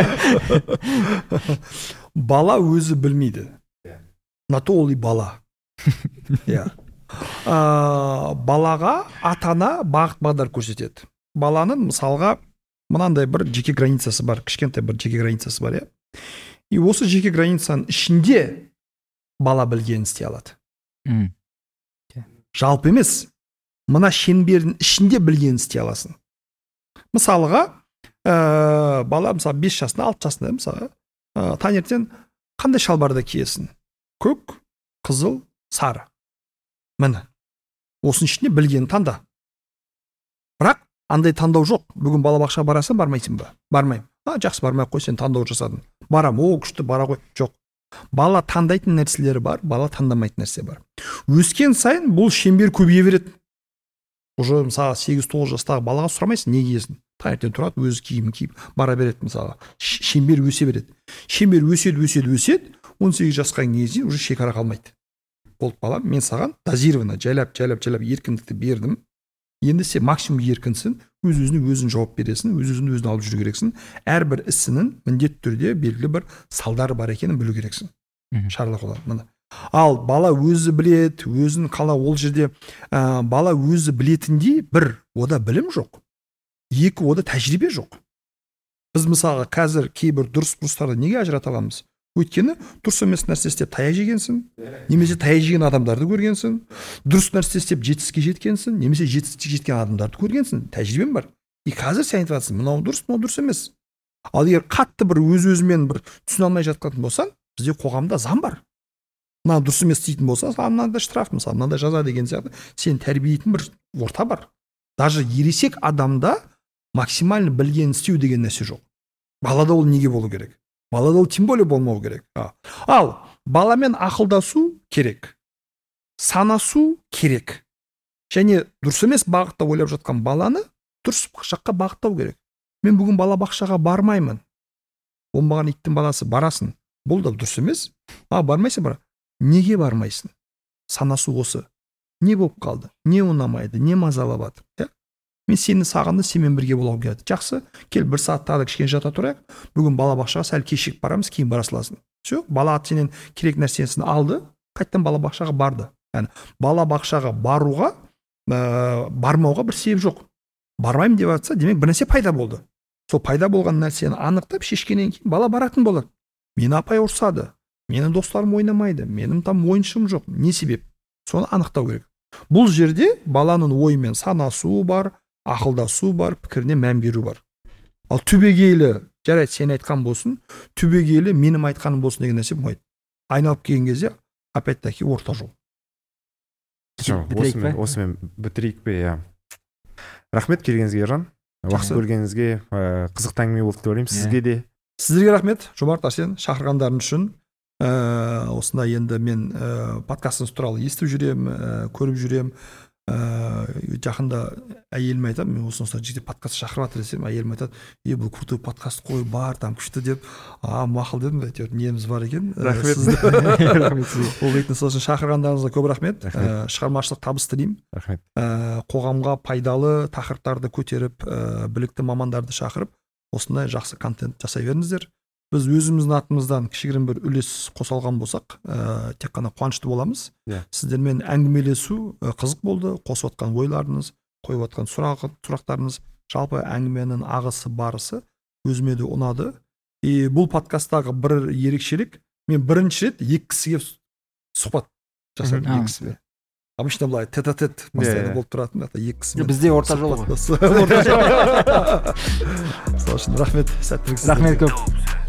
C: Бала өзі білмейді. На то ол и бала. Иә. Ә, балаға ата-ана бағыт бағдар көрсетеді. Баланың мысалға мынандай бір жеке границасы бар, кішкентай бір жеке границасы бар, иә. И осы жеке границаның ішінде бала білгенін істей алады.
A: Mm.
C: Жалпы емес, мына шеңбердің ішінде білгенін істей аласың. Мысалға, ә, бала мысалы бес жасында, алты жасында, мысалы, ә, таңертең қандай шалбарды киесің? Көк, қызыл, сары. Міне, осының ішінде білгенін таңда. Бірақ андай таңдау жоқ. Бүгін балабақшаға барасың, бармайсың ба? Бармаймын. А, жақсы, бармай қой, сен таңдау жасадың. Барам, о, күшті, бара қой. Жоқ. Бала таңдайтын нәрселері бар, бала таңдамайтын нәрсе бар. Өскен сайын бұл шеңбер көбейе береді. Уже мысалы сегіз тоғыз жастағы балаға сұрамайсың, не киесің? Таңертең тұрады, өзі киімін киіп бара береді мысалы. Шеңбер өсе береді. Шеңбер өседі, өседі, өседі. он сегіз жасқа келген уже шекара қалмайды. Болды балам, мен саған дозированно жайлап, жайлап, жайлап еркіндікті бердім. Енді сен максимум еркінсің, өз-өзіне өзің жауап бересің, өз-өзін өзін алып жүру керексің. Әрбір ісінің міндетті түрде белгілі бір салдары бар екенін білу керексің. Шарлық олар. Міне, Ал бала өзі білет, өзін қалай ол жерде ә, бала өзі білетіндей бір ода білім жоқ, екі ода тәжірибе жоқ. Біз мысалға қазір кейбір дұрыс бұрыстарды неге ажырата аламыз? Өйткені дұрыс емес нәрсе істеп таяқ жегенсің, немесе таяқ жеген адамдарды көргенсің, дұрыс нәрсе істеп жетістікке жеткенсің, немесе жетістікке жеткен адамдарды көргенсің, тәжірибең бар. И қазір сен айтып жатрсың, мынау дұрыс, мынау дұрыс емес. Ал егер қатты бір өз-өзімен бір түсіне алмай жатқан болсаң, бізде қоғамда заң бар. Мына дұрыс емес дейтін болса, мынандай штраф, мысалы, мынандай жаза деген сияқты, сен тәрбиелейтін бір орта бар. Даже ересек адамда максимально білген істеу деген нәрсе жоқ. Балада ол неге болу керек? Балада ол тем более болмау керек. Ал баламен ақылдасу керек, санасу керек. Және дұрыс емес бағытта ойлап жатқан баланы дұрыс жаққа бағыттау керек. Мен бүгін бала бақшаға бармаймын. Оңбаған иттің баласы, барасың. Бұл да дұрыс емес. А, бармайсың бара. Неге бармайсың? Санасу осы. Не болып қалды? Не ұнамайды? Не мазалап жатыр? Мен сені сағынды, сенімен бірге болуға келеді. Жақсы, кел бір сағат тағы кішкене жата тұрайық. Бүгін бала бақшаға сәл кешігіп барамыз, кейін бара саласың. Все, бала сенен керек нәрсесін алды, қайттан бала бақшаға барды. Яғни бала бақшаға баруға, ә, бармауға бір себеп жоқ. Бармаймын деп жатса, демек бір нәрсе пайда болды. Сол пайда болған нәрсені анықтап шешкеннен кейін бала баратын болады. Мені апай ұрсады, менің достарым ойнамайды, менің там ойыншым жоқ. Не себеп? Соны анықтау керек. Бұл жерде баланың ойымен санасу бар, ақылдасу бар, пікіріне мән беру бар. Ал түбегейлі, жарайды сен айтқан болсын, түбегейлі менің айтқаным болсын деген нәрсе болмайды. Айналып келген кезде опять-таки орта жол.
B: Осымен, осымен бітірейік пе, иә. Рахмет келгеніңізге, Ержан. Уақыт бөлгеніңізге, қызықты әңгіме болды деп ойлаймын. Сізге де.
C: Сіздерге рахмет, Жомарт, Арсен, шақырғандарың үшін. Ә, осында енді мен ә, подкастыңыз туралы естіп жүрем, ә, көріп жүрем. Ә, жақында әйеліме айтам, мен осында жеке подкаст шақырып жатыр десем, әйелім айтады, е бұл крутой подкаст қой, бар, там күшті деп. А, мақұл дедім, әйтеуір неміз бар екен.
B: Рахмет.
C: Ол дейтін сол үшін шақырғандарыңызға көп рахмет. Ә, шығармашылық табыс тілеймін.
B: Рахмет.
C: Ә, қоғамға пайдалы тақырыптарды көтеріп, ә, білікті мамандарды шақырып, осындай жақсы контент жасай беріңіздер. Біз өзіміздің атымыздан кішігірім бір үлес қосалған болсақ, ә, тек қана қуанышты боламыз. Yeah. Сіздермен әңгімелесу ә, қызық болды. Қосып отқан ойларыңыз, қойып отқан сұрақ, сұрақтарыңыз, жалпы әңгіменің ағысы барысы өзіме де ұнады. И бұл подкасттағы бір ерекшелік, мен бірінші рет екі кісіге сұхбат жасадым. Екі кісіге. Обычно былай тет-а-тет постоянно болып тұратын, екі кісімен.
A: Бізде орта жол ғой.
C: Орта жол. Сол үшін рахмет, сәттілік.
A: Рахмет көп.